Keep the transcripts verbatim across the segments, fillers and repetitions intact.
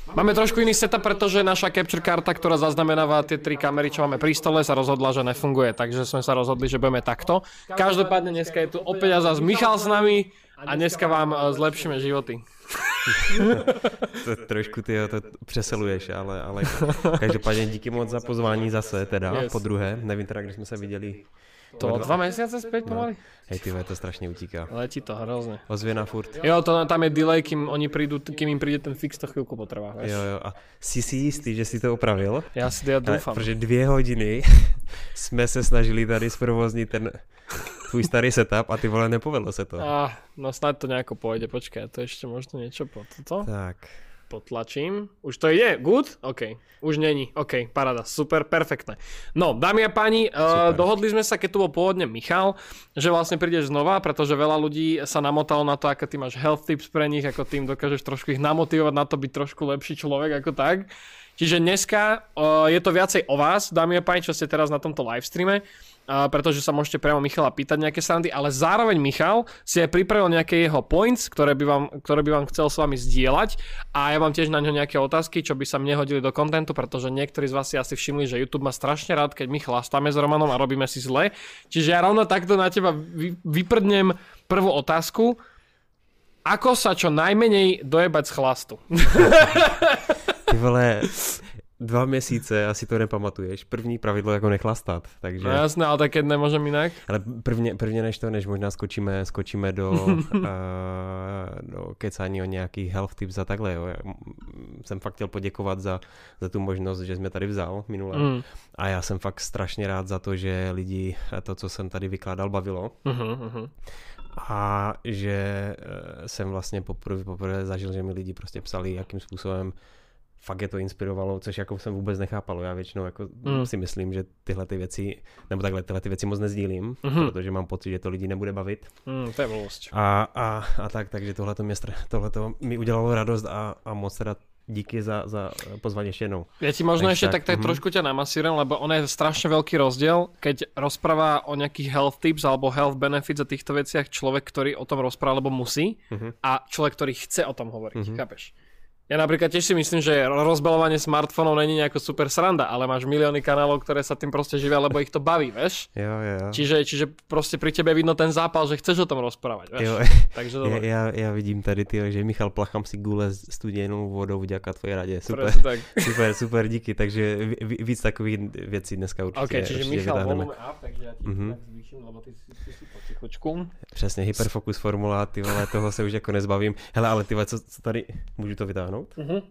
Máme trošku iný setup, pretože naša capture karta, ktorá zaznamenáva tie tri kamery, čo máme pri stole, sa rozhodla, že nefunguje, takže sme sa rozhodli, že budeme takto. Každopádne dneska je tu opäť a zás Michal s nami a dneska vám zlepšíme životy. To trošku ty to přeseluješ, ale, ale každopádně díky moc za pozvání zase teda, yes. Po druhé, nevím teda, když jsme se viděli. To dva, dva mesiace späť pomaly? No. Hej, ty to strašne utíká. Letí to hrozne. Ozvěna furt. Jo, to, tam je delay, kým oni prídu, kým im príde ten fix, to chvíľku potrvá. Vieš? Jo, jo, a jsi si jistý, že si to opravil? Já si to ja doufám. Protože dvě hodiny jsme se snažili tady zprovoznit ten tvůj starý setup a ty vole, nepovedlo se to. Ah, no snad to nejako pôjde, počkaj, to ešte možno niečo po toto. Tak. Potlačím. Už to ide? Good? OK. Už není. OK, paráda. Super, perfektné. No, dámy a páni, uh, dohodli sme sa, keď tu bol pôvodne Michal, že vlastne prídeš znova, pretože veľa ľudí sa namotalo na to, ako ty máš health tips pre nich, ako tým dokážeš trošku ich namotivovať na to byť trošku lepší človek ako tak. Čiže dneska uh, je to viacej o vás, dámy a páni, čo ste teraz na tomto livestreame. Uh, pretože sa môžete priamo Michala pýtať nejaké srandy, ale zároveň Michal si aj pripravil nejaké jeho points, ktoré by vám, ktoré by vám chcel s vami zdieľať a ja mám tiež na ňo nejaké otázky, čo by sa mne hodili do kontentu, pretože niektorí z vás si asi všimli, že YouTube má strašne rád, keď my chlastáme s Romanom a robíme si zle. Čiže ja rovno takto na teba vy, vyprdnem prvú otázku. Ako sa čo najmenej dojebať z chlastu? Ty vole... Dva měsíce, asi to nepamatuješ. První pravidlo jako nechlastat, takže... No jasné, ale tak nemůžem jinak. Ale prvně, prvně než to, než možná skočíme, skočíme do, uh, do kecání o nějakých health tips a takhle. Jo. Jsem fakt chtěl poděkovat za, za tu možnost, že jsi mě tady vzal minule. Mm. A já jsem fakt strašně rád za to, že lidi to, co jsem tady vykládal, bavilo. Uh-huh, uh-huh. A že uh, jsem vlastně poprvé, poprvé zažil, že mi lidi prostě psali, jakým způsobem fakt je to inspirovalo, což jako jsem vůbec nechápal. Já většinou jako mm. si myslím, že tyhle ty věci, nebo takhle tyhle ty věci moc nezdílím, mm-hmm. protože mám pocit, že to lidi nebude bavit. Mm, to je blbost. A, a, a tak, takže tohle to mě tohleto mi udělalo radost a, a moc teda díky za, za pozvání ještě jednou. Ja ti možno ešte tak, tak mm-hmm. trošku ťa namasírujem, lebo ono je strašne veľký rozdiel, keď rozpráva o nejakých health tips alebo health benefits a týchto veciach človek, ktorý o tom rozpráva, lebo musí, mm-hmm. a človek, ktorý chce o tom hovoriť, mm-hmm. chápeš? Ja napríklad tiež si myslím, že rozbalovanie smartfónov není nejako super sranda, ale máš milióny kanálov, ktoré sa tým proste živia, lebo ich to baví, vieš? Jo, jo. Čiže, čiže proste pri tebe vidno ten zápal, že chceš o tom rozprávať, vieš? Jo. Takže ja, ja, ja vidím tady, tyjo, že Michal plachám si gule s studenou vodou vďaka tvojej rade. Super, tak. super, super, díky. Takže víc takových věcí dneska určitě. Ok, čiže určite Michal volume up, takže ja ti mm-hmm. tak zvýším, lebo ty si, ty si potichučku. Přesně, hyperfokus formula, ty vole, toho se už jako nezbavím. Hele, ale ty vole, co, co tady, můžu to vytáhnout? Uh-huh.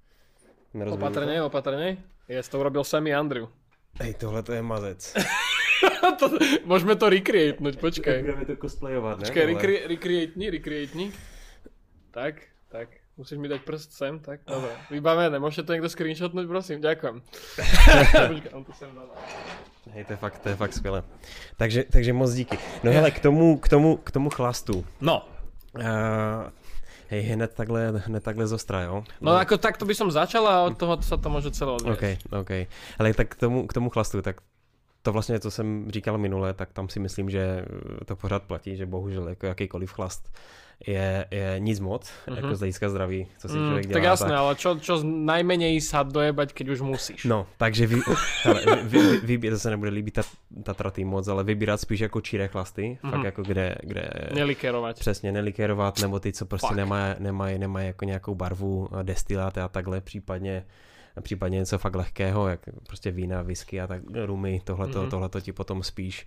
Opatrne, to? opatrne. Yes, to urobil Sammy Andrew. Hej, tohle to je mazec. to, môžeme to recreatenúť, počkaj. Budeme to cosplayovať, ne? Počkaj, recre- recreatni, recreatni. Tak, tak. Musíš mi dať prst sem, tak. Dobre, vybavené. Môžete to niekto screenshotnúť, prosím? Ďakujem. Počkaj, on to sem dal. Hej, to je fakt, to je fakt skvělé. Takže, takže moc díky. No hele, k tomu, k tomu, k tomu chlastu. No. Uh, hej, hned takhle, hned takhle zostra, jo? No, no ako takto by som začal a od toho sa to môže celé odviesť. OK, OK. Ale tak k tomu, k tomu chlastu, tak to vlastně, co jsem říkal minule, tak tam si myslím, že to pořád platí, že bohužel jako jakýkoliv chlast je, je nic moc, mm-hmm. jako z hlediska zdraví, co si člověk dělá. Tak jasné, tak... ale čo, čo najmenej sa dojebať, keď už musíš. No, takže vy, hele, vy, vy, vy, to se nebude líbit ta, ta tratý moc, ale vybírat spíš jako čiré chlasty, mm-hmm. fakt jako kde... kde nelikerovat. Přesně, nelikerovat, nebo ty, co prostě nemají nemaj, nemaj jako nějakou barvu, destiláty a takhle, případně případně něco fakt lehkého, jak prostě vína, whisky a tak, rumy, tohleto, mm-hmm. tohleto ti potom spíš,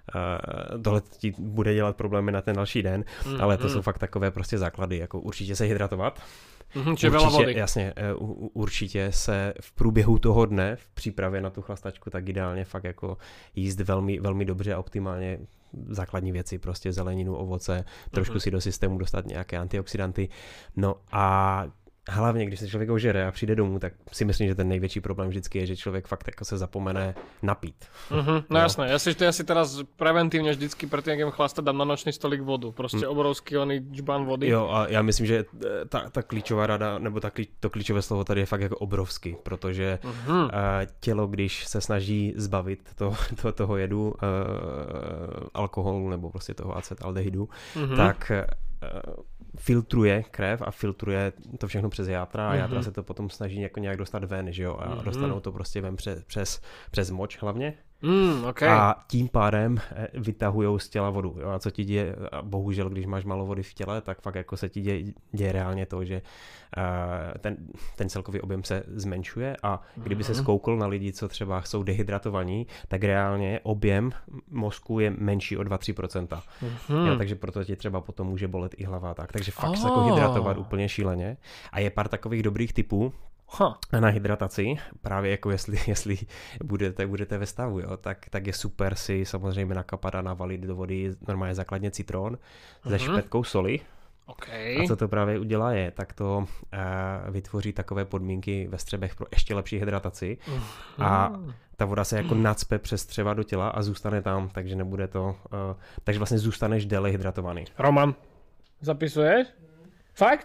uh, tohle ti bude dělat problémy na ten další den, mm-hmm. ale to jsou fakt takové prostě základy, jako určitě se hydratovat. Mm-hmm, čiže veľa vody. Jasně, uh, určitě se v průběhu toho dne, v přípravě na tu chlastačku, tak ideálně fakt jako jíst velmi, velmi dobře a optimálně základní věci, prostě zeleninu, ovoce, trošku mm-hmm. si do systému dostat nějaké antioxidanty, no a hlavně, když se člověk ožere a přijde domů, tak si myslím, že ten největší problém vždycky je, že člověk fakt jako se zapomene napít. Mm-hmm, no, no jasné, ja si, ja si teraz preventívne vždycky pred tým, jak jem chlastať, dám na nočný stolik vodu. Prostě mm. obrovský oný džbán vody. Jo, a já myslím, že ta, ta klíčová rada, nebo ta, to klíčové slovo tady je fakt jako obrovský, protože mm-hmm. uh, tělo, když se snaží zbavit to, to, toho jedu, uh, alkoholu nebo prostě toho acetaldehydu, mm-hmm. tak filtruje krev a filtruje to všechno přes játra a Mhm. játra se to potom snaží jako nějak dostat ven, že jo, a Mhm. dostanou to prostě ven přes, přes, přes moč hlavně. Mm, okay. A tím pádem eh, vytahujou z těla vodu. Jo? A co ti děje, a bohužel, když máš málo vody v těle, tak fakt jako se ti děje, děje reálně to, že uh, ten, ten celkový objem se zmenšuje a kdyby se skoukl na lidi, co třeba jsou dehydratovaní, tak reálně objem mozku je menší o dva až tři procenta. Mhm. Jo, takže proto ti třeba potom může bolet i hlava. Tak. Takže fakt Oh. se jako hydratovat úplně šíleně. A je pár takových dobrých typů, Huh. na hydrataci, právě jako jestli, jestli budete, budete ve stavu, jo, tak, tak je super si samozřejmě nakapat a navalit do vody normálně základně citron se Mhm. špetkou soli. Okay. A co to právě udělá je, tak to uh, vytvoří takové podmínky ve střebech pro ještě lepší hydrataci a Mhm. ta voda se jako nacpe přes střeva do těla a zůstane tam, takže nebude to, uh, takže vlastně zůstaneš déle hydratovaný. Roman, zapisuješ? Fakt?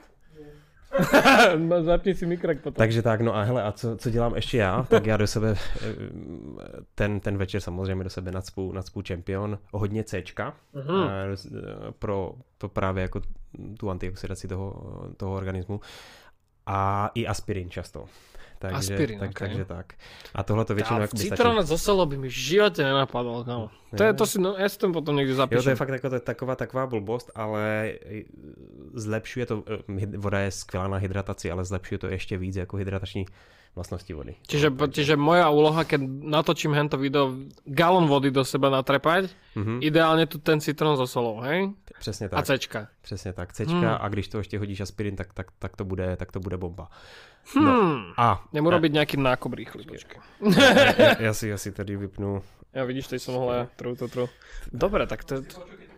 Zapni si mikrek potom. Takže tak, no a hele, a co, co dělám ještě já? Tak já do sebe, ten, ten večer samozřejmě do sebe nacpu, nacpu Champion, hodně Cčka, Mhm. pro, pro právě jako tu antioxidaci toho, toho organismu a i aspirin často. Takže, Aspirin, tak, okay. takže tak. A tohle to většinou jako by stačí. Citróna zo solo by mi v živote nenapadlo, kámo. To, je, to si, no, ja si to potom niekde zapíšem. Jo, to je fakt jako, to je taková, taková blbost, ale zlepšuje to, voda je skvělá na hydrataci, ale zlepšuje to ještě víc jako hydratační vlastnosti vody. Čiže, čiže moja úloha, keď natočím hento video, galon vody do seba natrepať, Mhm. ideálne tu ten citrón so solou, hej? Přesně A tak. Cčka. Přesně tak. Cčka Hmm. a když to ještě hodíš aspirin, tak, tak, tak, to, bude, tak to bude bomba. Hmm. No. A Nemu robiť nejaký nákup rýchly, počkej. ja, ja, si, ja si tady vypnu. Ja vidíš, teď som mohol ja. Tru, tru, tru. Dobre, tak to je...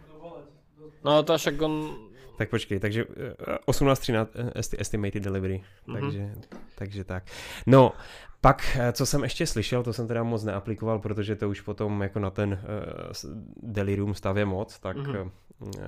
No to však on... Tak počkej, takže uh, osmnáct třináct esti- estimated delivery. Mhm. Takže, takže tak. No, pak, eh, co jsem ještě slyšel, to jsem teda moc neaplikoval, protože to už potom jako na ten uh, delirium stav je moc, tak Mhm. uh,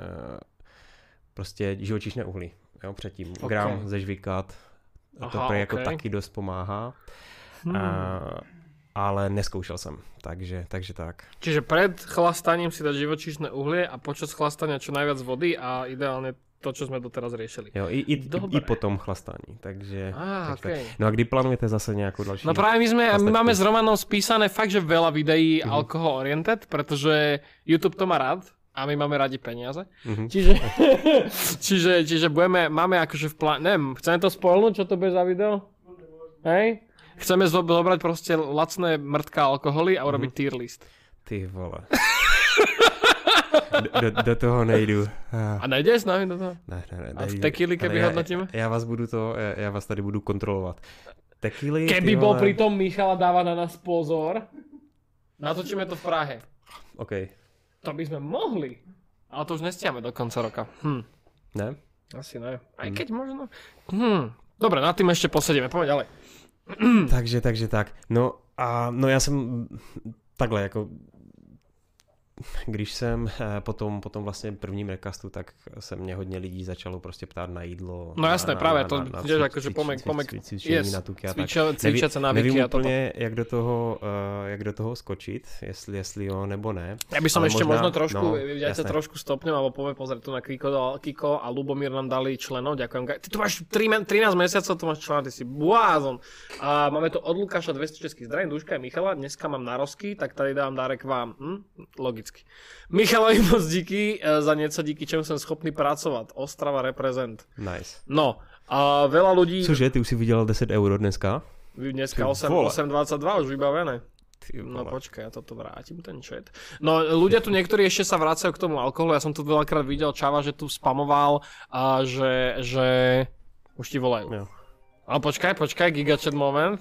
prostě živočišné uhlí, jo, předtím. Okay. Gram zežvíkat, to Aha, prý jako okay. taky dost pomáhá. Hmm. Uh, ale neskoušel jsem, takže, takže tak. Čiže pred chlastaním si dať živočíšne uhlie a počas chlastania čo najviac vody a ideálne to, čo sme doteraz riešili. Jo, i, i, i, Dobre. i potom chlastání, takže... Á, takže okej. tak. No a kdy plánujete zase nějakou další? No práve my sme, my Chlastačku. máme s Romanom spísané fakt, že veľa videí Mhm. alkohol oriented, pretože YouTube to má rád a my máme radi peniaze. Mhm. Čiže, čiže, čiže budeme, máme akože v pláne, neviem, chceme to spoilnúť, čo to bude za video? Hej? Chceme zo- zobrať proste lacné mrtka alkoholy a urobiť Mhm. tier list. Ty vole. do, do, do toho nejdu. A nejdeš s nami do toho? Ne, ne, ne. A v nejdu. tekily, keby Ale já- hodnotíme? Já vás budu to, já, já vás tady budu kontrolovat. Tekily, Keby ty bol vole. pri tom Michala dáva na nás pozor, natočíme to v Prahe. OK. To by sme mohli. Ale to už nestiame do konca roka. Hm. Ne? Asi ne. Aj Hm. keď možno... Hm. Dobre, na tým ešte posedíme. Poďme ďalej. takže, takže tak. No a no já jsem takhle jako když jsem eh, potom, potom vlastně prvním recastu, tak se mě hodně lidí začalo prostě ptát na jídlo. No jasné, právě, to tiež cvič- akože cvič- pomek- cvič- pomek- cvič- cvičení yes, na tuky a tak. Cvičia, cvičiace návyky Nevím a toto. úplně, jak do toho, uh, jak do toho skočit, jestli, jestli jo nebo ne. Ja by som Ale ešte možná- možno trošku, no, ja ťa jasné. trošku stopnem, alebo poviem, pozrieť tu na Kiko, Kiko a Lubomír nám dali členov, ďakujem. Ty tu máš tri, trinásť mesiacov, tu máš členov, ty si blázon. A máme tu od Lukáša dvesto českých zdravím, Duška a Michala, dneska mám narozky, tak tady dám dárek vám. Hm? Logicky. Michalovi moc díky e, za nieco, díky čemu som schopný pracovať. Ostrava reprezent. Nice. No, a veľa ľudí... Cože, ty už si vydělal deset euro dneska? Dneska Ty osem, vole. osem dvadsaťdva už vybavené. Ty No vole. počkaj, ja toto vrátim, ten chat. No ľudia tu niektorí ešte sa vracajú k tomu alkoholu, ja som tu veľakrát videl Čava, že tu spamoval a že, že... Už ti volajú. Jo. Ale počkaj, počkaj, gigachat moment.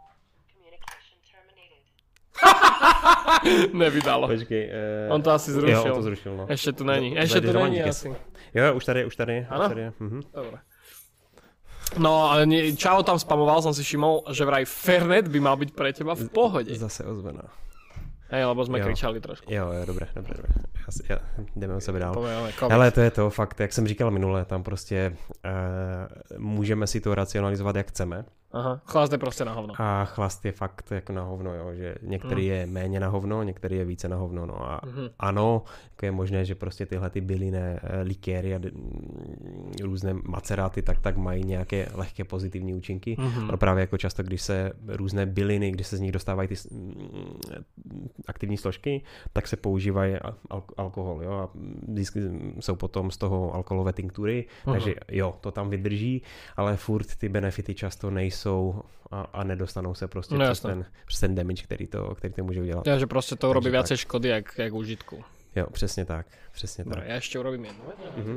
Nevydalo. Počkej. Uh... On to asi zrušil. Jo, on to zrušil, no. Ešte tu není, Z- ešte tu zadržovaní není kes. asi. Jo, už tady, už tady. Ano? Už tady je. Mhm. Dobre. No, ale nie, Čavo tam spamoval, som si všimol, že vraj Fernet by mal byť pre teba v pohode. Zase ozvená. Hej, lebo sme Jo. kričali trošku. Jo, jo, dobré, dobré, dobré. Já si, já, jdeme o sebe dál. Povedeme, COVID. Hele, to je to fakt, jak jsem říkal minule, tam prostě uh, můžeme si to racionalizovat, jak chceme, Aha, chlast je prostě na hovno. A chlast je fakt jako na hovno, jo, že některý mm. je méně na hovno, některý je více na hovno, no a mm-hmm. ano, jako je možné, že prostě tyhle ty bylinné likéry a d- různé maceráty tak tak mají nějaké lehké pozitivní účinky, mm-hmm. ale právě jako často, když se různé byliny, když se z nich dostávají ty aktivní složky, tak se používají al- alkohol, jo, a vždycky jsou potom z toho alkoholové tinktury, mm-hmm. takže jo, to tam vydrží, ale furt ty benefity často nejsou a, a nedostanou se prostě no, přes, ten, přes ten damage, který to, který to může udělat. Ja, že prostě to urobí viacej škody, jak, jak užitku. Jo, přesně tak, přesně Dobre, tak. ja ešte urobím jednu. Mm-hmm.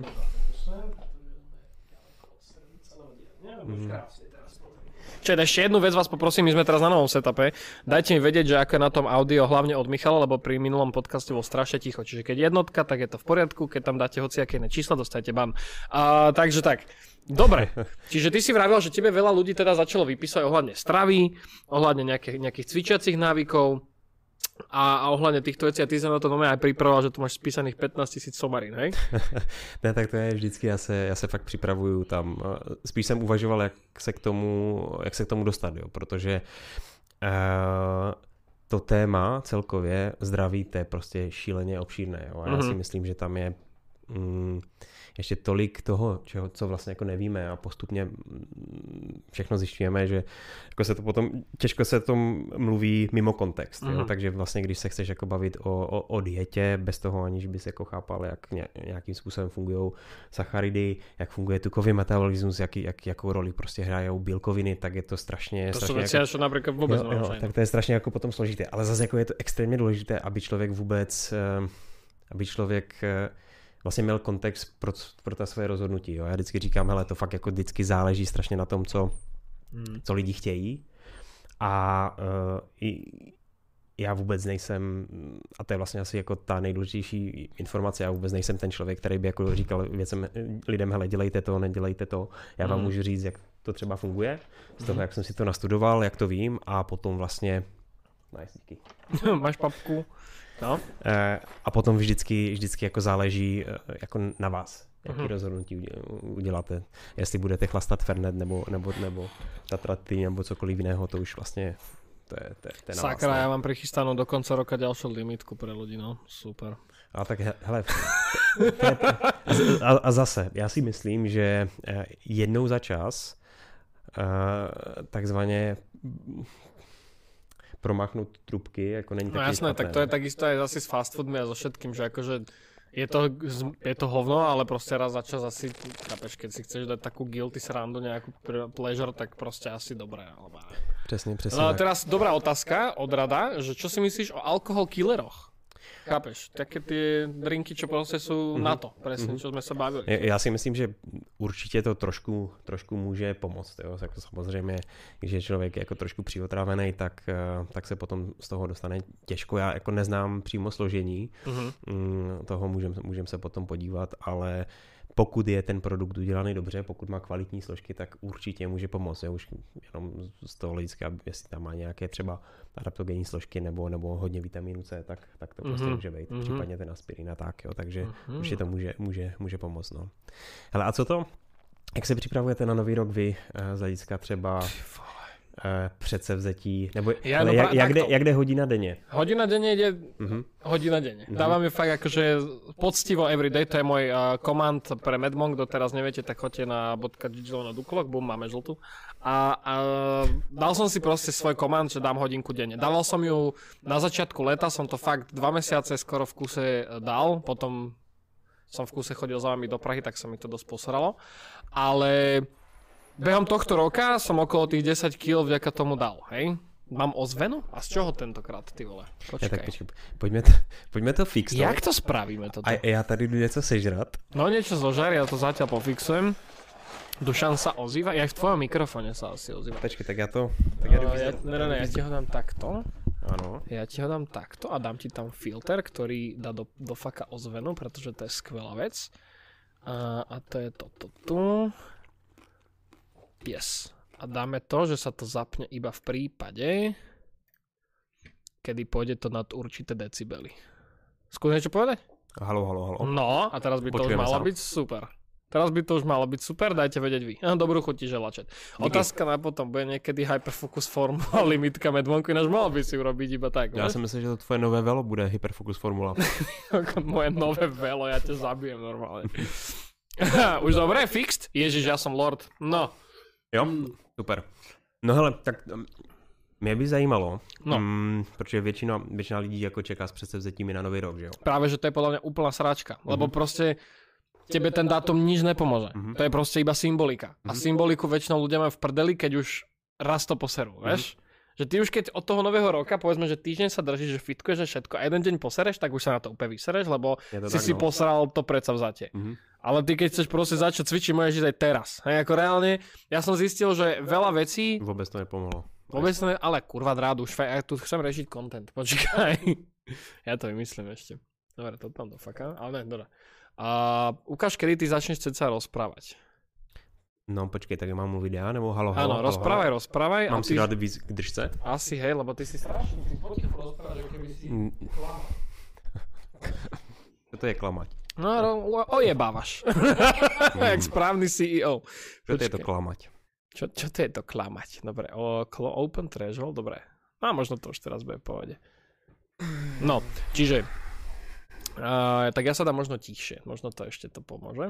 Mm-hmm. Čiže ešte jednu vec vás poprosím, my sme teraz na novom setupe. Dajte mi vedieť, že ako je na tom audio, hlavne od Michala, lebo pri minulom podcaste bol strašne ticho. Čiže keď jednotka, tak je to v poriadku, keď tam dáte hociaké iné čísla, dostajete ban. A, takže tak. Dobre, čiže ty si vravel, že tebe veľa ľudí teda začalo vypísať ohľadne stravy, ohľadne nejakých, nejakých cvičiacich návykov a, a ohľadne týchto vecí a ty sa na to nové aj pripravoval, že tu máš spísaných pätnásť tisíc somarín, hej? Ne, tak to je vždycky, já se, já se fakt připravuju tam. Spíš jsem uvažoval, jak se k tomu, jak se k tomu dostat, jo, protože uh, to téma celkově zdraví, to je prostě šíleně obšírné, jo, a já mm-hmm. si myslím, že tam je mm, ještě tolik toho, čeho, co vlastně jako nevíme a postupně všechno zjišťujeme, že jako se to potom, těžko se tom mluví mimo kontext, mm-hmm. jo? Takže vlastně když se chceš jako bavit o, o, o dietě, bez toho aniž bys jako chápal, jak ně, nějakým způsobem fungují sacharidy, jak funguje tukový metabolismus, jak, jak, jakou roli prostě hrajou bílkoviny, tak je to strašně... To strašně jsou věci, jako, například vůbec jo, jo, tak to je strašně jako potom složité, ale zase jako je to extrémně důležité, aby člověk vůbec, aby člověk vlastně měl kontext pro, pro ta své rozhodnutí. Jo. Já vždycky říkám, hele, to fakt jako vždycky záleží strašně na tom, co, hmm. co lidi chtějí. A uh, i, já vůbec nejsem, a to je vlastně asi jako ta nejdůležitější informace, já vůbec nejsem ten člověk, který by jako říkal věcem, lidem, hele, dělejte to, nedělejte to. Já vám hmm. můžu říct, jak to třeba funguje, z toho, hmm. jak jsem si to nastudoval, jak to vím a potom vlastně... Nice, díky. Máš papku. No. A potom vždycky, vždycky jako záleží jako na vás, jaký uh-huh. rozhodnutí uděláte. Jestli budete chlastat Fernet nebo, nebo, nebo Tatraty nebo cokoliv jiného, to už vlastně to je, to je, to je na Sakra, vás. Ja mám prichystanú do konca roka ďalšiu limitku pre ľudí, no. Super. A tak hele, a, a zase, já si myslím, že jednou za čas takzvaně promáchnout trubky, jako není no taky jasné, špatné. Tak to je takisto aj asi s fast foodmi a so všetkým, že akože je to, je to hovno, ale prostě raz za čas asi, chápeš, keď si chceš dať takú guilty srandu, nejakú pleasure, tak prostě asi dobré. Alebo... Přesně, přesně. No, teraz dobrá otázka od Rada, že čo si myslíš o alkohol killeroch? Chápeš, také ty drinky, čo prostě sú mm-hmm. na to, presne, mm-hmm. čo sme sa bavili. Já si myslím, že určitě to trošku, trošku může pomoct. Jo? Jako samozřejmě, když je člověk jako trošku přivotrávený, tak, tak se potom z toho dostane těžko. Já jako neznám přímo složení, mm-hmm. toho můžeme můžem se potom podívat, ale pokud je ten produkt udělaný dobře, pokud má kvalitní složky, tak určitě může pomoct. Jo? Už jenom z toho hlediska, jestli tam má nějaké třeba adaptogenní složky nebo, nebo hodně vitamínu C, tak, tak to prostě mm-hmm. může být. Mm-hmm. Případně ten aspirin a tak, jo? Takže mm-hmm. určitě to může, může, může pomoct. No. Hele, a co to? Jak se připravujete na nový rok vy z hlediska třeba předsevzetí, nebo ja, ale no, jak, jak, jde, jak jde hodina denně? Hodina denně jde uh-huh. hodina denně. Uh-huh. Dávam ju fakt akože poctivo everyday, to je môj uh, komand pre Medmonk, kto teraz neviete, tak choďte na bodka.digilo na dukolok, bum, máme žltú. A, a dal som si proste svoj komand, že dám hodinku denne. Dával som ju na začiatku leta, som to fakt dva mesiace skoro v kuse dal, potom som v kuse chodil za vami do Prahy, tak sa mi to dosť posralo. Ale behom tohto roka som okolo tých desať kíl vďaka tomu dal, hej? Mám ozvenu? A z čoho tentokrát, ty vole? Počkej. Ja, tak počkej, poďme to, poďme to fixnúť. Jak to spravíme toto? A ja tady jdu něco sežrat. No niečo zožar, ja to zatiaľ pofixujem. Dušan sa ozýva, ja v tvojom mikrofóne sa asi ozýva. Počkej, tak ja to... Tak ja, uh, ja, ne, ne, ne, ja ti ho dám takto. Áno. Ja ti ho dám takto a dám ti tam filter, ktorý dá do, do faka ozvenu, pretože to je skvelá vec. Uh, a to je toto tu. Yes. A dáme to, že sa to zapne iba v prípade, kedy pôjde to nad určité decibely. Skús niečo povedať? Halo, halo, halo. No, a teraz by to už malo byť super. Teraz by to už malo byť super, dajte vedieť vy. Dobrú chuť ti želá, chat. Otázka na potom, bude niekedy Hyperfocus formula limitka medvonku, ináč mal by si urobiť iba tak. Já si myslím, že to tvoje nové velo bude Hyperfocus formula. Moje nové velo, ja ťa zabijem normálne. Už dobre, fixed? Ježiš, ja som lord. No. Jo, super. No hele, tak mě by zajímalo, no. mm, protože většina, většina lidí jako čeká s předsevzetími na nový rok, že jo? Práve, že to je podľa mňa úplná sračka, mm-hmm. lebo proste tebe ten dátum nič nepomôže. Mm-hmm. To je proste iba symbolika. Mm-hmm. A symboliku väčšinou ľudia majú v prdeli, keď už raz to poserú, mm-hmm. vieš? Že ty už keď od toho nového roka, povedzme, že týždeň sa držíš, že fitkuješ, že všetko a jeden deň posereš, tak už sa na to úplne vysereš, lebo si tak, si no. posral to predsavzatie. Mm-hmm. Ale ty keď chceš proste začať cvičiť, môžeš ísť aj teraz. Hej, ako reálne, ja som zistil, že veľa vecí... Vôbec to nepomohlo. Vôbec to ne... Ale kurva drád, už faj... ja tu chcem rešiť content, počkaj. Ja to vymyslím ešte. Dobre, to tam dofakám, ale ne, dobre. A ukáž, kedy ty začneš ceca rozprávať. No počkej, tak mám mluviť ja, nebo halo, halo, Áno, rozprávaj, halo. rozprávaj. Mám si dať víc k držce? Asi, hej, lebo ty si strašný, ty potichu rozprávaš, že keby si klamal. Čo to je klamať? No, o, ojebávaš. Jak správny C E O. Čo to je to klamať? Čo, čo to je to klamať? Dobre, o, open threshold, dobre. A možno to už teraz bude v pohode. No, čiže... Uh, tak ja sa dám možno tichšie, možno to ešte to pomôže.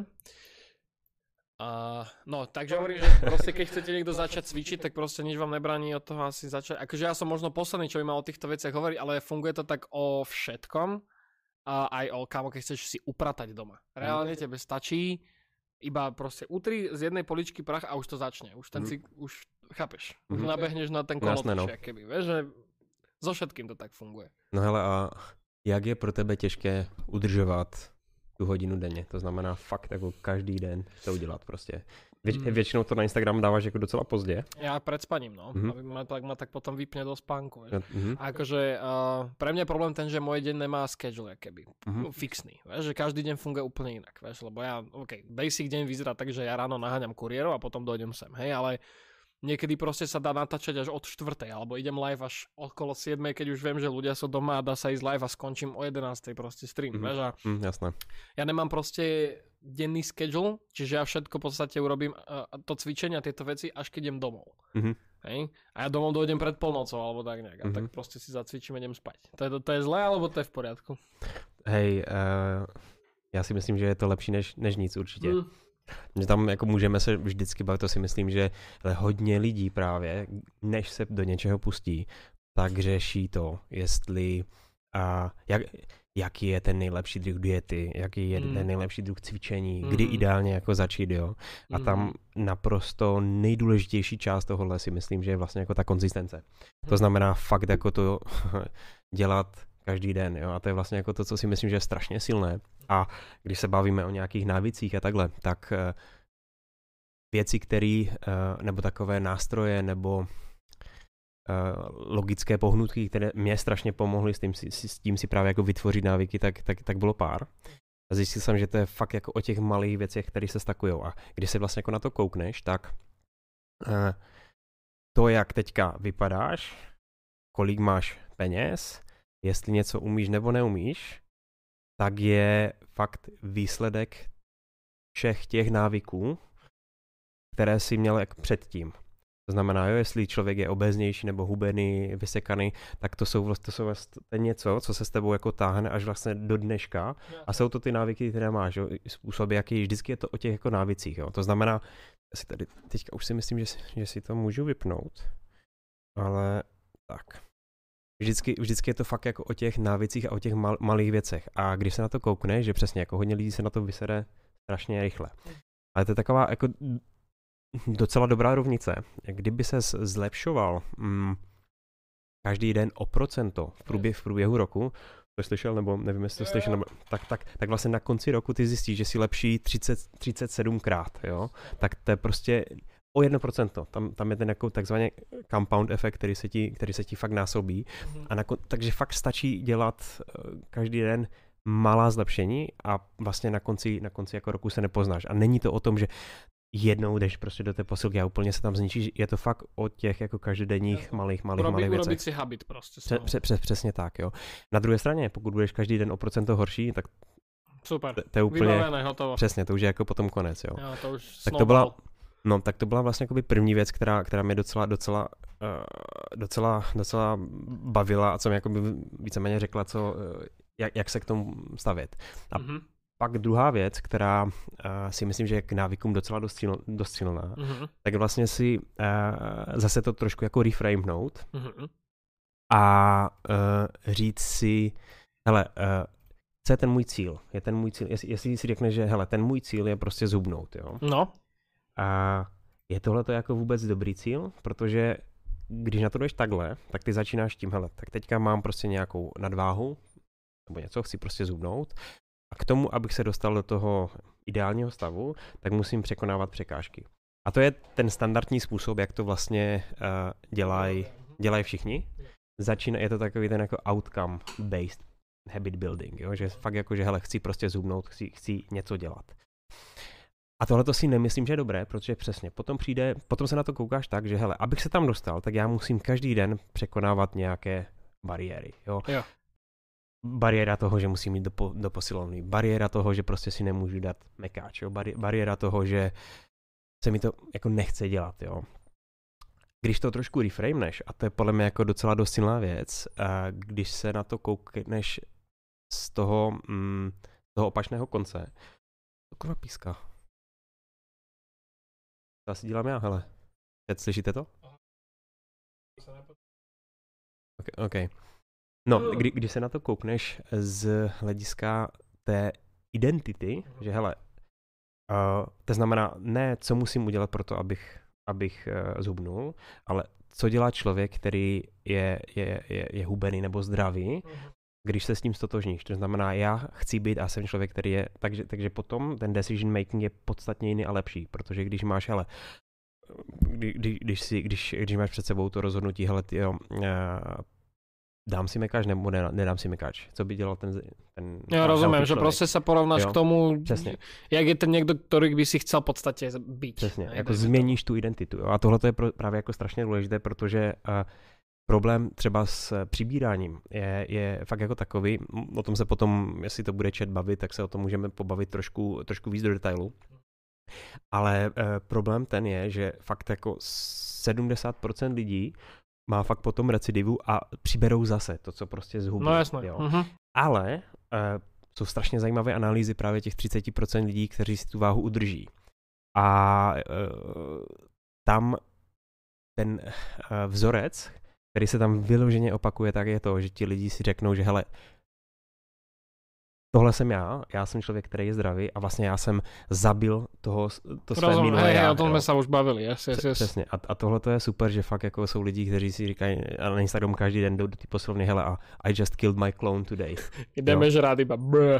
Uh, no, takže hovorím, že proste keď chcete niekto začať cvičiť, tak proste nič vám nebráni od toho asi začať. Akože ja som možno posledný, čo by mal o týchto veciach hovoriť, ale funguje to tak o všetkom. A aj o kámo, keď chceš si upratať doma. Reálne tebe stačí iba proste utri z jednej poličky prach a už to začne. Už ten si, už chápeš, už mm-hmm. nabehneš na ten kolotoč, no. keby, vieš, že so všetkým to tak funguje. No hele, a jak je pro tebe těžké udržovat tu hodinu denně? To znamená fakt jako každý den to udělat prostě. Věč, mm. Většinou to na Instagram dáváš jako docela pozdě. Ja pred spaním, no. Mm-hmm. Aby ma tak, ma tak potom vypne do spánku. Mm-hmm. A akože uh, pre mňa je problém ten, že môj deň nemá schedule, keby. Mm-hmm. Fixný. Vieš, že každý deň funguje úplne inak. Vieš, lebo ja, OK, basic deň vyzerá tak, že ja ráno naháňam kuriérov a potom dojdem sem. Hej, ale niekedy proste sa dá natáčať až od štvrtej, alebo idem live až okolo siedmej, keď už viem, že ľudia sú doma a dá sa ísť live a skončím o jedenástej proste stream, mm-hmm. vieš, a mm, jasné. Ja nemám proste denný schedule, čiže ja všetko v podstate urobím uh, to cvičenie a tieto veci, až keď idem domov. Mm-hmm. Hej? A ja domov dojdem pred polnocou, alebo tak nejak, a mm-hmm. tak proste si zacvičím a idem spať. To je, to, to je zlé, alebo to je v poriadku? Hej, uh, já si myslím, že je to lepší než, než nic určitě. Mm. Že tam jako můžeme se vždycky bavit, to si myslím, že hodně lidí právě, než se do něčeho pustí, tak řeší to, jestli a jak, jaký je ten nejlepší druh diety, jaký je mm. ten nejlepší druh cvičení, mm. kdy ideálně jako začít, jo. A tam mm. naprosto nejdůležitější část tohohle si myslím, že je vlastně jako ta konzistence. To znamená fakt jako to dělat každý den, jo. A to je vlastně jako to, co si myslím, že je strašně silné. A když se bavíme o nějakých návicích a takhle, tak uh, věci, které, uh, nebo takové nástroje, nebo uh, logické pohnutky, které mě strašně pomohly s tím si, s tím si právě jako vytvořit návyky, tak, tak, tak bylo pár. A zjistil jsem, že to je fakt jako o těch malých věcech, které se stakujou. A když se vlastně jako na to koukneš, tak uh, to, jak teďka vypadáš, kolik máš peněz, jestli něco umíš nebo neumíš, tak je fakt výsledek všech těch návyků, které si měl jak předtím. To znamená, jo, jestli člověk je obéznější nebo hubený, vysekaný, tak to jsou, to jsou vlastně něco, co se s tebou jako táhne až vlastně do dneška. A jsou to ty návyky, které máš, jo, způsoby, jaký vždycky je to o těch jako návicích. Jo. To znamená, si tady teďka už si myslím, že si, že si to můžu vypnout, ale tak. Vždycky, vždycky je to fakt jako o těch návicích a o těch mal, malých věcech. A když se na to koukne, že přesně jako hodně lidí se na to vysere strašně rychle. Ale to je taková jako docela dobrá rovnice. Kdyby se zlepšoval mm, každý den o procento v průběhu, v průběhu roku, to slyšel, nebo nevím, jestli to slyšel, nebo, tak, tak, tak vlastně na konci roku ty zjistíš, že si lepší třicet, třicet sedm krát, jo. Tak to je prostě o jedno procento. Tam, tam je ten jako takzvaný compound efekt, který se ti, který se ti fakt násobí. Mm-hmm. A na, takže fakt stačí dělat uh, každý den malá zlepšení a vlastně na konci, na konci jako roku se nepoznáš. A není to o tom, že jednou jdeš prostě do té posilky a úplně se tam zničíš. Je to fakt o těch jako každodenních malých, malých, Urobi, malých věcech. Urobit si habit prostě. Pře, pře, pře, přesně tak, jo. Na druhé straně, pokud budeš každý den o procento horší, tak Super, to, to je úplně, vybavené, hotovo. Přesně, to už je jako potom konec, jo. jo to už tak to byla, no, tak to byla vlastně jakoby první věc, která, která mě docela, docela, uh, docela, docela bavila a co mi jakoby víceméně řekla, co, uh, jak, jak se k tomu stavět. A mm-hmm. pak druhá věc, která uh, si myslím, že je k návykům docela dost, siln, dost silná, mm-hmm. tak vlastně si uh, zase to trošku jako reframenout mm-hmm. a uh, říct si, hele, uh, co je ten můj cíl? Je ten můj cíl, jestli, jestli si řekne, že hele, ten můj cíl je prostě zhubnout, jo? No. A je tohle to jako vůbec dobrý cíl? Protože když na to jdeš takhle, tak ty začínáš tím, hele, tak teďka mám prostě nějakou nadváhu, nebo něco, chci prostě zhubnout. A k tomu, abych se dostal do toho ideálního stavu, tak musím překonávat překážky. A to je ten standardní způsob, jak to vlastně uh, dělají dělaj všichni. Začíná, je to takový ten jako outcome-based habit building, jo? Že fakt jako, že hele, chci prostě zhubnout, chci, chci něco dělat. A tohle to si nemyslím, že je dobré, protože přesně, potom přijde, potom se na to koukáš tak, že hele, abych se tam dostal, tak já musím každý den překonávat nějaké bariéry, jo. jo. Bariéra toho, že musím jít do, po, do posilovny, bariéra toho, že prostě si nemůžu dát mekáč, jo. Bari, bariéra toho, že se mi to jako nechce dělat, jo. Když to trošku reframeneš, a to je podle mě jako docela dost silná věc, a když se na to koukneš z toho, mm, z toho opačného konce, to kurva píská. To asi dělám já, hele. Teď slyšíte to? Okay, okay. No, kdy, když se na to koukneš z hlediska té identity, že hele, uh, to znamená ne, co musím udělat pro to, abych, abych uh, zhubnul, ale co dělá člověk, který je, je, je, je hubený nebo zdravý, když se s tím stotožníš. To znamená, já chci být a jsem člověk, který je, takže, takže potom ten decision making je podstatně jiný a lepší, protože když máš, hele, kdy, kdy, když, si, když, když máš před sebou to rozhodnutí, hele, tyjo, uh, dám si mekáč nebo ne, nedám si mekáč, co by dělal ten... ten ja rozumiem, že proste sa porovnáš jo? k tomu, Přesně. jak je ten niekto, ktorý by si chcel v podstate byť. Přesně, jako změníš tu identitu. Jo? A tohle je pro, právě jako strašně důležité, protože uh, problém třeba s přibíráním je, je fakt jako takový, o tom se potom, jestli to bude chat bavit, tak se o tom můžeme pobavit trošku, trošku víc do detailu. Ale uh, problém ten je, že fakt jako sedmdesát procent lidí má fakt potom recidivu a přiberou zase to, co prostě zhubí. No jasně. Jo. Uh-huh. Ale uh, jsou strašně zajímavé analýzy právě těch třicet procent lidí, kteří si tu váhu udrží. A uh, tam ten uh, vzorec, který se tam vyloženě opakuje, tak je to, že ti lidi si řeknou, že hele, tohle jsem já, já jsem člověk, který je zdravý a vlastně já jsem zabil toho, to své Rozum, minulé hej, já. o tom jsme se už bavili. Yes, yes, yes. Přesně. A, a tohle to je super, že fakt jako jsou lidi, kteří si říkají na Instagram každý den jdou do té posilovny, hele a I just killed my clone today. Jdeme žrát iba brr.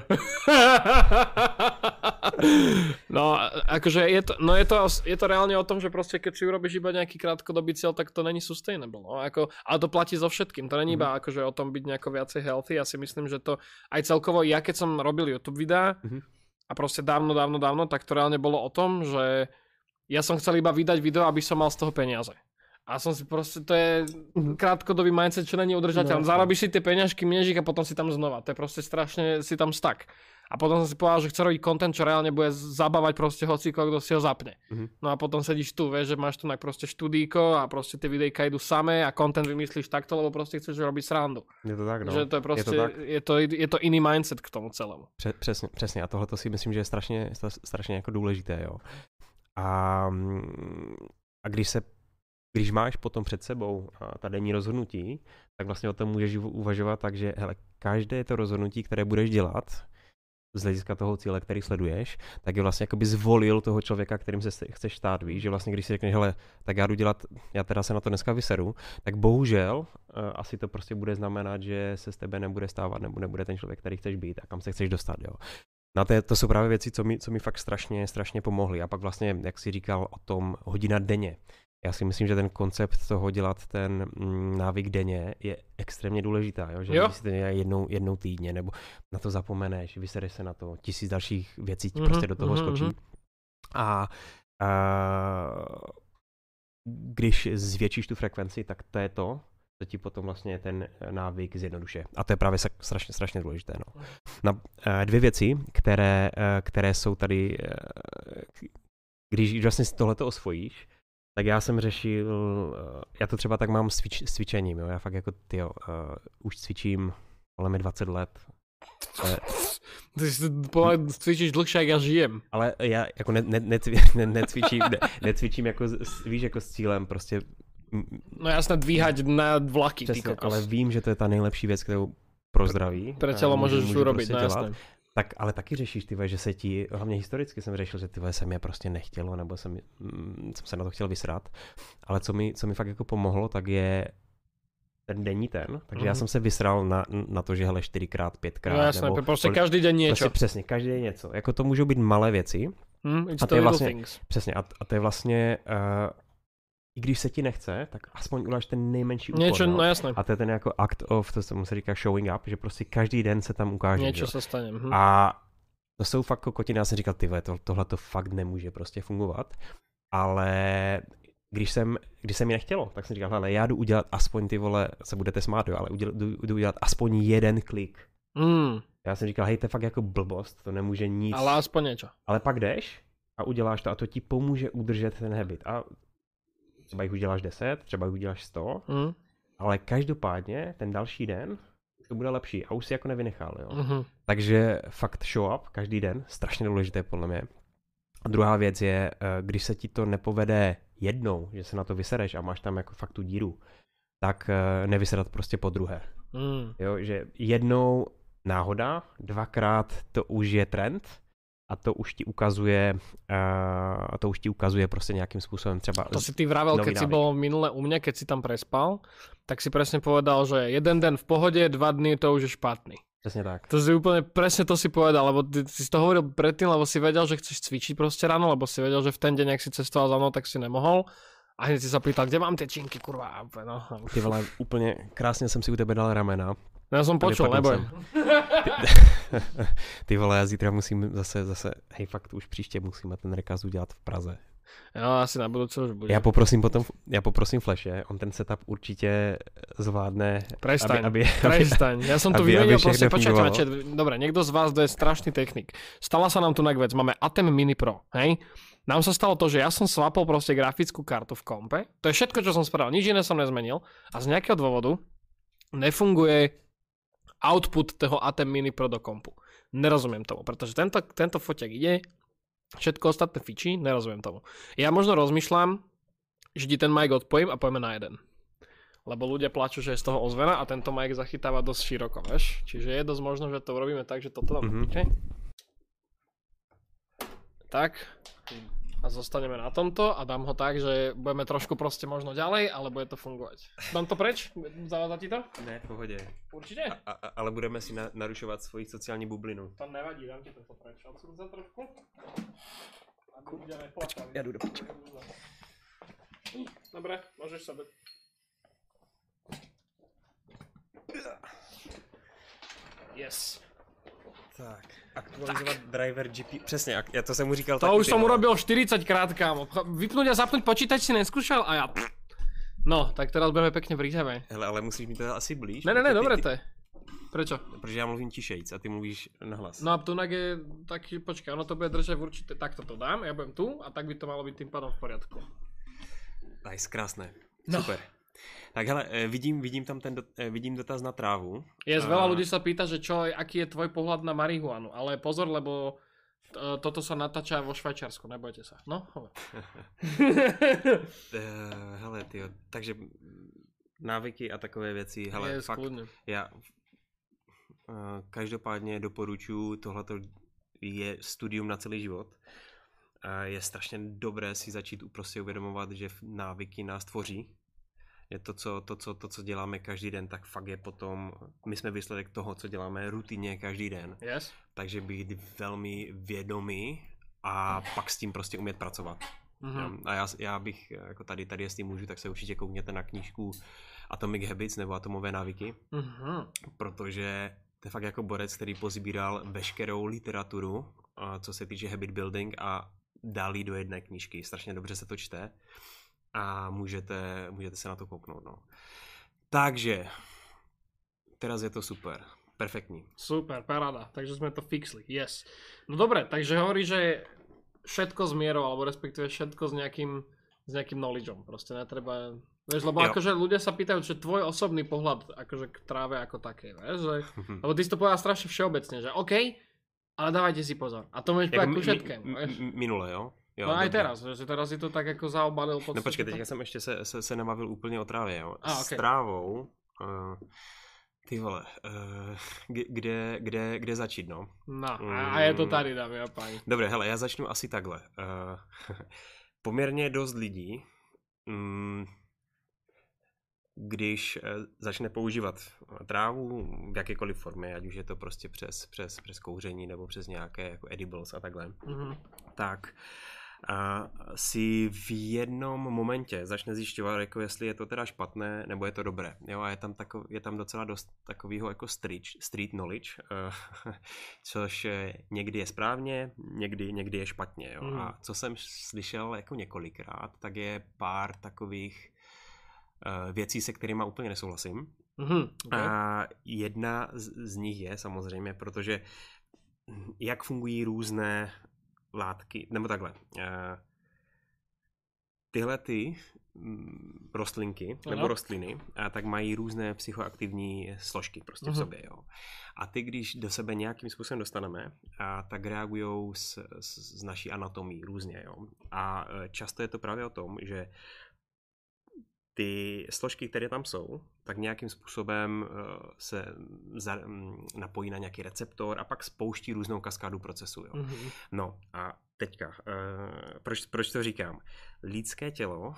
No, akože je to, no je to, je to reálne o tom, že proste keď si urobíš iba nejaký krátkodobý cieľ, tak to není sustainable. No, ako, ale to platí so všetkým. To není iba akože o tom byť nejako viacej healthy. Ja si myslím, že to aj celkovo, ja keď som robil YouTube videá mm-hmm. a proste dávno, dávno, dávno, tak to reálne bolo o tom, že ja som chcel iba vydať video, aby som mal z toho peniaze. A som si proste, to je krátkodobý mindset, čo není udržateľný. No, zarobíš si tie peňažky, miežik a potom si tam znova. To je proste strašne, si tam stuck. A potom som si povedal, že chce robiť content, čo reálne bude zabávať proste hociko, kto si ho zapne. Mm-hmm. No a potom sedíš tu, vieš, že máš tu tak proste študíko a proste tie videjka idú samé a content vymyslíš takto, lebo proste chceš robiť srandu. Je to tak, no. Že to je proste, je to, je to, je to iný mindset k tomu celému. Pře- přesně, přesně. A tohle to si myslím, že je strašně, strašně jako důležité, jo. A, a když se Když máš potom před sebou ta denní rozhodnutí, tak vlastně o tom můžeš uvažovat tak, že hele, každé to rozhodnutí, které budeš dělat z hlediska toho cíle, který sleduješ, tak je vlastně jakoby zvolil toho člověka, kterým se chceš stát, víš, že vlastně když si řekneš, hele, tak já jdu dělat, já teda se na to dneska vyseru, tak bohužel uh, asi to prostě bude znamenat, že se z tebe nebude stávat, nebo nebude ten člověk, který chceš být a kam se chceš dostat, jo. No to, je, to jsou právě věci, co mi, co mi fakt strašně, strašně pomohly. A pak vlastně, jak jsi říkal o tom hodina denně, já si myslím, že ten koncept toho dělat ten mm, návyk denně je extrémně důležitá, jo? Že jo. Když si to dělá jednou, jednou týdně, nebo na to zapomeneš, vysereš se na to, tisíc dalších věcí ti mm-hmm, prostě do toho mm-hmm. skočí. A, a když zvětšíš tu frekvenci, tak to je to, to ti potom vlastně ten návyk zjednodušuje. A to je právě strašně, strašně důležité. No. Na, dvě věci, které, které jsou tady, když vlastně tohleto osvojíš, tak já jsem řešil, já to třeba tak mám s, cvič, s cvičením, jo? Já fakt jako, tyjo, uh, už cvičím, ale mi dvacet let. Ale... Ty si cvičíš dlhšie, jak já žijem. Ale já jako ne, ne, necvi, ne, necvičím, ne, necvičím jako, víš, jako s cílem prostě... No jasné, dvíhať na vlaky, Přesně, ty kokos. ale vím, že to je ta nejlepší věc, kterou pro zdraví. Pre tělo můžeš můžu urobiť, prostě no dělat. jasné. Tak, ale taky řešíš, ty že se ti, hlavně historicky jsem řešil, že ty se mě prostě nechtělo, nebo jsem, mm, jsem se na to chtěl vysrat. Ale co mi, co mi fakt jako pomohlo, tak je ten denní ten. Takže mm. já jsem se vysral na, na to, že hele čtyřikrát, pětkrát. No jasné, nebo, prostě každý den něco. Prostě přesně, každý den něco. Jako to můžou být malé věci. Mm, a to je vlastně, přesně, a, a to je vlastně, uh, i když se ti nechce, tak aspoň uděláš ten nejmenší úkol. Něco, no jasné. A to je ten jako act of, to se říká showing up, že prostě každý den se tam ukáže. Něco se stane. Hm. A to jsou fakt kokotiny, já jsem říkal, ty to, tohle to fakt nemůže prostě fungovat. Ale když jsem, když se mi nechtělo, tak jsem říkal, hele, já jdu udělat aspoň, ty vole, se budete smát, jo, ale uděl, jdu, jdu udělat aspoň jeden klik. Mm. Já jsem říkal, hej, to je fakt jako blbost, to nemůže nic. Ale aspoň něco. Ale pak jdeš a uděláš to a to ti pomůže udržet ten habit. A třeba jich uděláš deset, třeba jich uděláš sto, mm. ale každopádně ten další den to bude lepší a už si jako nevynechal, jo. Mm-hmm. Takže fakt show up každý den, strašně důležité podle mě. A druhá věc je, když se ti to nepovede jednou, že se na to vysereš a máš tam jako fakt tu díru, tak nevysedat prostě po druhé. Mm. Jo, že jednou náhoda, dvakrát to už je trend a to už ti ukazuje, uh, to už ti ukazuje prostě nějakým způsobem třeba. To si ty vravel, keď si bol minule u mňa, keď si tam prespal, tak si presne povedal, že jeden den v pohode, dva dny to už je špatný. Presne tak. To si úplne presne to si povedal, lebo ty, ty si to hovoril predtým, lebo si vedel, že chceš cvičiť proste ráno, lebo si vedel, že v ten deň, ak si cestoval za mnou, tak si nemohol. A hneď si sa pýtal, kde mám tie činky, kurva. No. Ty vole, úplne krásne som si u tebe dal ramena. No ja som počul, neboj. Ty, ty vole, já zítra musím zase, zase, hej, fakt už příště musíme ten rekaz udělat v Praze. Jo, asi na budúce už bude. Já poprosím potom, já poprosím Flashe, on ten setup určitě zvládne. Prestaň, aby, aby, prestaň. Ja som tu vymenil proste, počkajte, počkajte. Dobre, niekto z vás, kto je strašný technik. Stala sa nám tu vec, máme Atem Mini Pro, hej? Nám sa stalo to, že ja som swapol proste grafickú kartu v kompe. To je všetko, čo som spravil, nič iné som nezmenil. A z nejakého dôvodu nefunguje output toho Atem Mini Pro do kompu. Nerozumiem tomu, pretože tento, tento foťak ide, všetko ostatné fičí, nerozumiem tomu. Ja možno rozmýšľam, že ti ten mic odpojím a pojeme na jeden. Lebo ľudia plačú, že je z toho ozvena a tento mic zachytáva dosť široko, vieš? Čiže je dosť možno, že to urobíme tak, že toto tam mm-hmm. Tak. A zostaneme na tomto a dám ho tak, že budeme trošku proste možno ďalej, ale bude to fungovať. Dám to preč? Zavádza ti to? Ne, v pohodě. Určitě? A, a, ale budeme si na, narušovat svoji sociální bublinu. To nevadí, dám ti to preč. Odsud za trošku. A ľudia neplačali. Já jdu do piče. Dobre, môžeš sa byť. Yes. Tak, aktualizovat tak. Driver G P, přesně, já to jsem mu říkal. To už jsem urobil štyridsaťkrát, kámo. Vypnúť a zapnúť počítač si neskúšal a ja... No, tak teraz budeme pekne pri tebe. Hele, ale musíš mi to asi blíž. Ne, ne, ne, dobré to je. Prečo? Protože já mluvím tišejc a ty mluvíš nahlas. No a tunak je taký, počkaj, ono to bude držať v určité, takto to dám, ja budem tu a tak by to malo byť tým pádom v poriadku. Nice, krásné, no. Super. Tak hele, vidím, vidím tam ten, dot, vidím dotaz na trávu. Je, a... veľa ľudí sa pýta, že čo, aký je tvoj pohľad na marihuanu, ale pozor, lebo to, toto sa natáča vo Švajčiarsku, nebojte sa. No, hovor. Hele, tyjo, takže návyky a takové věci, hele, je, fakt, skľudne. já uh, každopádně doporučuji, tohleto je studium na celý život. Uh, je strašně dobré si začít prostě uvědomovat, že návyky nás tvoří. Je to co, to, co, to, co děláme každý den, tak fakt je potom, my jsme výsledek toho, co děláme rutině každý den. Yes. Takže být velmi vědomý a pak s tím prostě umět pracovat. Mm-hmm. A já, já bych, jako tady, tady jestli můžu, tak se určitě koukněte na knížku Atomic Habits nebo Atomové návyky, mm-hmm. protože to je fakt jako borec, který pozbíral veškerou literaturu, co se týče habit building a dal jí do jedné knížky. Strašně dobře se to čte. A můžete, můžete se na to kouknout. No. Takže, teraz je to super. Perfektní. Super, paráda. Takže sme to fixli. Yes. No dobre, takže hovorí, že všetko s mierou, alebo respektíve všetko s nejakým, s nejakým knowledgeom. Proste netreba... Vieš, lebo jo. Akože ľudia sa pýtajú, že tvoj osobný pohľad akože k tráve ako také, vieš, že... Lebo ty si to povedal strašne všeobecne, že OK, ale dávajte si pozor. A to môžeš povedať ku všetkému, vieš. Minule, jo? Jo, no aj dobře. teraz, že teraz si to tak jako zaobalil. No počkej, teďka jsem ještě se, se, se nebavil úplně o trávě, jo. A, okay. S trávou... Uh... Ty vole, uh, kde, kde, kde začít, no? No, a je to tady, dámy a páni. Dobře, hele, já začnu asi takhle. Uh, poměrně dost lidí, um, když uh, začne používat trávu v jakékoliv formě, ať už je to prostě přes, přes, přes kouření nebo přes nějaké jako edibles a takhle, mm-hmm. tak a si v jednom momentě začne zjišťovat, jako jestli je to teda špatné, nebo je to dobré. Jo, a je tam, takov, je tam docela dost takového jako street, street knowledge, uh, což někdy je správně, někdy, někdy je špatně. Jo. Mm. A co jsem slyšel jako několikrát, tak je pár takových uh, věcí, se kterými úplně nesouhlasím. Mm-hmm, okay. A jedna z, z nich je samozřejmě, protože jak fungují různé látky, nebo takhle. Tyhle ty rostlinky, nebo ano. rostliny, tak mají různé psychoaktivní složky prostě uh-huh. v sobě. Jo. A ty, když do sebe nějakým způsobem dostaneme, a tak reagujou s, s, s naší anatomí různě. Jo. A často je to právě o tom, že ty složky, které tam jsou, tak nějakým způsobem se za, napojí na nějaký receptor a pak spouští různou kaskádu procesu. Jo. Mm-hmm. No a teďka, proč, proč to říkám? Lidské tělo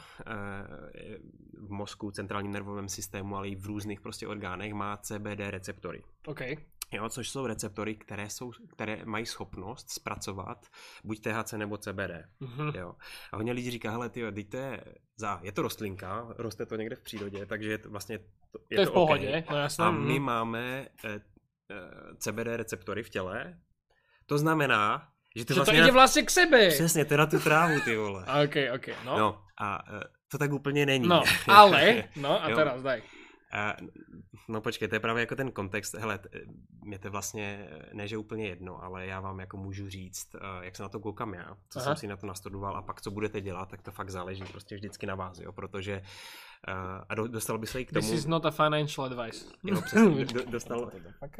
v mozku, centrálním nervovém systému, ale i v různých prostě orgánech má C B D receptory. Okay. Jo, což jsou receptory, které, jsou, které mají schopnost zpracovat buď T H C nebo C B D. Mm-hmm. Jo. A hodně lidí říká, hele tyjo, to je, za, je to rostlinka, roste to někde v přírodě, takže je to vlastně to, je to, je to v pohodě. Okay. No, jasně. A my máme eh, eh, C B D receptory v těle, to znamená, že to, že vlastně to jde vlastně k sebe. Přesně, to je na tu trávu, ty vole. Ok, ok, no. No a eh, to tak úplně není. No, ale, no a teraz daj. A, no počkej, to je právě jako ten kontext, hele, mě to vlastně, ne že úplně jedno, ale já vám jako můžu říct, jak se na to koukám já, co Aha. jsem si na to nastudoval a pak co budete dělat, tak to fakt záleží prostě vždycky na vás, jo, protože a do, dostal by se i k tomu... This is not a financial advice. Jo, přesně, do, dostal,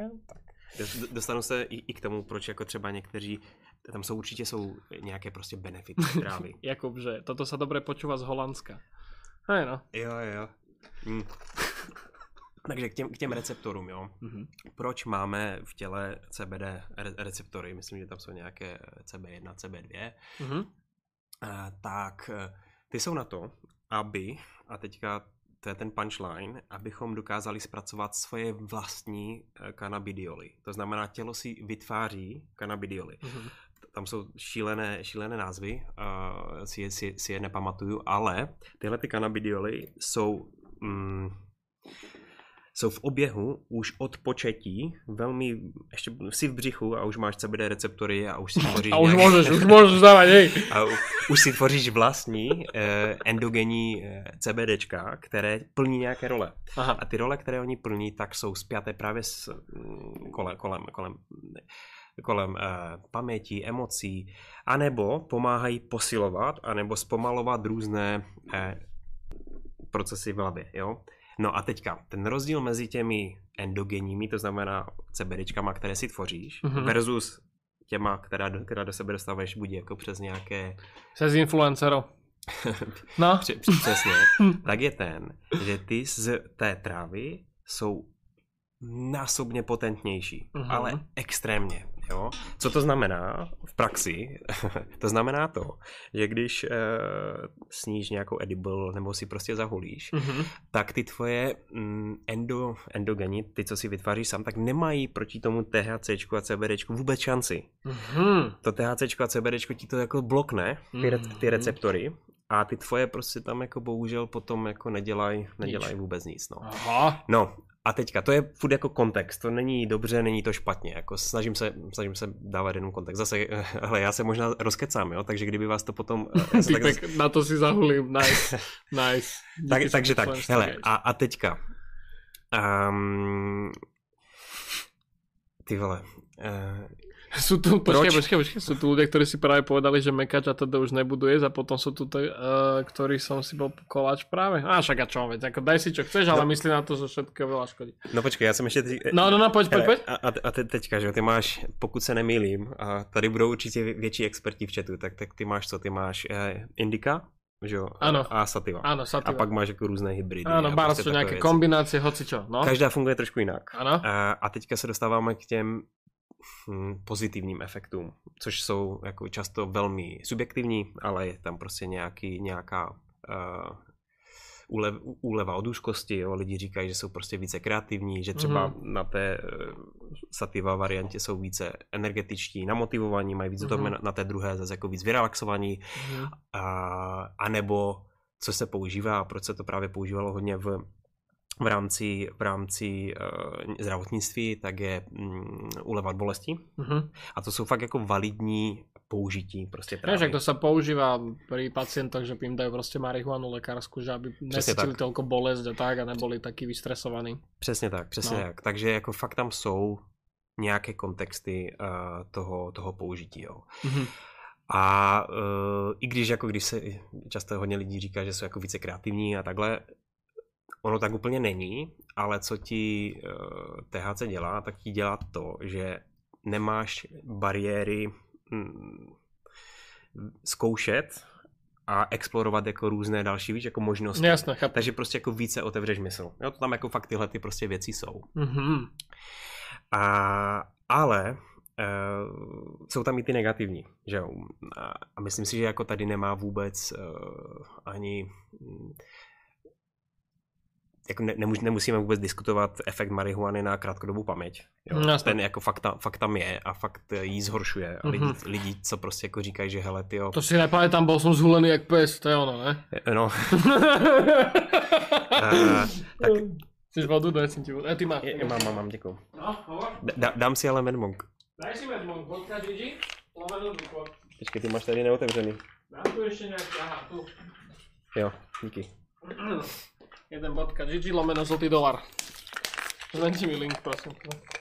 dostanu se i, i k tomu, proč jako třeba někteří, tam jsou určitě jsou nějaké prostě benefity trávy. Jakub, že toto sa dobre počúva z Holandska. Hej no. Jo, jo. Mm. Takže k těm, k těm receptorům, jo. Mm-hmm. Proč máme v těle C B D re- receptory? Myslím, že tam jsou nějaké C B jedna, C B dva. Mm-hmm. A, tak ty jsou na to, aby, a teďka to je ten punchline, abychom dokázali zpracovat svoje vlastní kanabidioly. To znamená, tělo si vytváří kanabidioly. Mm-hmm. Tam jsou šílené, šílené názvy, uh, si, je, si, si je nepamatuju, ale tyhle ty kanabidioly jsou... Mm, jsou v oběhu už od početí, velmi, ještě si v břichu a už máš C B D receptory a už si tvoříš... A už nějak... můžeš, už můžeš dávat, hej. A u, už si tvoříš vlastní eh, endogenní eh, CBDčka, které plní nějaké role. Aha. A ty role, které oni plní, tak jsou spjaté právě s mm, kolem, kolem, kolem, kolem eh, paměti, emocí, anebo pomáhají posilovat, anebo zpomalovat různé eh, procesy v hlavě, jo. No a teďka, ten rozdíl mezi těmi endogenními, to znamená CBDčkama, které si tvoříš, mm-hmm. versus těma, která do, která do sebe dostáváš buď jako přes nějaké... Přes influencero. No. Přesně. Tak je ten, že ty z té trávy jsou násobně potentnější, mm-hmm. ale extrémně. Jo? Co to znamená v praxi? To znamená to, že když uh, sníš nějakou edible nebo si prostě zahulíš, mm-hmm. tak ty tvoje mm, endo, endogeni, ty, co si vytváříš sám, tak nemají proti tomu THCčku a CBDčku vůbec šanci. Mm-hmm. To THCčko a CBDčko ti to jako blokne, ty, re, ty receptory, a ty tvoje prostě tam jako bohužel potom jako nedělají nedělaj vůbec nic. No. Aha. No. A teďka, to je furt jako kontext, to není dobře, není to špatně, jako snažím se, snažím se dávat jenom kontext. Zase, hele, já se možná rozkecám, jo, takže kdyby vás to potom... tak, tak na to si zahulím, nice, nice. tak, takže tak, hele, a, a teďka, Um, ty vole. Uh, sú tu, počkej, počkej, počkej, sú tu ľudia, ktorí si práve povedali, že mekač a teda už nebudu jesť a potom sú tu, uh, ktorí som si bol koláč práve. A však a čo, veď, ako daj si čo chceš, ale no. Myslí na to, že všetko veľa škodí. No počkej, já jsem ještě... Teď... No, no, no, pojď, pojď, pojď. A, a te, teďka, že ty máš, pokud se nemýlím, a tady budou určitě větší experti v chatu, tak, tak ty máš co, ty máš eh, indika, že jo? Ano. A sativa. Ano, sativa. A pak máš jako různé hybridy. Ano, bár sú nějaké věci. Kombinácie, hocičo. No. Každá funguje trošku jinak. Ano. A, a teďka se dostáváme k těm hm, pozitivním efektům, což jsou jako často velmi subjektivní, ale je tam prostě nějaký, nějaká uh, úlev, úleva od úzkosti. Jo? Lidi říkají, že jsou prostě více kreativní, že třeba mm-hmm. na té uh, sativa variantě jsou více energetičtí, namotivovaní, mají víc mm-hmm. toho, na, na té druhé zase jako víc vyrelaxovaní. Mm-hmm. A, a nebo co se používá a proč se to právě používalo hodně v v rámci, v rámci uh, zdravotnictví, tak je um, uleva od bolesti. Uh-huh. A to jsou fakt jako validní použití prostě trávy. Vieš, to sa používa pri pacientoch, že im dajú prostě marihuanu lekárskú, že aby nescítili toľko bolesť a tak a neboli takí vystresovaní. Přesně tak, přesně no. tak. Takže jako fakt tam jsou nějaké kontexty uh, toho, toho použití. Jo. Uh-huh. A uh, i když jako když se často hodně lidí říká, že jsou jako více kreativní a takhle, ono tak úplně není, ale co ti uh, T H C dělá, tak ti dělá to, že nemáš bariéry hm, zkoušet a explorovat jako různé další, víš, jako možnosti. Jasně, chápu. Takže prostě jako více otevřeš mysl. Jo, to tam jako fakt tyhle ty prostě věci jsou. Mm-hmm. A, ale uh, jsou tam i ty negativní, že jo. A, a myslím si, že jako tady nemá vůbec uh, ani... Hm, jako ne, nemus, nemusíme vůbec diskutovat efekt marihuany na krátkodobou paměť. Jo? No, ten jako fakt, fakt tam je a fakt jí zhoršuje. A lidi, mm-hmm. lidi, co prostě jako říkají, že hele, tyjo... To si nepamätám, bol som zhulený jak pes, to je ono, ne? No. uh, tak... Chceš vodu? Daj si ti vodu. E, ty máš. Je, mám, mám, mám, děkuju. No, hovor. Da, dám si ale Medmonk. Daj si Medmonk, vodka Gigi, lomenú duplo. Počkej, ty máš tady neotevřený. Dám tu ještě nějaký, aha, tu. Jo, díky. jeden bodka Gigi lomeno zlatý dolar. Zmenči mi link, prosím.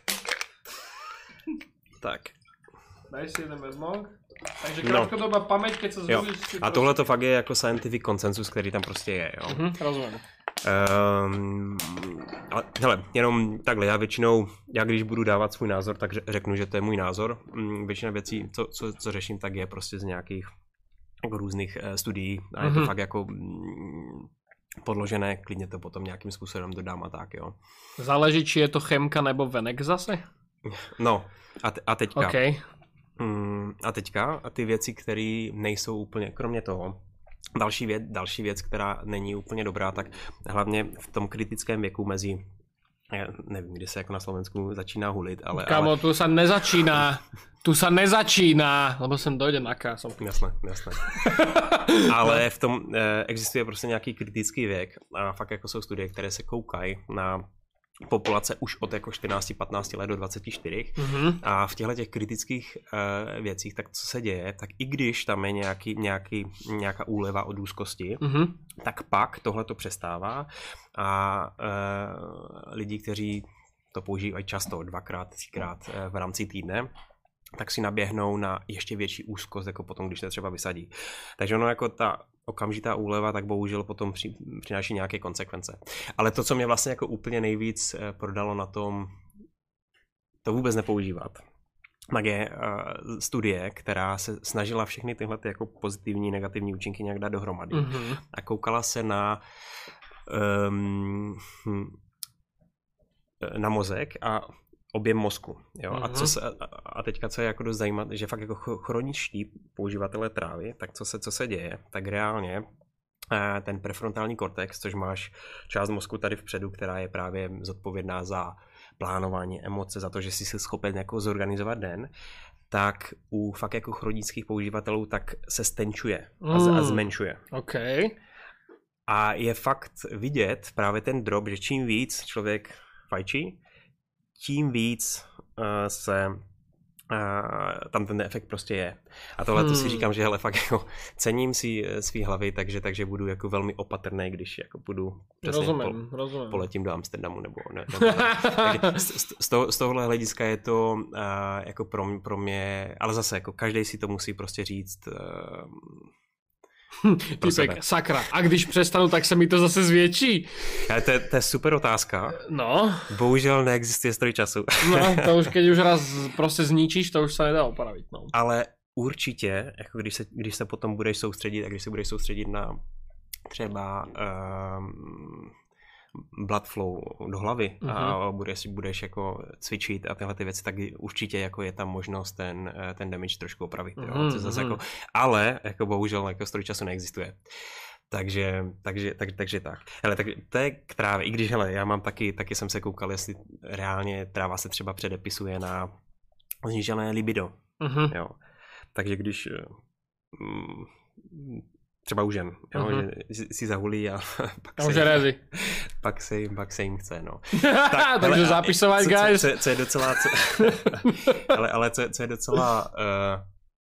Tak. Daj si jeden Medmonk. Takže krátkodobá no. paměť, keď sa zhubíš... A prostě... tohle to fakt je jako scientific consensus, který tam prostě je, jo. Mhm, rozumím. Um, ale hele, jenom takhle, já většinou, já když budu dávat svůj názor, tak řeknu, že to je můj názor. Většina věcí, co, co, co řeším, tak je prostě z nějakých jako různých uh, studií a je to mm-hmm. fakt jako... Mm, podložené, klidně to potom nějakým způsobem dodám a tak, jo. Záleží, či je to chemka nebo venek zase? No, a, te, a teďka. Okay. Mm, a teďka, a ty věci, které nejsou úplně, kromě toho, další věc, další věc, která není úplně dobrá, tak hlavně v tom kritickém věku mezi, já nevím, kdy se jako na Slovensku začíná hulit, ale... Kámo, ale... tu sa nezačíná. Tu sa nezačíná, lebo sem dojde na kásom. Jasné, jasné. Ale v tom eh, existuje prostě nějaký kritický věk a fakt jako jsou studie, které se koukají na populace už od jako čtrnáct patnáct let do dvacet čtyři mm-hmm. a v těchto těch kritických eh, věcích, tak co se děje, tak i když tam je nějaký, nějaký, nějaká úleva od úzkosti, mm-hmm. tak pak tohle to přestává a eh, lidi, kteří to používají často, dvakrát, třikrát eh, v rámci týdne, tak si naběhnou na ještě větší úzkost, jako potom, když se třeba vysadí. Takže ono jako ta okamžitá úleva, tak bohužel potom při, přináší nějaké konsekvence. Ale to, co mě vlastně jako úplně nejvíc prodalo na tom, to vůbec nepoužívat, tak je uh, studie, která se snažila všechny tyhle ty jako pozitivní, negativní účinky nějak dát dohromady. Mm-hmm. A koukala se na um, na mozek a objem mozku. Jo? Mm-hmm. A, co se, a teďka, co je jako dost zajímavé, že fakt jako chroničtí používatelé trávy, tak co se, co se děje, tak reálně ten prefrontální kortex, což máš část mozku tady vpředu, která je právě zodpovědná za plánování emoce, za to, že jsi si schopen jako zorganizovat den, tak u fakt jako chronických používatelů tak se stenčuje a, z, a zmenšuje. Okay. A je fakt vidět právě ten drop, že čím víc člověk fajčí, tím víc uh, se Uh, tam ten efekt prostě je. A tohle hmm. to si říkám, že hele, fakt jako cením si svý hlavy, takže, takže budu jako velmi opatrný, když jako budu přesně rozumím, po, rozumím. poletím do Amsterdamu nebo ne. Nebo, takže z, z, toho, z tohohle hlediska je to uh, jako pro mě, pro mě, ale zase jako každý si to musí prostě říct uh, Typek, sakra, a když přestanu, tak se mi to zase zvětší. Ale to je, to je super otázka. No. Bohužel neexistuje stroj času. No, to už keď už raz prostě zničíš, to už se nedá opravit. No. Ale určitě, jako když se, když se potom budeš soustředit a když se budeš soustředit na třeba um, blood flow do hlavy mm-hmm. a budeš, budeš jako cvičit a tyhle ty věci, tak určitě jako je tam možnost ten, ten damage trošku opravit. Mm-hmm. Jo? Zase jako, ale jako bohužel jako stroj času neexistuje. Takže, takže, tak, takže tak. Hele, tak to je k trávě. I když, hele, já mám taky, taky jsem se koukal, jestli reálně tráva se třeba předepisuje na znížené libido. Mm-hmm. Jo. Takže když mm, třeba u žen, jo, uh-huh. že si zahulí a pak, a se, jim, pak, se, jim, pak se jim chce, no. Tak, takže zapisovat, co, guys. Co, co, co je docela, co, ale, ale co, co je docela, uh,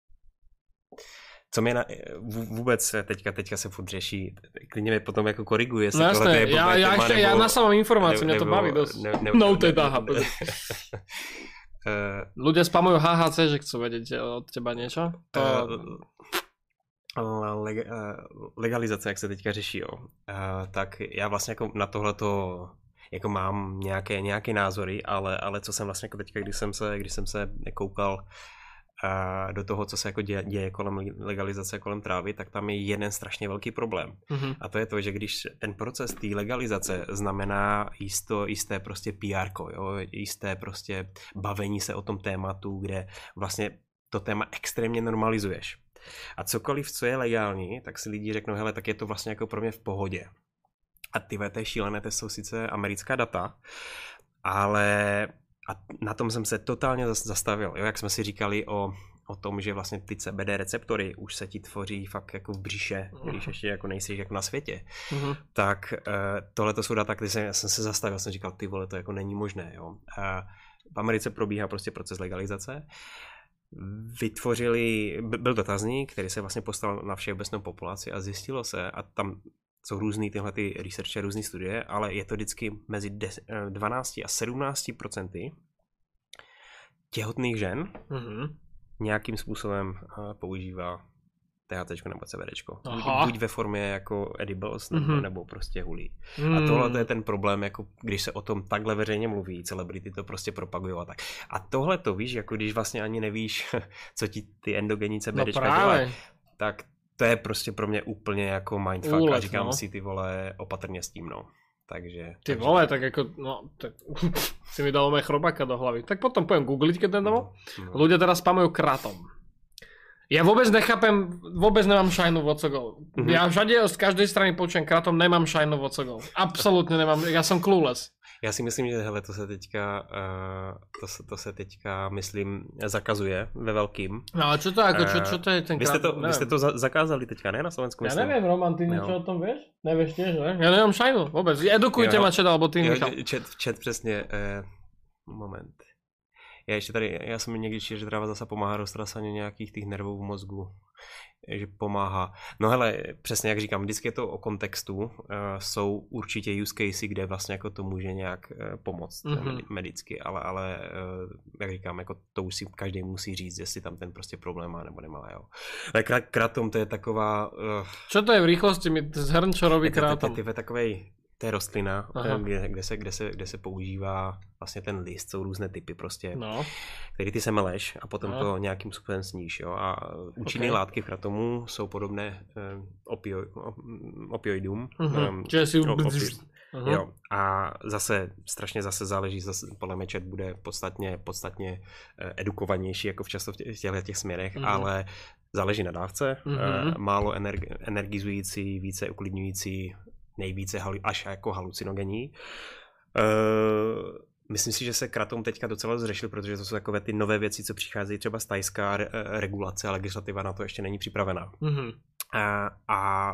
co mě na, vůbec teďka, teďka se furt řeší, klidně mě potom jako koriguje, jestli no, tohle je já, já, ještě, nebo, já na samou informaci, mě to baví dost. Ne, ne, no, to je tá, ľudia spamujú há há cé, že chcú vedieť od teba niečo? To... Leg, legalizace, jak se teďka řeší, jo. Tak já vlastně jako na tohleto jako mám nějaké, nějaké názory, ale, ale co jsem vlastně jako teďka, když jsem se, když jsem se koukal do toho, co se jako děje, děje kolem legalizace, kolem trávy, tak tam je jeden strašně velký problém. Mm-hmm. A to je to, že když ten proces té legalizace znamená jisto, jisté prostě pé érko, jo, jisté prostě bavení se o tom tématu, kde vlastně to téma extrémně normalizuješ. A cokoliv, co je legální, tak si lidi řeknou, hele, tak je to vlastně jako pro mě v pohodě. A ty to je šílené, to jsou sice americká data, ale a na tom jsem se totálně zastavil, jo, jak jsme si říkali o, o tom, že vlastně ty cé bé dé receptory už se ti tvoří fakt jako v břiše, když ještě jako nejsi jako na světě, uh-huh. tak uh, tohle to jsou data, kde jsem, jsem se zastavil, jsem říkal, ty vole, to jako není možné, jo. Uh, v Americe probíhá prostě proces legalizace, vytvořili, byl dotazník, který se vlastně postavil na všeobecnou populaci a zjistilo se, a tam jsou různý tyhle ty researche, různý studie, ale je to vždycky mezi dvanáct a sedmnáct procenty těhotných žen mm-hmm. nějakým způsobem používá té há cé nebo cé bé déčko. Buď, buď ve formě jako edibles, nebo, mm-hmm. nebo prostě hulí. Mm. A tohle to je ten problém, jako když se o tom takhle veřejně mluví, celebrity to prostě propagují a tak. A tohle to víš, jako když vlastně ani nevíš, co ti ty endogenní cé bé déčka no dělají, tak to je prostě pro mě úplně jako mindfuck. Úlet, a říkám no. si, ty vole, opatrně s tím, no. Takže... Ty takže... vole, tak jako, no, tak si mi dalo mé chrobáka do hlavy. Tak potom poviem googliť, keď ten domov. No, no. Ľudia teraz spamujú kratom. Ja vôbec nechápem, vôbec nemám šajnu vocogov. Mm-hmm. Ja všade z každej strany počujem kratom, nemám šajnu vocogov. Absolutne nemám, ja som clueless. Já si myslím, že hele, to se teďka, uh, to, se, to se teďka, myslím, zakazuje ve velkým. No ale čo to, ako, čo, čo to je ten vy jste to, vy jste to za, zakázali teďka, ne? Na Slovensku, ja myslím. Ja neviem, Roman, ty niečo o tom vieš? Nevieš tiež, ne? Ja nemám šajnu, vôbec. Edukujte ma, čet, alebo ty, Michal. Čet, čet přesně, uh, moment. Já ještě tady, já jsem někdy čil, že tráva zase pomáhá roztrasaně nějakých těch nervů v mozgu, že pomáhá. No hele, přesně jak říkám, vždycky je to o kontextu, uh, jsou určitě use casey, kde vlastně jako to může nějak uh, pomoct mm-hmm. medicky, ale, ale uh, jak říkám, jako to už si každý musí říct, jestli tam ten prostě problém má nebo nemá, jo. Ale kratom to je taková... Uh, Čo to je v rýchlosti, mi zhrň, čo robí kratom? To je takovej... To je rostlina, kde, kde, se, kde, se, kde se používá vlastně ten list, jsou různé typy prostě, no. který ty semeleš a potom no. to nějakým způsobem sníš, jo. A účinné okay. látky v kratomu jsou podobné eh, opio, opioidům. Uh-huh. Um, si... op, opi, uh-huh. jo. A zase, strašně zase záleží, zase podle mě chat bude podstatně, podstatně eh, edukovanější jako v často v těchto těch směrech, uh-huh. ale záleží na dávce, uh-huh. eh, málo energ, energizující, více uklidňující, nejvíce až jako halucinogenní. Uh, myslím si, že se kratom teďka docela zřešil, protože to jsou takové ty nové věci, co přicházejí třeba z tajská re- regulace a legislativa na to ještě není připravená. Mm-hmm. A, a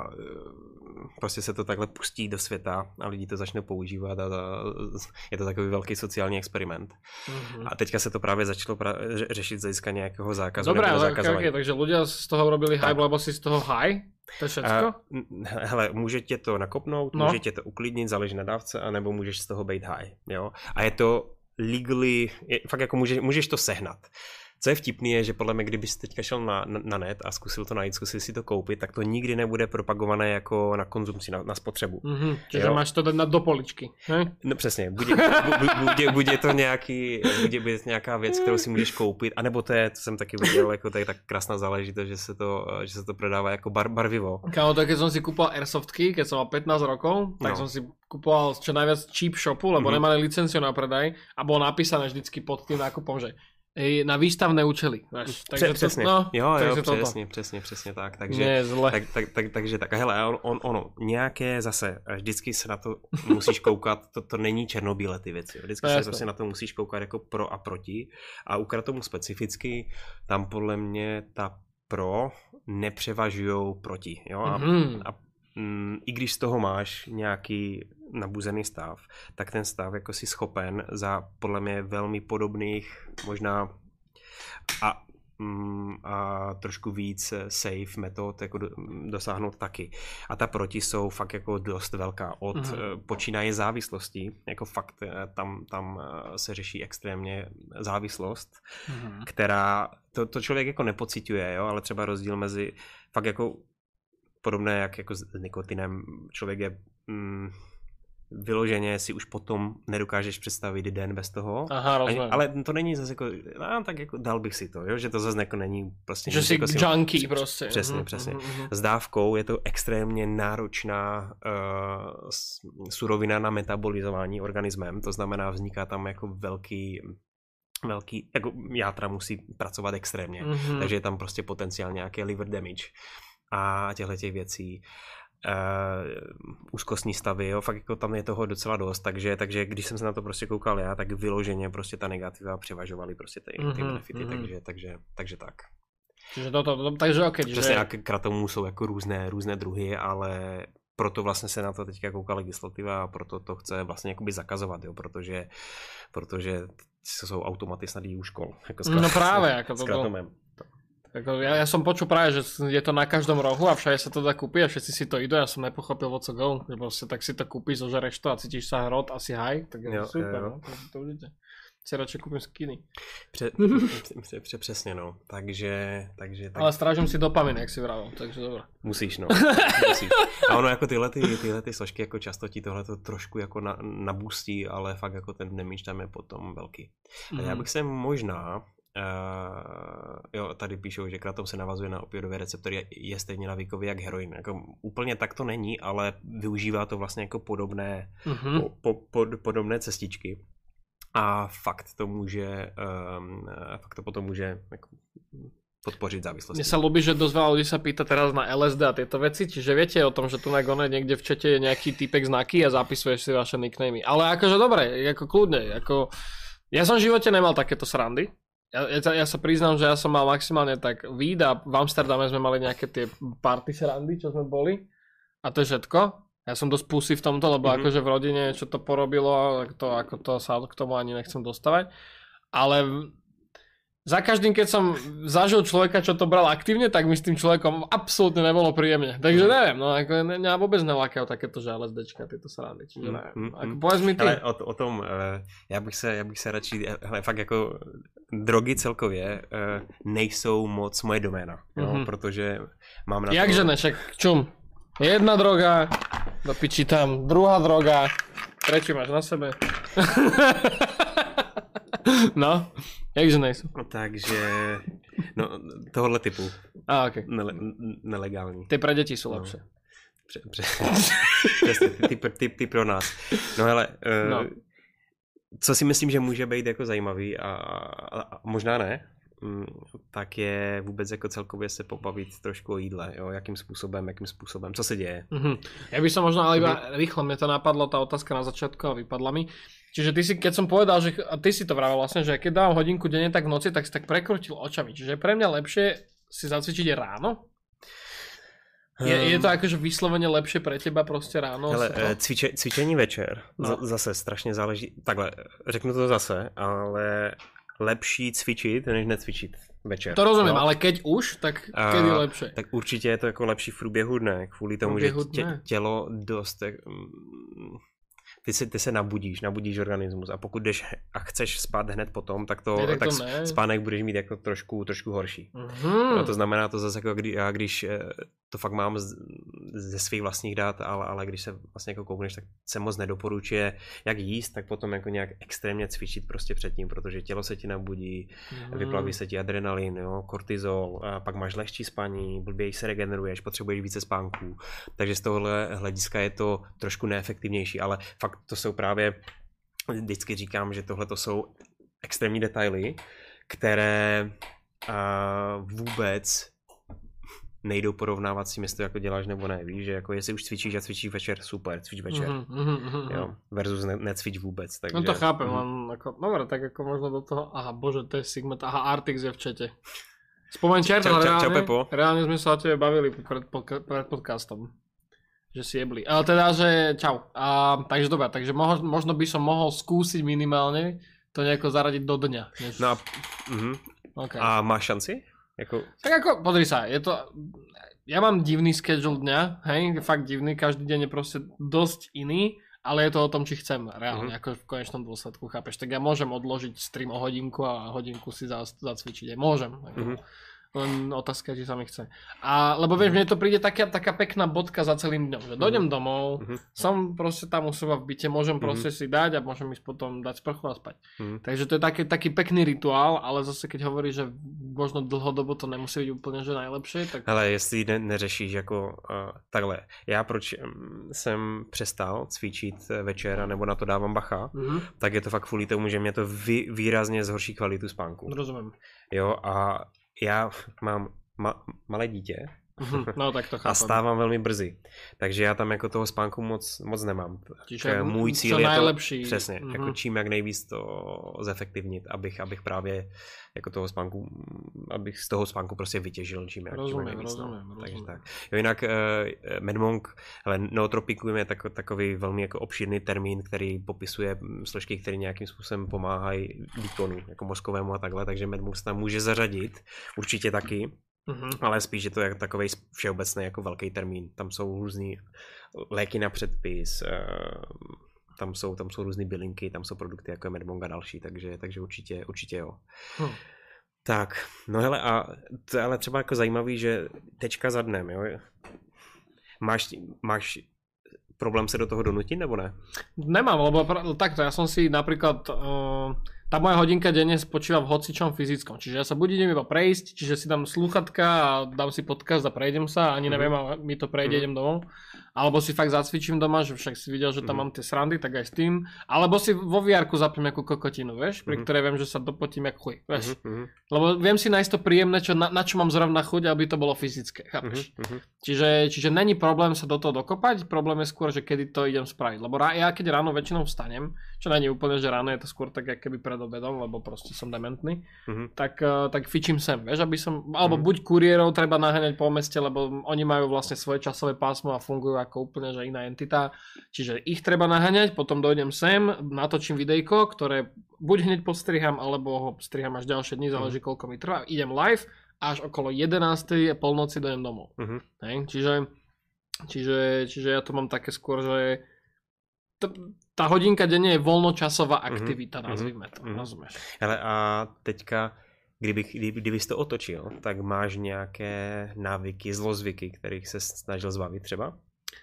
prostě se to takhle pustí do světa a lidi to začnou používat a, a je to takový velký sociální experiment. Mm-hmm. A teďka se to právě začalo pra- řešit z hlediska nějakého zákazu. Dobré, ale okay, okay, takže ľudia z toho robili hype, lebo si z toho high? To je všetko? Uh, hele, může tě to nakopnout, no. může tě to uklidnit, záleží na dávce, anebo můžeš z toho být high. Jo? A je to legally, je, fakt jako může, můžeš to sehnat. Co je vtipný je, že podle mě, kdybys teďka šel na, na, na net a zkusil to najít, zkusil si to koupit, tak to nikdy nebude propagované jako na konzumci, na, na spotřebu. Mm-hmm, čiže jo? Máš to dát na do poličky. Ne? No přesně, bude, bude, bude to nějaký, bude, bude nějaká věc, kterou si můžeš koupit, anebo to je, co jsem taky viděl, jako to je tak krásná záležitost, že se to, že se to prodává jako bar, barvivo. Kámo, tak keď som si kúpal airsoftky, keď som mal pätnásť rokov, tak no. som si kupoval čo najviac cheap shopu, lebo mm-hmm. nemali licenciu na predaj a bolo napísané vždycky pod tým nákupom, že na výstavné účely. Víš. Takže přesně, to, no, jo, takže jo, přesně, přesně, přesně tak. Takže, ne, zle. Tak, tak, tak, takže tak, hele, on, on, ono, nějaké zase, vždycky se na to musíš koukat, to, to není černobílé ty věci, vždycky se prostě na to musíš koukat jako pro a proti a u Kratomu specificky, tam podle mě ta pro nepřevažujou proti, jo, a, mm-hmm. a mm, i když z toho máš nějaký nabuzený stav, tak ten stav jako si schopen za podle mě velmi podobných možná a, mm, a trošku víc safe metod jako do, dosáhnout taky. A ta proti jsou fakt jako dost velká od mm-hmm. počínaje závislostí, jako fakt tam, tam se řeší extrémně závislost, mm-hmm. která to, to člověk jako nepociťuje, jo, ale třeba rozdíl mezi fakt jako podobné jak jako s nikotinem, člověk je mm, vyloženě si už potom nedokážeš představit den bez toho. Aha, rozumím. Ale to není zase jako, no, tak jako dal bych si to, jo? Že to zase jako není prostě. Že jsi jako junkie si, prostě. Přesně, uh-huh, přesně. Uh-huh. S dávkou je to extrémně náročná uh, surovina na metabolizování organismem, to znamená vzniká tam jako velký velký, jako játra musí pracovat extrémně, uh-huh. takže je tam prostě potenciál nějaké liver damage a těchto těch věcí. Uh, úzkostní stavy, jo, fakt jako tam je toho docela dost, takže, takže když jsem se na to prostě koukal já, tak vyloženě prostě ta negativa převažovaly prostě ty, ty mm-hmm, benefity, mm-hmm. takže, takže, takže tak. Čiže to, to, to, takže ok. Přesně, a k Kratomu jsou jako různé, různé druhy, ale proto vlastně se na to teďka kouká legislativa a proto to chce vlastně jakoby zakazovat, jo, protože, protože jsou automaty snad i u škol. Jako s no právě, jako to Kratomem. Jako ja, ja som počul práve, že je to na každom rohu a všade sa to dá kúpiť a všetci si to idú. Ja som nepochopil what's a go, že proste tak si to kúpiš, zožereš to a cítiš sa hrot, asi high, tak je to super, jo. No, to, to užite. Si radšej kúpim skiny. Pře, pře, pře, přesně, no. Takže, takže... Tak... Ale strážím si dopamin, jak si vravel, takže dobré. Musíš, no. Musíš. A ono jako tyhle, ty, tyhle ty složky jako často ti tohle to trošku jako na, nabustí, ale fakt jako ten damage tam je potom velký. Mm. A já bych se možná Uh, jo, tady píšou, že Kratom se navazuje na opioidové receptory, je, je stejně navykový jak heroin. Jako, úplně tak to není, ale využívá to vlastně jako podobné, mm-hmm. po, po, pod, podobné cestičky. A fakt to může, um, fakt to potom může jako, podpořit závislosti. Mne sa ľúbi, že dosť veľa ľudí sa pýta teraz na el es dé a tieto veci, čiže viete o tom, že tu na Gone niekde v čete je nejaký typek znaky a zapisuješ si vaše nicknamy. Ale akože dobre, ako kľudne, ako ja som v živote nemal takéto srandy. Ja, ja, ja sa priznám, že ja som mal maximálne tak víd a v Amsterdame sme mali nejaké tie party srandy, čo sme boli a to je všetko. Ja som dosť pusy v tomto, lebo mm-hmm. akože v rodine čo to porobilo, to, ako to sa k tomu ani nechcem dostávať. Ale za každým, keď som zažil človeka, čo to bral aktívne, tak mi s tým človekom absolútne nebolo príjemne. Takže neviem, no ako ne, mňa vôbec nelákajú takéto železečka, tieto srandy. Čiže ne, mm, ako povedz mi ty. Ale o, o tom, já bych se, já bych se radši, hele, fakt jako drogy celkově nejsou moc moje doména, jo, mm-hmm. protože mám na to... Jakže ne, však čum. Jedna droga, do piči tam, druhá droga, tretí máš na sebe. No, jakže nejsou. Takže, no, tohohle typu. A, okay. Nele, nelegální. Ty pro děti jsou lepší. Pře, pře, přesně, ty, ty, ty, ty pro nás. No hele, no. Uh, co si myslím, že může být jako zajímavý a, a, a možná ne, tak je vůbec jako celkově se pobavit trošku o jídle, jo, jakým způsobem, jakým způsobem, co se děje. Mm-hmm. Ja by som možno, ale iba mm-hmm. rýchlo, mne to napadlo, tá otázka na začiatku a vypadla mi. Čiže ty si, keď som povedal, že, a ty si to vravel vlastne, že keď dávam hodinku denne, tak v noci, tak si tak prekrutil očami. Čiže pre mňa lepšie si zacvičiť ráno? Je, je to akože vyslovene lepšie pre teba prostě ráno? Hele, cviče, cvičení večer, no. Z, zase strašně záleží, takhle, řeknu to zase, ale lepší cvičit, než necvičit večer. To rozumím, no. Ale keď už, tak keď je lepšie? Tak určitě je to jako lepší v průběhu dne, kvůli tomu, že tě, tělo dost... Ty se, ty se nabudíš, nabudíš organismus a pokud jdeš a chceš spát hned potom, tak, to, tak, tak to spánek budeš mít jako trošku, trošku horší. Mm-hmm. No to znamená to zase jako kdy, já když to fakt mám z, ze svých vlastních dát, ale, ale když se vlastně jako koukneš, tak se moc nedoporučuje jak jíst, tak potom jako nějak extrémně cvičit prostě předtím, protože tělo se ti nabudí, mm. vyplaví se ti adrenalin, jo, kortizol, a pak máš lehčí spaní, blběji se regeneruješ, potřebuješ více spánků, takže z tohohle hlediska je to trošku neefektivnější, ale fakt to jsou právě, vždycky říkám, že tohle to jsou extrémní detaily, které uh, vůbec nejdou porovnávat s tím, jestli to jako děláš nebo ne, víš, že jako jestli už cvičíš a cvičíš večer, super, cvič večer, mm-hmm, mm-hmm. jo, versus ne, necvič vůbec, takže... No to chápem, mm-hmm. len ako, dobre, tak ako možno do toho, aha, bože, to je Sigmat, aha, Artix je v čete. Spomeň čert, ale reálne, reálne sme sa o tebe bavili pred, pred podcastom, že si jebli, ale teda, že čau, a, takže dobré, takže moho, možno by som mohol skúsiť minimálne to nejako zaradiť do dňa. Než... No a, mm-hmm. okay. A máš šanci? Jako... Tak ako, podri sa, je to, ja mám divný schedule dňa, hej, fakt divný, každý deň je proste dosť iný, ale je to o tom, či chcem reálne, mm-hmm. ako v konečnom dôsledku, chápeš, tak ja môžem odložiť stream o hodinku a hodinku si zacvičiť, môžem, ako, mm-hmm. len otázka, či sa mi chce. A, lebo vieš, mne to príde taká, taká pekná bodka za celým dňom, že dojdem mm-hmm. domov, mm-hmm. som proste tam u seba v byte, môžem proste mm-hmm. si dať a môžem ísť potom dať sprchu a spať. Mm-hmm. Takže to je taký, taký pekný rituál, ale zase keď hovorí, že možno dlhodobo to nemusí byť úplne že najlepšie, tak... Ale jestli ne, neřešíš jako uh, takhle, já proč um, jsem přestal cvičit večer nebo na to dávám bacha, mm-hmm. tak je to fakt kvůli tomu, že mě to vý, výrazně zhorší kvalitu spánku. Rozumím. Jo, a já mám ma- malé dítě no, tak to chápem. A stávám velmi brzy, takže já tam jako toho spánku moc, moc nemám. Tak můj cíl je najlepší. To přesně, mm-hmm. jako čím jak nejvíc to zefektivnit, abych, abych právě jako toho spánku, abych z toho spánku prostě vytěžil čím jak, rozumím, čím jak nejvíc. Rozumím, no. rozumím. Takže tak. Jo, jinak uh, MedMonk, ale nootropikum je tak, takový velmi jako obšírný termín, který popisuje složky, které nějakým způsobem pomáhají výkonu, jako mozkovému a takhle, takže MedMonk se tam může zařadit, určitě taky. Mm-hmm. Ale spíš je to jako takovej všeobecný jako velký termín. Tam jsou různý léky na předpis, tam jsou, tam jsou různý bylinky, tam jsou produkty jako je MedMonk a další, takže, takže určitě, určitě jo. Hmm. Tak, no hele, a to je ale třeba jako zajímavý, že tečka za dnem, jo? Máš, máš problém se do toho donutit, nebo ne? Nemám, lebo takto, ja som si napríklad... Uh... Tá moja hodinka denne spočíva v hocičom fyzickom, čiže ja sa buď idem iba prejsť, čiže si dám slúchatka a dám si podcast a prejdem sa, ani neviem, a mi to prejde, mm-hmm. idem domov. Alebo si fakt zacvičím doma, že však si videl, že tam mm-hmm. mám tie srandy, tak aj s tým. Alebo si vo vé erku zapím nejakú kokotinu, vieš, pri mm-hmm. ktorej viem, že sa dopotím jak chuj, vieš. Mm-hmm. Lebo viem si nájsť to príjemné, čo, na, na čo mám zrovna chuť, aby to bolo fyzické, chápeš. Mm-hmm. Čiže, čiže není problém sa do toho dokopať, problém je skôr, že kedy to idem spraviť. Lebo rá, ja keď ráno väčšinou vstanem, čo není úplne, že ráno je to skôr tak, keby pred obedom, lebo proste som dementný, mm-hmm. tak, tak fičím sem, vieš, aby som, alebo mm-hmm. buď kuriérov treba naháňať po meste, lebo oni majú vlastne svoje časové pásmo a fungujú ako úplne, že iná entita, čiže ich treba naháňať, potom dojdem sem, natočím videjko, ktoré buď hneď postriham, alebo ho striham až ďalšie dni, záleží mm-hmm. koľko mi trvá, idem live, až okolo jedenástej polnoci dojdem domov. Mm-hmm. Hej, čiže, čiže, čiže ja to mám také skôr, že tá hodinka denne je voľnočasová aktivita, mm-hmm. nazvime to, mm-hmm. rozumieš. Hele, a teďka, kdyby, kdyby, kdybys to otočil, tak máš nějaké návyky, zlozvyky, kterých se snažil zbavit třeba?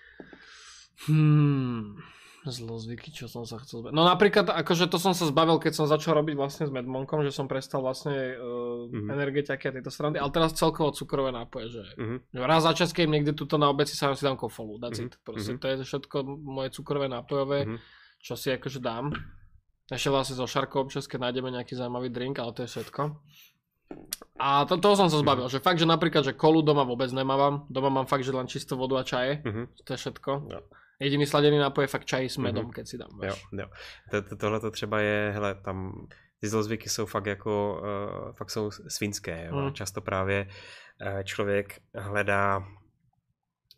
Hmm, zlozvyky, čo som sa chcel zbaviť. No napríklad, akože to som sa zbavil, keď som začal robiť vlastne s MedMonkom, že som prestal vlastne uh, mm-hmm. energetiaky a tieto srandy, ale teraz celkovo cukrové nápoje, že, mm-hmm. že raz za čas, keď niekde tuto na obed si sa si dám kofolu, that's mm-hmm. it. Proste mm-hmm. to je všetko moje cukrové nápojové, mm-hmm. čo si akože dám. Ešte vlastne zo šarkou občas, keď nájdeme nejaký zaujímavý drink, ale to je všetko. A to, toho som sa zbavil, mm-hmm. že fakt, že napríklad, že kolu doma vôbec nemávam, doma mám fakt, že len čistú vodu a čaje, mm-hmm. to je všetko. Ja. Jediný sladený nápoj je fakt čaj s medom, mm-hmm. keď si dám. Jo, jo. To, to, tohle to třeba je, hele, tam ty zlozvyky jsou fakt jako, uh, fakt jsou svinské, jo. Mm. Často právě uh, člověk hledá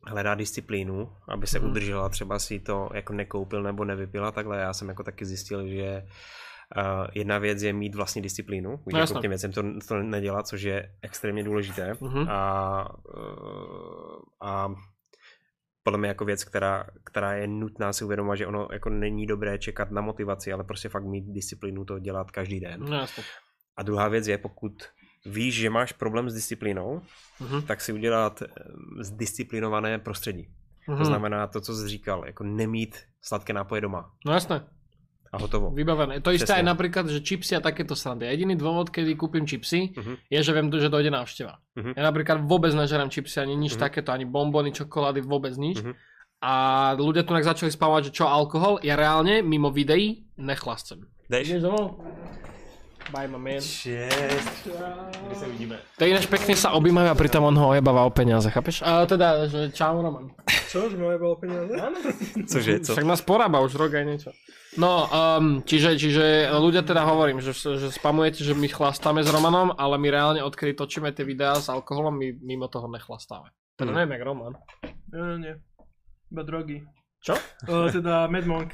hledá disciplínu, aby se Mhm. udržela, třeba si to jako nekoupil nebo nevypila, takhle já jsem jako taky zjistil, že uh, jedna věc je mít vlastní disciplínu, když No, jako jasné. k těm věcem to, to nedělat, což je extrémně důležité. Mhm. A, uh, a podle mě jako věc, která, která je nutná si uvědomovat, že ono jako není dobré čekat na motivaci, ale prostě fakt mít disciplínu to dělat každý den. No jasne. A druhá věc je, pokud víš, že máš problém s disciplínou, Mhm. tak si udělat zdisciplinované prostředí. Mhm. To znamená to, co jsi říkal, jako nemít sladké nápoje doma. No jasné. A hotovo. Vybavené. To isté Presne. aj napríklad, že čipsy a takéto srandy. Jediný dôvod, kedy kúpim čipsy, Mhm. je, že viem, že dojde návšteva. Mhm. Ja napríklad vôbec nežerám čipsy, ani nič Mhm. takéto, ani bombony, čokolády, vôbec nič. Mhm. A ľudia tu tak začali spávať, že čo alkohol, ja reálne mimo videí nechlascem. Jdeš? Ideš domov? Bye, my man. Šest. Kdy se vidíme? To ináč pekne sa objímajú a pritom on ho ojebáva o peniaze, chápeš? A teda, že čau Roman. Čo, že mi ojebalo peniaze? Cože, co? Však nás porába už rok aj niečo. No, um, čiže, čiže ľudia teda hovorím, že, že spamujete, že my chlastáme s Romanom, ale my reálne odkedy točíme tie videá s alkoholom, my mimo toho nechlastáme. Teda Hmm. neviem, jak Roman. Nie, nie, nie. Iba drogy. Čo? O, teda Mad Monk.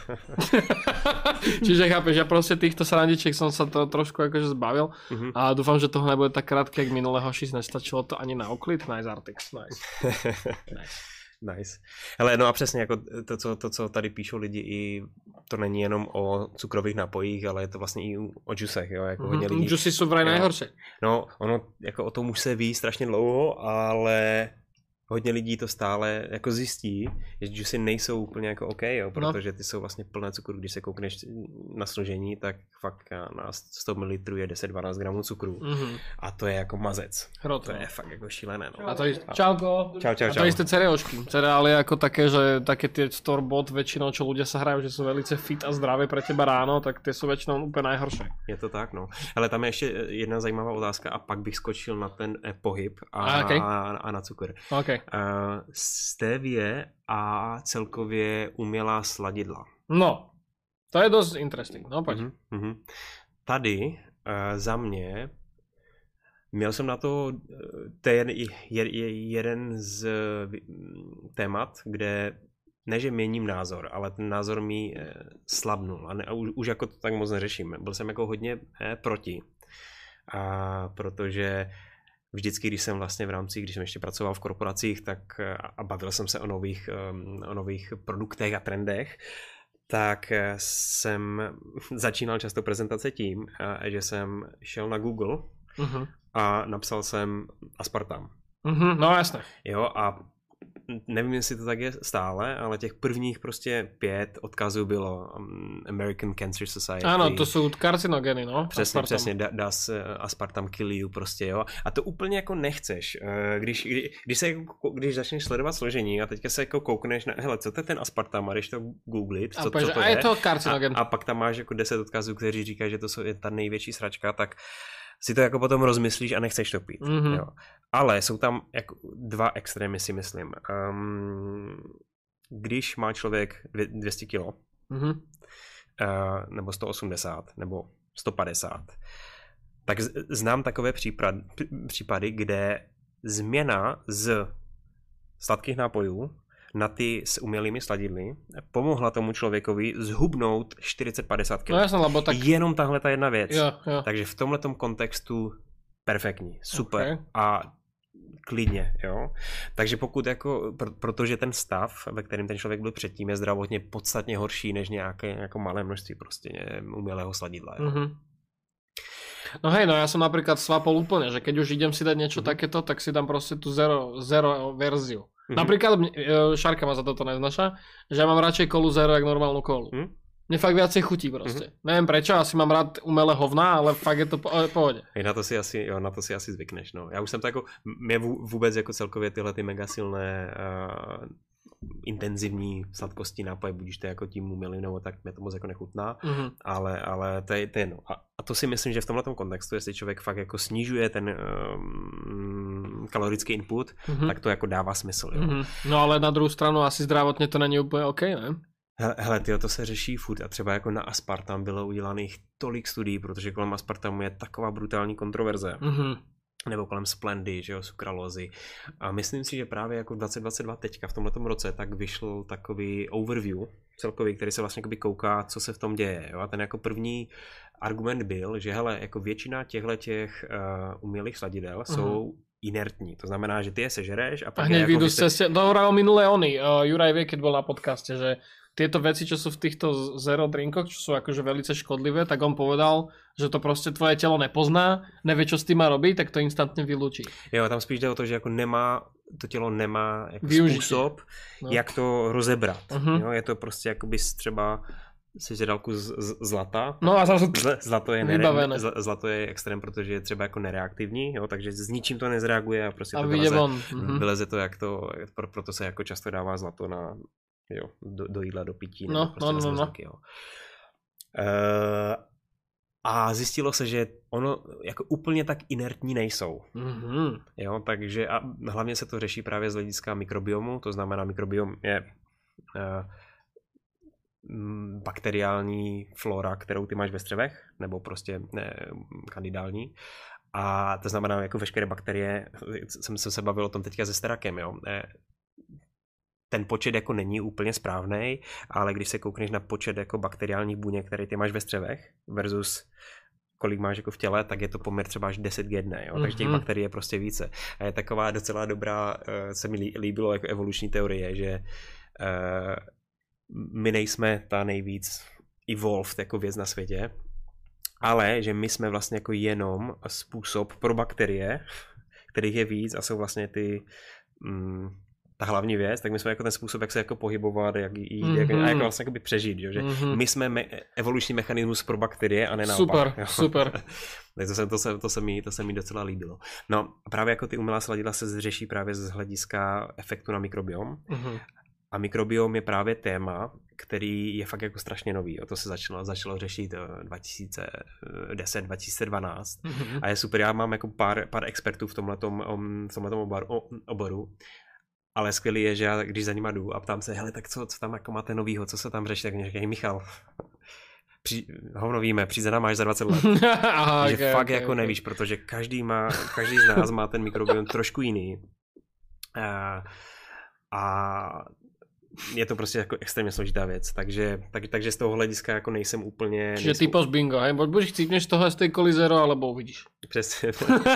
Čiže chápeš, ja proste týchto srandičiek som sa to trošku akože zbavil Mhm. a dúfam, že toho nebude tak krátke, jak minulé hoši, nestačilo to ani na uklid. Nice Artix, nice. nice. Nice. Hele, no a přesně jako to co, to, co tady píšou lidi, i to není jenom o cukrových nápojích, ale je to vlastně i o džusech, jo, jako hodně lidí. Džusy sú vraj Jo. najhoršie. No, ono, jako o tom už se ví strašně dlouho, ale hodně lidí to stále jako zjistí, že džusy nejsou úplně jako OK, jo, protože ty jsou vlastně plné cukru. Když se koukneš na složení, tak fakt na sto mililitrů je deset dvanáct gramů cukru. Mhm. A to je jako mazec. Hrot. To je fakt jako šílené, no. A to je... Čauko. Čau, čau, A to čau. isté cereošky. Cereály ako také, že také tie store-bought väčšinou, čo ľudia sa hrajú, že sú velice fit a zdravé pre teba ráno, tak tie sú väčšinou úplne najhoršie. Je to tak, no. Ale tam je ještě jedna zajímavá otázka a pak bych skočil na ten eh, pohyb a, A, okay. a, a na cukr. OK. Uh, stevie a celkově umělá sladidla. No, to je dosť interesting. No, poď. Mhm, mhm. Tady uh, za mě měl jsem na to, to je, je, je jeden z témat, kde ne, že měním názor, ale ten názor mi eh, slabnul a, ne, a už, už jako to tak moc neřeším. Byl jsem jako hodně eh, proti, a protože vždycky, když jsem vlastně v rámci, když jsem ještě pracoval v korporacích, tak eh, a bavil jsem se o nových, um, o nových produktech a trendech, tak eh, jsem začínal často prezentace tím, eh, že jsem šel na Google Uh-huh. a napsal jsem aspartam. Uh-huh. No jasné. Jo, a nevím, jestli to tak je stále, ale těch prvních prostě pět odkazů bylo um, American Cancer Society. Áno, to sú karcinogény, no. Přesně, aspartam. přesně, da, does uh, aspartam kill you prostě, jo. A to úplně jako nechceš. Uh, když, kdy, když, se, jako, když začneš sledovat složení a teďka se jako koukneš na, hele, co to je ten aspartam, a když to googlit, A, co, pověš, co to a je. je to karcinogen. A, a pak tam máš jako deset odkazů, kteří říkají, že to jsou, je ta největší sračka, tak si to jako potom rozmyslíš a nechceš to pít. Mhm. Jo. Ale jsou tam jako dva extrémy, si myslím. Um, když má člověk dvě stě kilo, Uh-huh. uh, nebo sto osmdesát, nebo sto padesát, tak z, znám takové případ, případy, kde změna z sladkých nápojů na ty s umělými sladidly pomohla tomu člověkovi zhubnout čtyřicet padesát kilo. No jasné, lebo tak... Jenom tahle ta jedna věc. Jo, jo. Takže v tomhletom kontextu perfektní, super. Okay. A klidně, jo. Takže pokud jako, pr- protože ten stav, ve kterém ten člověk byl předtím, je zdravotně podstatně horší než nějaké jako malé množství prostě umělého sladidla. Jo. Uh-huh. No hej, no ja som napríklad svapol úplne, že keď už idem si dať niečo Uh-huh. takéto, tak si dám proste tú zero, zero verziu. Uh-huh. Napríklad, e, Šárka ma za toto neznaša, že ja mám radšej kolu zero, jak normálnu kolu. Uh-huh. Mne fakt viacej chutí proste. Uh-huh. Neviem prečo, asi mám rád umelé hovná, ale fakt je to po, pohode. Hej, na to si asi, jo, na to si asi zvykneš, no. Já už jsem to jako, mě vůbec jako celkově tyhle ty mega silné uh, intenzivní sladkosti nápoje, budíš to jako tím umělým, nebo tak mě to moc jako nechutná, Uh-huh. ale, ale to je, to je no. A, a to si myslím, že v tomhle kontextu, jestli člověk fakt jako snižuje ten um, kalorický input, Uh-huh. tak to jako dává smysl, jo. Uh-huh. No ale na druhou stranu asi zdravotně to není úplně OK, ne? Hele, hele tyjo, to se řeší furt a třeba jako na aspartam bylo udělaných tolik studií, protože kolem aspartamu je taková brutální kontroverze. Uh-huh. nebo kolem Splendy, že jo, sukralózy. A myslím si, že právě jako dvacet dvacet dva teďka v tomhletom roce tak vyšel takový overview celkový, který se vlastně jakoby kouká, co se v tom děje. Jo? A ten jako první argument byl, že hele, jako většina těchto těch uh, umělých sladidel uh-huh. jsou inertní. To znamená, že ty je sežereš a pak... A hneď jako vyjdú se... ceste... To hovoril minulé oni. Uh, Juraj vie, keď bol na podcaste, že tieto veci, čo sú v týchto zero drinkoch, čo sú akože velice škodlivé, tak on povedal, že to proste tvoje telo nepozná, nevie, čo s tým má robiť, tak to instantne vylúčí. Jo, tam spíš jde o to, že jako nemá, to tělo nemá jako způsob, no. jak to rozebrat. Uh-huh. Jo, je to prostě jakoby třeba sežralku z, z, zlata. No a zase zlato je, nere, zlato je extrém, protože je třeba jako nereaktivní, jo, takže s ničím to nezreaguje a prostě a to vyleze, uh-huh. vyleze to, jak to, pro, proto se jako často dává zlato na, jo, do, do jídla, do pití. No, prostě no, no, no. Zlaky, jo. Uh, a zjistilo se, že ono jako úplně tak inertní nejsou. Mm-hmm. Jo, takže a hlavně se to řeší právě z hlediska mikrobiomu, to znamená mikrobiom je uh, bakteriální flora, kterou ty máš ve střevech, nebo prostě ne, kandidální. A to znamená jako veškeré bakterie, jsem se bavil o tom teďka se sterakem, jo. Ten počet jako není úplně správný, ale když se koukneš na počet jako bakteriálních buněk, které ty máš ve střevech versus kolik máš jako v těle, tak je to poměr třeba až deset k jedné, jo? Mm-hmm. Takže těch bakterií je prostě více. A je taková docela dobrá, se mi líbilo jako evoluční teorie, že uh, my nejsme ta nejvíc evolved jako věc na světě, ale že my jsme vlastně jako jenom způsob pro bakterie, kterých je víc a jsou vlastně ty mm, ta hlavní věc, tak my jsme jako ten způsob, jak se jako pohybovat, jak jít, mm-hmm. jak, a jak vlastně jako přežít, jo? Že mm-hmm. my jsme me- evoluční mechanismus pro bakterie a ne naopak. Super, jo? super. to, se, to, se, to, se mi, to se mi docela líbilo. No právě jako ty umělá sladidla se řeší právě z hlediska efektu na mikrobiom. Mm-hmm. A mikrobiom je právě téma, který je fakt jako strašně nový. O to se začalo, začalo řešit dva tisíce deset dva tisíce dvanáct. Mm-hmm. A je super, já mám jako pár, pár expertů v tomhletom, v tomhletom oboru, oboru. Ale skvělý je, že já když za nima jdu a ptám se, hele, tak co, co tam jako máte novýho, co se tam řeší, tak mě říkají, Michal, při, hovno víme, přijde nám máš za dvacet let. Aha, že okay, fakt okay, jako okay. nevíš, protože každý, má, každý z nás má ten mikrobiom trošku jiný. A, a je to prostě jako extrémně složitá věc, takže, tak, takže z toho hlediska jako nejsem úplně... Čiže nejsem... typos bingo, hej? Buď chcípneš toho z tej kolizero, alebo uvidíš. Přesně.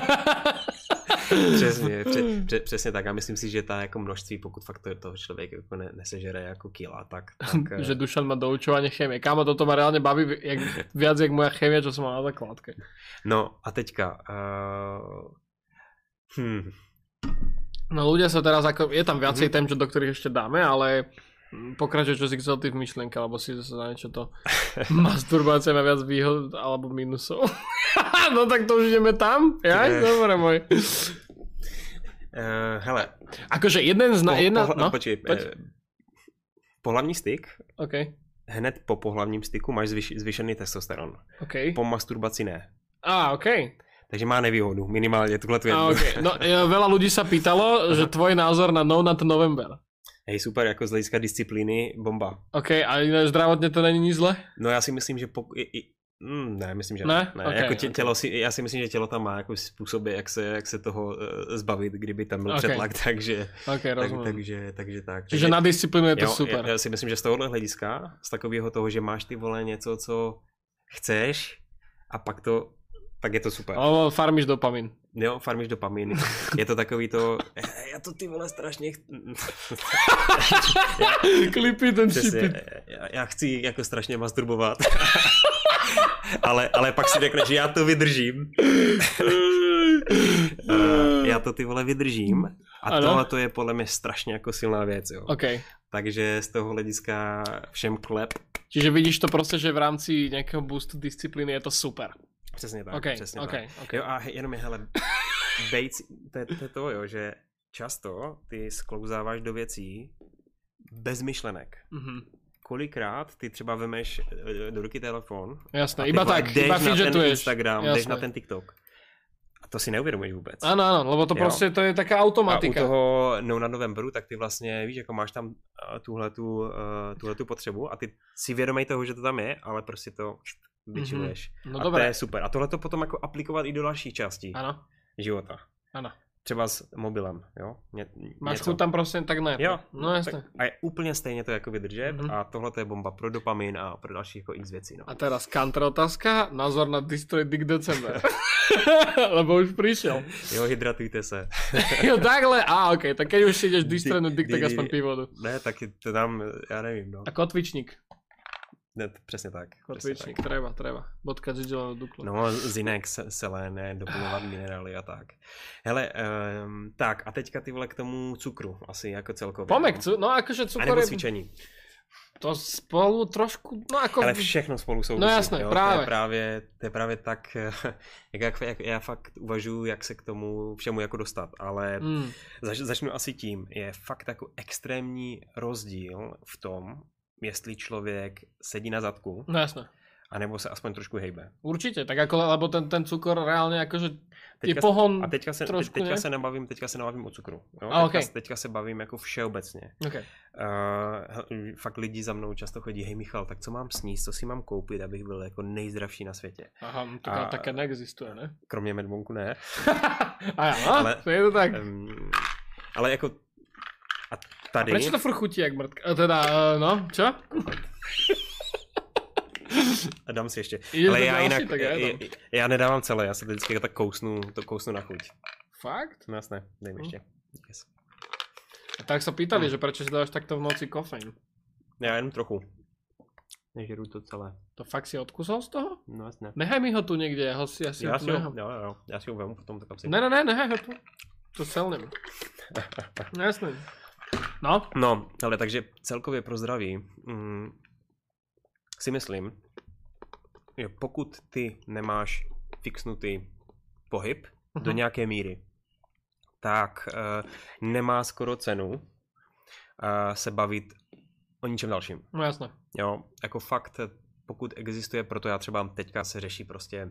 Přesně, pře, pře, přesně tak a myslím si, že ta jako množství, pokud fakt to, toho člověk jako ne, nesežere jako kila, tak... tak že Dušan má doučovanie chémie. Kámo, toto ma reálne baví jak, viac jak moja chémia, čo som mal na základke. No a teďka... Uh... Hmm. No ľudia sa teraz ako... Je tam viacej mm-hmm. tém, do ktorých ešte dáme, ale... Pokračuj, čo si chcel ty v myšlienke, alebo si zase na niečo to... Masturbácia má viac výhod alebo minusov. No tak to už ideme tam? Ja? Dobre, môj. Uh, hele. Akože jeden z... Na, po, jedna, pohla, no, počkej, poď. Eh, pohlavní styk. OK. Hned po pohlavním styku máš zvyš, zvyšený testosteron. OK. Po masturbaci ne. Á, OK. Takže má nevýhodu, minimálne tuhle tu jednu. Okay. No, veľa ľudí sa pýtalo, že tvoj názor na No Nut November. Hej, super, jako z hlediska disciplíny, bomba. OK, a zdravotně to není nic zle? No já si myslím, že pokud... Mm, ne, myslím, že ne. ne. Okay, jako tě, okay. tělo si, já si myslím, že tělo tam má jako způsoby, jak se, jak se toho uh, zbavit, kdyby tam byl okay. přetlak, takže, okay, tak, takže, takže tak. Čiže takže, na disciplínu je to jo, super. Já, já si myslím, že z tohohle hlediska, z takového toho, že máš ty vole něco, co chceš a pak to, tak je to super. Ale farmíš dopamin. Jo, farmíš dopamin. Je to takový to, já to ty vole strašně ch... Klipy ten šipit. Já, já chci jako strašně masturbovat. ale, ale pak si řekneš, že já to vydržím. Já to ty vole vydržím. A ano? Tohle to je podle mě strašně jako silná věc. Jo. Okay. Takže z toho hlediska všem klep. Čiže vidíš to prostě, že v rámci nějakého boostu disciplíny je to super. Přesně tak, okay, přesně okay, tak. Okay. Jo, a jenom je, hele, bejc, to, to je to, jo, že často ty sklouzáváš do věcí bez myšlenek. Mm-hmm. Kolikrát ty třeba vemeš do ruky telefon. Jasné, iba tak, iba jdeš na ten Instagram, jasné. jdeš na ten TikTok. A to si neuvědomuješ vůbec. Ano, ano, lebo to jo. Prostě to je taká automatika. A u toho No Nut Novemberu, tak ty vlastně, víš, jako máš tam tuhletu, uh, tuhletu potřebu a ty si vědomej toho, že to tam je, ale prostě to vyčiluješ. Mm-hmm. No a dobré. To je super. A tohle to potom jako aplikovat i do dalších částí. Ano. života. Ano. Třeba s mobilem, jo? Ně, Máš chuť tam prostě tak ne. Jo, no jasně. A je úplně stejně to jako vydržet mm-hmm. a tohle je bomba pro dopamin a pro další jako x věcí. No. A teraz counter otázka, názor na Destroy Dick December. Lebo už prišiel. Jo, hydratujte se. Jo, takhle, a ok, tak keď už si ideš destroynúť Dick, tak aspoň pí vodu. Ne, tak to tam, já nevím, no. A kotvičník. Ne, přesně tak. Kotvičník, tak. treba, treba. Bodka Gigelo Duklo. No, zinek, selené, doplňovat minerály a tak. Hele, um, tak a teďka ty vole k tomu cukru, asi jako celkově. Pomek, no, no akože cukor je... A nebo je... cvičení. To spolu trošku, no jako... Ale všechno spolu souvisí. No jasné, jo? právě. To je právě, to je právě tak, jak, jak, jak já fakt uvažuji, jak se k tomu všemu jako dostat, ale mm. zač, začnu asi tím, je fakt jako extrémní rozdíl v tom, jestli člověk sedí na zadku, no jasné. anebo se aspoň trošku hejbe. Určitě, tak jako, lebo ten, ten cukor reálně jakože je teďka, pohon a teďka se, trošku, teďka ne? se nebavím, teďka se nebavím o cukru. Jo? A, teďka, okay. teďka se bavím jako všeobecně. Okay. Uh, fakt lidi za mnou často chodí, hej Michal, tak co mám sníst, co si mám koupit, abych byl jako nejzdravší na světě. Aha, no to a, také neexistuje, ne? Kromě Medmonku ne. A jo, ale, to je to tak. Um, ale jako a tady... A prečo to furt chutí jak mrtka? Teda, uh, no, čo? A dám si ještě. Jdeš ale já další, jinak, já, já, já nedávám celé, já se vždycky tak kousnu, to kousnu na chuť. Fakt? No jasné, dej mi ještě. Yes. A tak sa pýtali, mm. že prečo si dáš takto v noci kofeín? Já jenom trochu. Nežeru to celé. To fakt si odkusol z toho? No jasné. Nechaj mi ho tu někde, já, ho si, já si já ho tu si nechám. ho, jo, jo, já si ho vemu potom tak si. Ne, ne, ne, nechaj ho tu. To celním. No jasné. No? No, ale takže celkově pro zdraví mm, si myslím, že pokud ty nemáš fixnutý pohyb uh-huh. do nějaké míry, tak uh, nemá skoro cenu uh, se bavit o ničem dalším. No jasné. Jo, jako fakt, pokud existuje, proto já třeba teďka se řeší prostě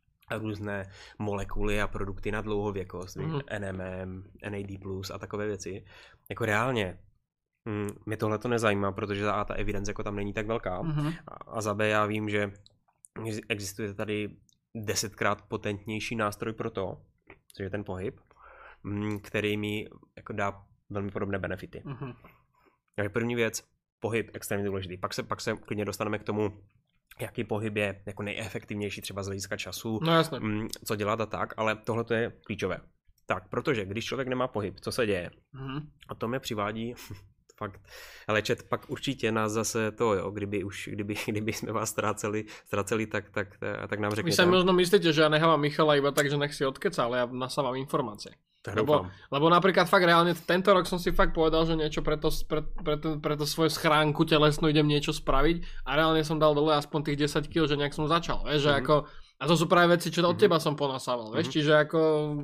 různé molekuly a produkty na dlouhověkost, mm. N M M, N A D plus a takové věci. Jako reálně mm, mě tohle to nezajímá, protože za A ta evidence jako tam není tak velká mm-hmm. a, a za B já vím, že existuje tady desetkrát potentnější nástroj pro to, což je ten pohyb, mm, který mi jako dá velmi podobné benefity. Mm-hmm. Takže první věc, pohyb extrémně důležitý. Pak se, pak se klidně dostaneme k tomu, jaký pohyb je jako nejefektivnější třeba z hlediska času, no jasně. m, co dělat a tak, ale tohle to je klíčové. Tak, protože když člověk nemá pohyb, co se děje? Mm-hmm. A to mě přivádí fakt, ale čet, pak určitě nás zase to, jo, kdyby už, kdyby, kdyby jsme vás ztráceli, ztráceli, tak, tak, tak nám řekněte. Vy sa možno myslíte, že ja nechávam Michala iba tak, že nech si odkeca, ale ja nasávam informácie. Lebo, lebo napríklad fakt reálne tento rok som si fakt povedal, že niečo pre to, pre, pre, to, pre to svoju schránku telesnú idem niečo spraviť a reálne som dal dole aspoň tých desať kíl, že nejak som začal, vieš, mm-hmm. že ako, a to sú práve veci, čo od teba som ponasával, vieš, mm-hmm. čiže ako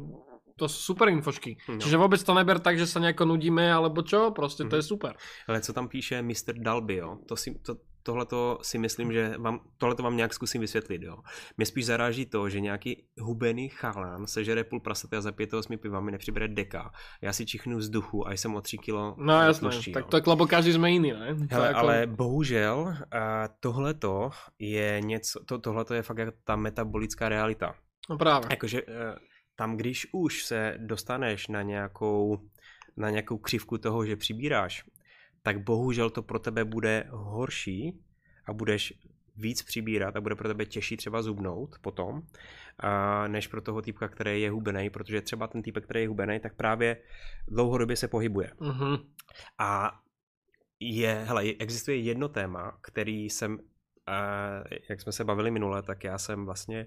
to sú super infošky. No. Čiže vôbec to neber tak, že sa nejako nudíme, alebo čo, proste to mm-hmm. je super. Ale co tam píše mister Dalby, jo, to si, to, tohleto si myslím, že vám, tohleto vám nějak zkusím vysvětlit, jo. Mě spíš zaráží to, že nějaký hubený chalán sežere půl prasata a za pět osmi pivami nepřibere deka. Já si čichnu vzduchu a jsem o tři kilo no jasné, tluští, tak to je, lebo každý jsme jiný, ne? Hele, jako... ale bohužel uh, tohleto je něco, to, tohleto je fakt jako ta metabolická realita. No právě. Jakože uh, tam, když už se dostaneš na nějakou, na nějakou křivku toho, že přibíráš, tak bohužel to pro tebe bude horší a budeš víc přibírat a bude pro tebe těžší třeba zubnout potom, a než pro toho týpka, který je hubenej, protože třeba ten týpek, který je hubenej, tak právě dlouhodobě se pohybuje. Mm-hmm. A je, hele, existuje jedno téma, který jsem, jak jsme se bavili minule, tak já jsem vlastně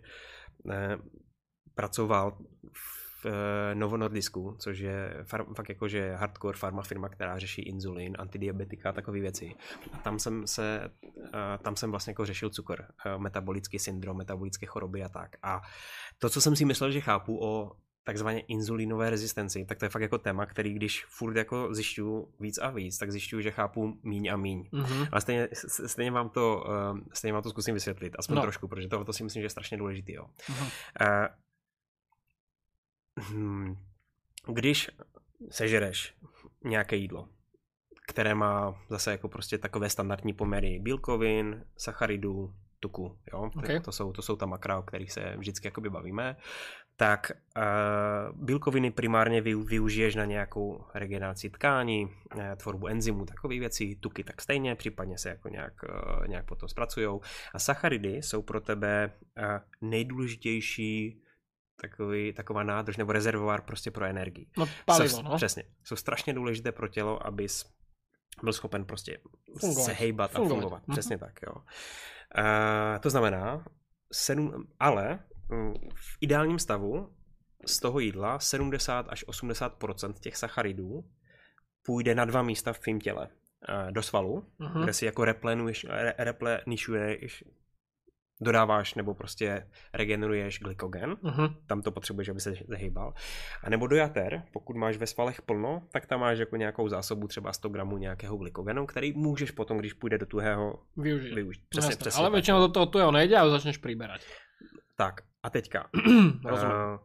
pracoval v Novo Nordisku, což je far, fakt jakože hardcore farma firma, která řeší inzulin, antidiabetika a takové věci. A tam jsem se, tam jsem vlastně jako řešil cukr, metabolický syndrom, metabolické choroby a tak. A to, co jsem si myslel, že chápu o takzvané inzulinové rezistenci, tak to je fakt jako téma, který když furt jako zjišťuju víc a víc, tak zjišťuju, že chápu míň a míň. Mm-hmm. Ale stejně, stejně, vám to, stejně vám to zkusím vysvětlit, aspoň no. trošku, protože to, to si myslím, že je strašně důležitý. Jo. Mm-hmm. Uh, Hmm. Když sežereš nějaké jídlo, které má zase jako prostě takové standardní poměry bílkovin, sacharidů, tuku, jo, okay. to, jsou, to jsou ta makra, o kterých se vždycky jakoby bavíme, tak uh, bílkoviny primárně vy, využiješ na nějakou regeneraci tkání, uh, tvorbu enzymů, takové věci, tuky tak stejně, případně se jako nějak, uh, nějak potom zpracujou. A sacharidy jsou pro tebe uh, nejdůležitější takový, taková nádrž nebo rezervoár prostě pro energii. No palivo, jsou, no. Přesně. Jsou strašně důležité pro tělo, abys byl schopen prostě fungovat. se hejbat fungovat. a fungovat. Mhm. Přesně tak, jo. Uh, to znamená, sedm, ale v ideálním stavu z toho jídla sedmdesát až osmdesát procent těch sacharidů půjde na dva místa v tvém těle. Do svalu, uh-huh. kde si jako replenuješ, re, replenišuješ, dodáváš nebo prostě regeneruješ glykogen. Uh-huh. Tam to potřebuješ, aby se zahýbal. A nebo do jater, pokud máš ve svalech plno, tak tam máš jako nějakou zásobu třeba sto gramů nějakého glykogenu, který můžeš potom, když půjde do tuhého, využít. využít. Přesně, přesně, ale většinou do toho tuhého nejde a začneš přiberať. Tak a teďka. uh,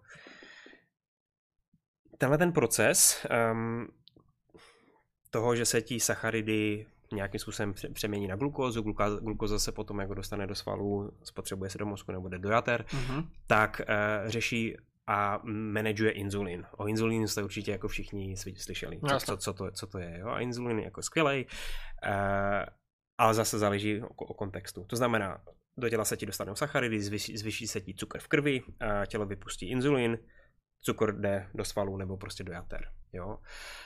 tenhle ten proces um, toho, že se ti sacharidy nějakým způsobem přemění na glukózu, glukóza, glukóza se potom jako dostane do svalů, spotřebuje se do mozku nebo jde do jater, uh-huh. tak uh, řeší a manažuje inzulin. O inzulínu jste určitě jako všichni slyšeli, co, co, co, to, co to je. Jo? A inzulin je jako skvělej, uh, ale zase záleží o, o kontextu. To znamená, do těla se ti dostanou sacharidy, zvyší, zvyší se ti cukr v krvi, a tělo vypustí inzulin, cukr jde do svalů nebo prostě do jater. Jo?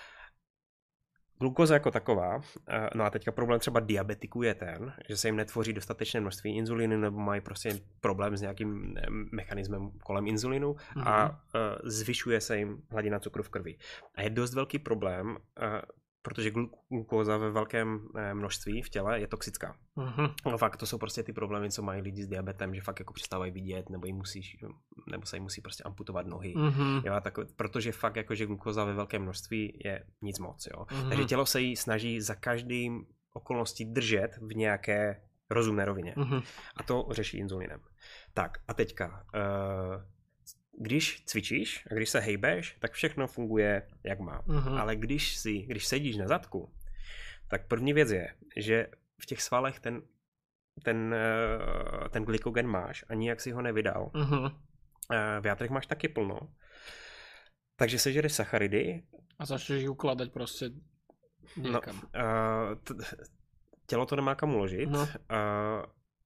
Glukóza jako taková, no a teďka problém třeba diabetiků je ten, že se jim netvoří dostatečné množství inzulinu nebo mají prostě problém s nějakým mechanismem kolem inzulinu mm-hmm. a zvyšuje se jim hladina cukru v krvi. A je dost velký problém, protože glukóza ve velkém množství v těle je toxická. Mm-hmm. No fakt, to jsou prostě ty problémy, co mají lidi s diabetem, že fakt jako přestávají vidět, nebo jim musí, nebo se jim musí prostě amputovat nohy. Mm-hmm. Jo, tak, protože fakt jako, že glukóza ve velkém množství je nic moc. Jo. Mm-hmm. Takže tělo se jí snaží za každým okolností držet v nějaké rozumné rovině. Mm-hmm. A to řeší inzulinem. Tak a teďka... Uh, Když cvičíš a když se hejbeš, tak všechno funguje, jak má. Uh-huh. Ale když, si, když sedíš na zadku, tak první věc je, že v těch svalech ten, ten, ten glykogen máš a nijak si ho nevydal. Uh-huh. V játrech máš taky plno. Takže sežereš sacharidy. A začneš ji ukládat prostě někam. No, uh, t- tělo to nemá kam uložit. No. Uh,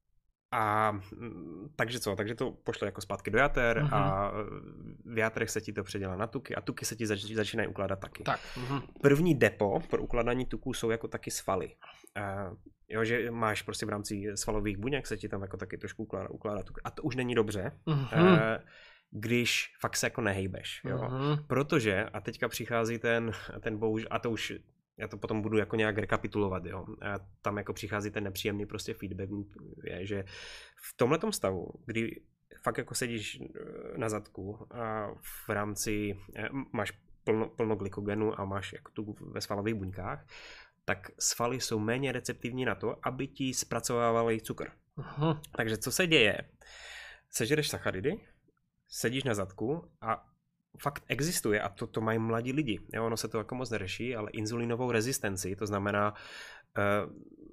A takže co, takže to pošle jako zpátky do jater uh-huh. a v játrech se ti to předělá na tuky a tuky se ti zač- začínají ukládat taky. Tak. Uh-huh. První depo pro ukládání tuků jsou jako taky svaly. Uh, jo, že máš prostě v rámci svalových buněk se ti tam jako taky trošku ukládá, ukládá tuky. A to už není dobře, uh-huh. uh, když fakt se jako nehejbeš. Jo? Uh-huh. Protože, a teďka přichází ten, ten bohužel, a to už já to potom budu jako nějak rekapitulovat, jo. A tam jako přichází ten nepříjemný prostě feedback, je, že v tomhletom stavu, kdy fakt jako sedíš na zadku a v rámci máš plno, plno glykogenu a máš jako tu ve svalových buňkách, tak svaly jsou méně receptivní na to, aby ti zpracovávaly cukr. Aha. Takže co se děje? Sežereš sacharidy, sedíš na zadku a fakt existuje, a to, to mají mladí lidi. Jo, ono se to jako moc neřeší, ale inzulinovou rezistenci, to znamená uh,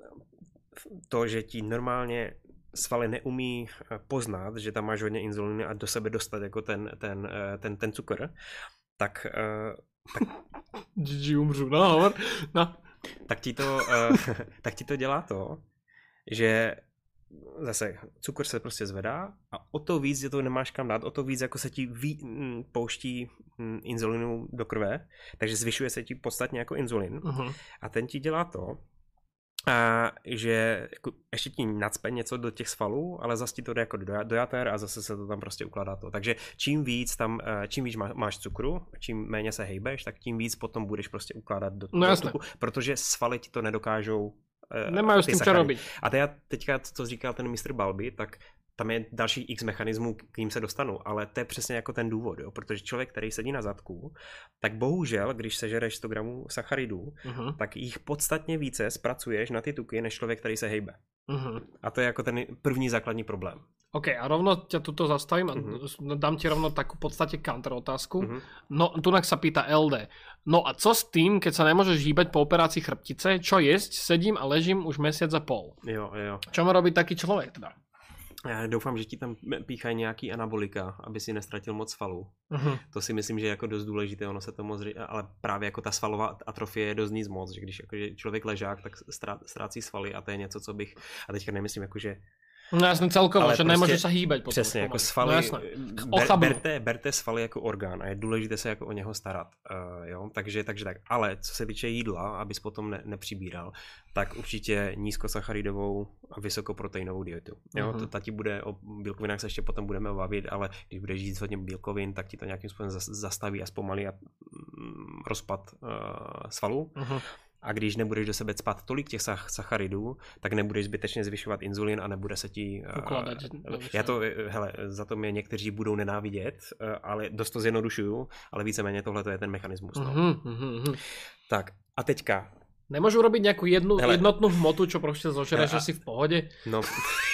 to, že ti normálně svaly neumí poznat, že tam máš hodně inzuliny a do sebe dostat jako ten, ten, ten, ten cukr, tak... Uh, tak G G umřu, no, hovor. No. Tak, ti to, uh, tak ti to dělá to, že zase cukr se prostě zvedá a o to víc, že to nemáš kam dát, o to víc jako se ti ví, m, pouští m, inzulinu do krve, takže zvyšuje se ti podstatně jako inzulin uh-huh. a ten ti dělá to, a že jako ještě ti nacpe něco do těch svalů, ale zase ti to jde jako do, do jater a zase se to tam prostě ukládá to. Takže čím víc tam, čím víc má, máš cukru, čím méně se hejbeš, tak tím víc potom budeš prostě ukládat do, no, do tuku, protože svaly ti to nedokážou. Nemají s tím co robiť. A teď teďka, co říkal ten mister Balby, tak tam je další x mechanismů, k ním se dostanu, ale to je přesně jako ten důvod, jo? Protože člověk, který sedí na zadku, tak bohužel, když sežereš sto gramů sacharidů, uh-huh. tak jich podstatně více zpracuješ na ty tuky, než člověk, který se hejbe. Uh-huh. A to je jako ten první základní problém. OK, a rovno ťa tuto zastavím a uh-huh. dám ti rovno takú v podstate counter otázku. Uh-huh. No, tunak sa pýta el dé. No a co s tým, keď sa nemôžeš hýbať po operácii chrbtice? Čo jesť? Sedím a ležím už mesiac a pol. Jo, jo. Čo má robiť taký človek teda? Já doufám, že ti tam píchají nějaký anabolika, aby si nestratil moc svalů. Uh-huh. To si myslím, že je jako dost důležité, ono se to moc, ale právě jako ta svalová atrofie je dost nic moc, že když jako, že člověk ležák, tak ztrácí svaly a to je něco, co bych, a teďka nemyslím jako, že no jasne, celkovo, že prostě, nemôže sa hýbať potom. Přesně, jako svaly, no ber, berte, berte svaly jako orgán a je důležité se jako o něho starat, uh, jo, takže, takže tak, ale co se týče jídla, abys potom ne, nepřibíral, tak určitě nízkosacharidovou a vysokoproteinovou dietu, jo, uh-huh. to ta ti bude, o bílkovinách se ještě potom budeme bavit, ale když budeš žít hodně bílkovin, tak ti to nějakým způsobem zastaví a zpomalí a mm, rozpad uh, svalů. Uh-huh. A když nebudeš do sebe cpat tolik těch sacharidů, tak nebudeš zbytečně zvyšovat inzulin a nebude se ti... Ukládat. Uh, já to, hele, za to mě někteří budou nenávidět, uh, ale dost to zjednodušuju, ale víceméně tohle je ten mechanismus. No. Uh-huh, uh-huh. Tak a teďka... Nemôžu robiť nejakú jednu, jednotnú hmotu, čo proste zožereš, že si v pohode? No.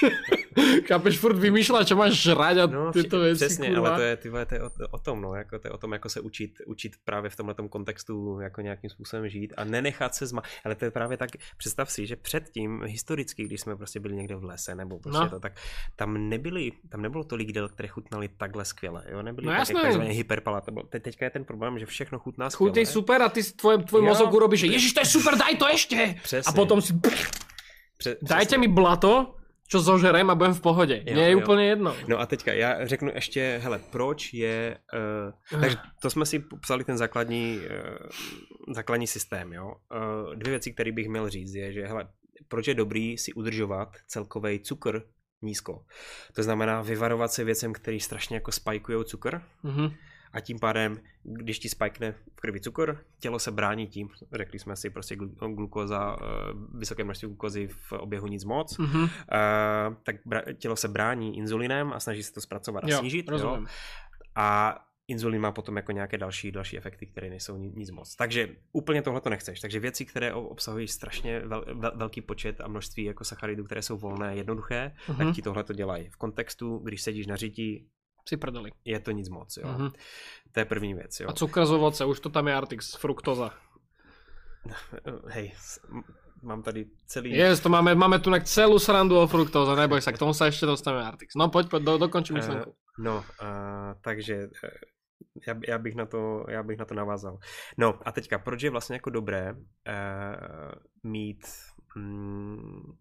Chápeš, furt vymýšľať, čo máš žrať a no, tyto veci, přesně, kurva. Ale to je, tyhle, to je o, o tom, no, jako, to je o tom, jako se učit, učit právě v tomhletom kontextu jako nějakým způsobem žít a nenechat se zma... Ale to je právě tak, představ si, že předtím, historicky, když jsme prostě byli někde v lese, nebo prostě no. to, tak tam nebyli, tam nebylo tolik jídel, které chutnaly takhle skvěle, jo, nebyly no, tak, takzvaně hyperpalatable. Te, teďka je ten problém, že všechno chutná skvěle. Chutí super a ty tvoj, tvoj mozog urobí, že ježiš, to je super, daj to ešte! Přesně. A potom si... Pře- dajte mi blato, čo zožerem a budem v pohodě. Mně je jo. úplně jedno. No a teďka já řeknu ještě, hele, proč je... Uh, takže to jsme si popsali ten základní, uh, základní systém, jo. Uh, dvě věci, které bych měl říct, je, že hele, proč je dobrý si udržovat celkový cukr nízko. To znamená vyvarovat se věcem, který strašně jako spajkujou cukr. Mm-hmm. A tím pádem, když ti spajkne v krvi cukr, tělo se brání tím, řekli jsme si prostě glukóza, vysoké množství glukózy v oběhu nic moc, mm-hmm. uh, tak tělo se brání inzulinem a snaží se to zpracovat a jo, snížit. Jo? A inzulin má potom jako nějaké další, další efekty, které nejsou nic moc. Takže úplně tohle to nechceš. Takže věci, které obsahují strašně vel, vel, velký počet a množství jako sacharidů, které jsou volné, jednoduché, mm-hmm. tak ti tohle to dělají. V kontextu, když sedíš na řití, si prdeli. Je to nic moc, jo. Uh-huh. To je první věc, jo. A cukr z ovoce, už to tam je Artix, fruktoza. Hej, mám tady celý... Yes, to máme, máme tu celú srandu o fruktoze, neboj sa, k tomu sa ešte dostaneme Artix. No poď, poď do, dokončím myšlenku. Uh, no, uh, takže uh, já, já, bych na to, já bych na to navázal. No a teďka, proč je vlastně jako dobré uh, mít... Mm,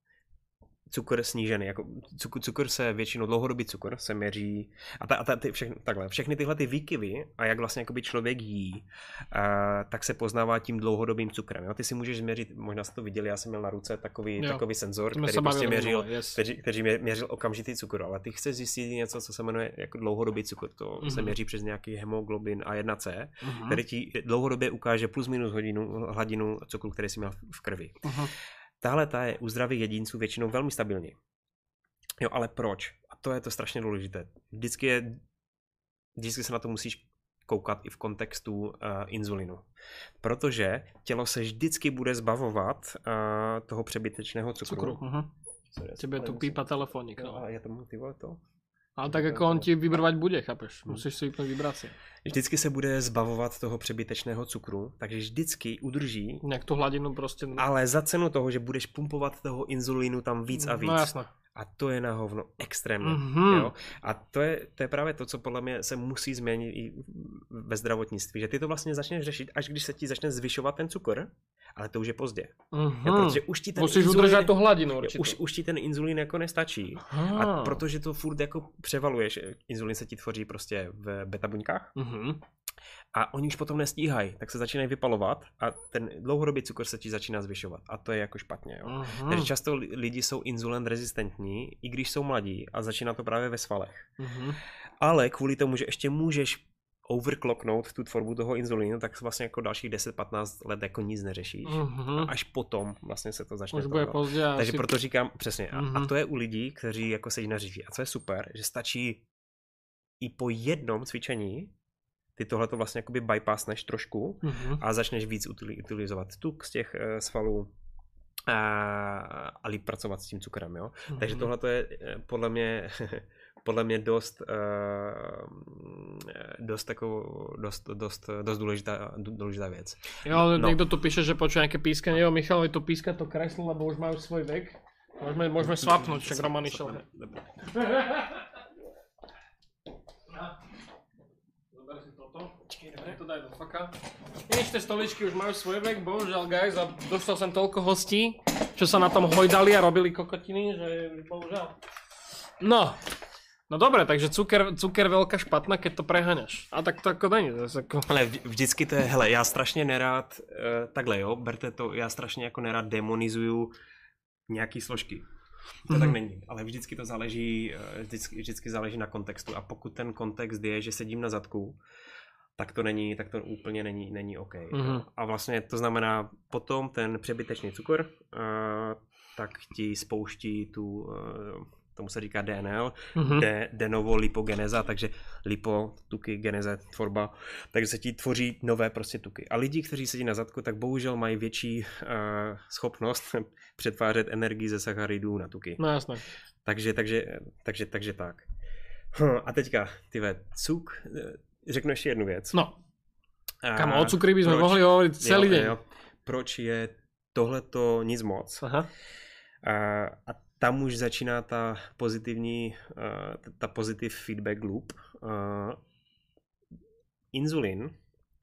cukr snížený, jako cukr, cukr se většinou, dlouhodobý cukr se měří a, ta, a ta, ty, všechny, takhle, všechny tyhle ty výkyvy a jak vlastně jakoby člověk jí, uh, tak se poznává tím dlouhodobým cukrem. Jo? Ty si můžeš změřit, možná jste to viděli, já jsem měl na ruce takový, takový senzor, který prostě měřil, yes. který, který měřil okamžitý cukr, ale ty chceš zjistit něco, co se jmenuje jako dlouhodobý cukr, to mm-hmm. se měří přes nějaký hemoglobin A jedna C, mm-hmm. který ti dlouhodobě ukáže plus minus hodinu, hladinu cukru, který jsi měl v krvi. Mm-hmm. Tahle ta je u zdravých jedinců většinou velmi stabilní. Jo, ale proč? A to je to strašně důležité. Vždycky, je, vždycky se na to musíš koukat i v kontextu uh, inzulinu. Protože tělo se vždycky bude zbavovat uh, toho přebytečného cukru. Cukru, uh-huh. Tebe tu pípa telefónik. No. A já tomu ty vole to... Ale tak jako on ti vybrovať bude, chápeš? Musíš si vypnout vibraci. Vždycky se bude zbavovat toho přebytečného cukru, takže vždycky udrží nějak tu hladinu prostě. Ale za cenu toho, že budeš pumpovat toho inzulínu tam víc a víc. No jasné. A to je na hovno extrémně. Mm-hmm. Jo? A to je, to je právě to, co podle mě se musí změnit i ve zdravotnictví, že ty to vlastně začneš řešit, až když se ti začne zvyšovat ten cukr, ale to už je pozdě. Mm-hmm. Jo, protože už ti ten musíš inzulín, udržet tu hladinu určitě. Už, už ti ten inzulín jako nestačí. Aha. A protože to furt jako převaluješ, inzulín se ti tvoří prostě v beta buňkách. Mm-hmm. A oni už potom nestíhají, tak se začínají vypalovat a ten dlouhodobý cukr se ti začíná zvyšovat. A to je jako špatně. Jo? Uh-huh. Takže často lidi jsou inzulin rezistentní, i když jsou mladí a začíná to právě ve svalech. Uh-huh. Ale kvůli tomu, že ještě můžeš overclocknout tu tvorbu toho inzulínu, tak vlastně jako dalších deset patnáct let jako nic neřešíš. Uh-huh. A až potom vlastně se to začne. Už bude pozdě. Takže asi... proto říkám přesně. Uh-huh. A, a to je u lidí, kteří jako sedí na řiži. A co je super, že stačí i po jednom cvičení ty tohleto vlastně jakoby bypassneš trošku mm-hmm. a začneš víc utilizovat tuk z těch uh, svalů a, a líp pracovat s tím cukrem, jo. Mm-hmm. Takže tohleto je podle mě podle mě dost uh, dost takovou dost, dost, dost důležitá, důležitá věc. Jo, ale no. Někdo tu píše, že počuje nějaké pískanie, jo, Michalovi to píska to kreslo, lebo už majú svoj vek. Môžeme, môžeme swapnúť, však Roman išiel. Zober si toto. Počkej, to daj do faka. Nič, tie stoličky už majú svoj vek, bohužiaľ guys, a dostal som toľko hostí, čo sa na tom hojdali a robili kokotiny, že bohužiaľ. No. No dobre, takže cuker, cuker veľká špatná, keď to preháňaš. A tak to ako není. Ako... Ale vždycky to je, hele, já strašně nerád, uh, takhle jo, berte to, já strašně jako nerád demonizuju nějaký složky. To mm-hmm. tak není, ale vždycky to záleží, vždycky, vždycky záleží na kontextu. A pokud ten kontext je, že sedím na zadku, tak to není, tak to úplně není, není OK. Mm-hmm. A vlastně to znamená, potom ten přebytečný cukor, uh, tak ti spouští tu... Uh, tomu se říká D N L, mm-hmm. de, de novo lipogeneza, takže lipo, tuky, geneze, tvorba, takže se ti tvoří nové prostě tuky. A lidi, kteří sedí na zadku, tak bohužel mají větší uh, schopnost přetvářet energii ze sacharidů na tuky. No jasné. Takže, takže, takže, takže tak. Hm, a teďka, tyve, cuk, řeknu ještě jednu věc. No. Kam o cukry by jsme mohli hovoriť celý jo, den. Jo. Proč je tohleto nic moc? Aha. Uh, a tam už začíná ta pozitivní, uh, ta pozitiv feedback loop. Uh, inzulin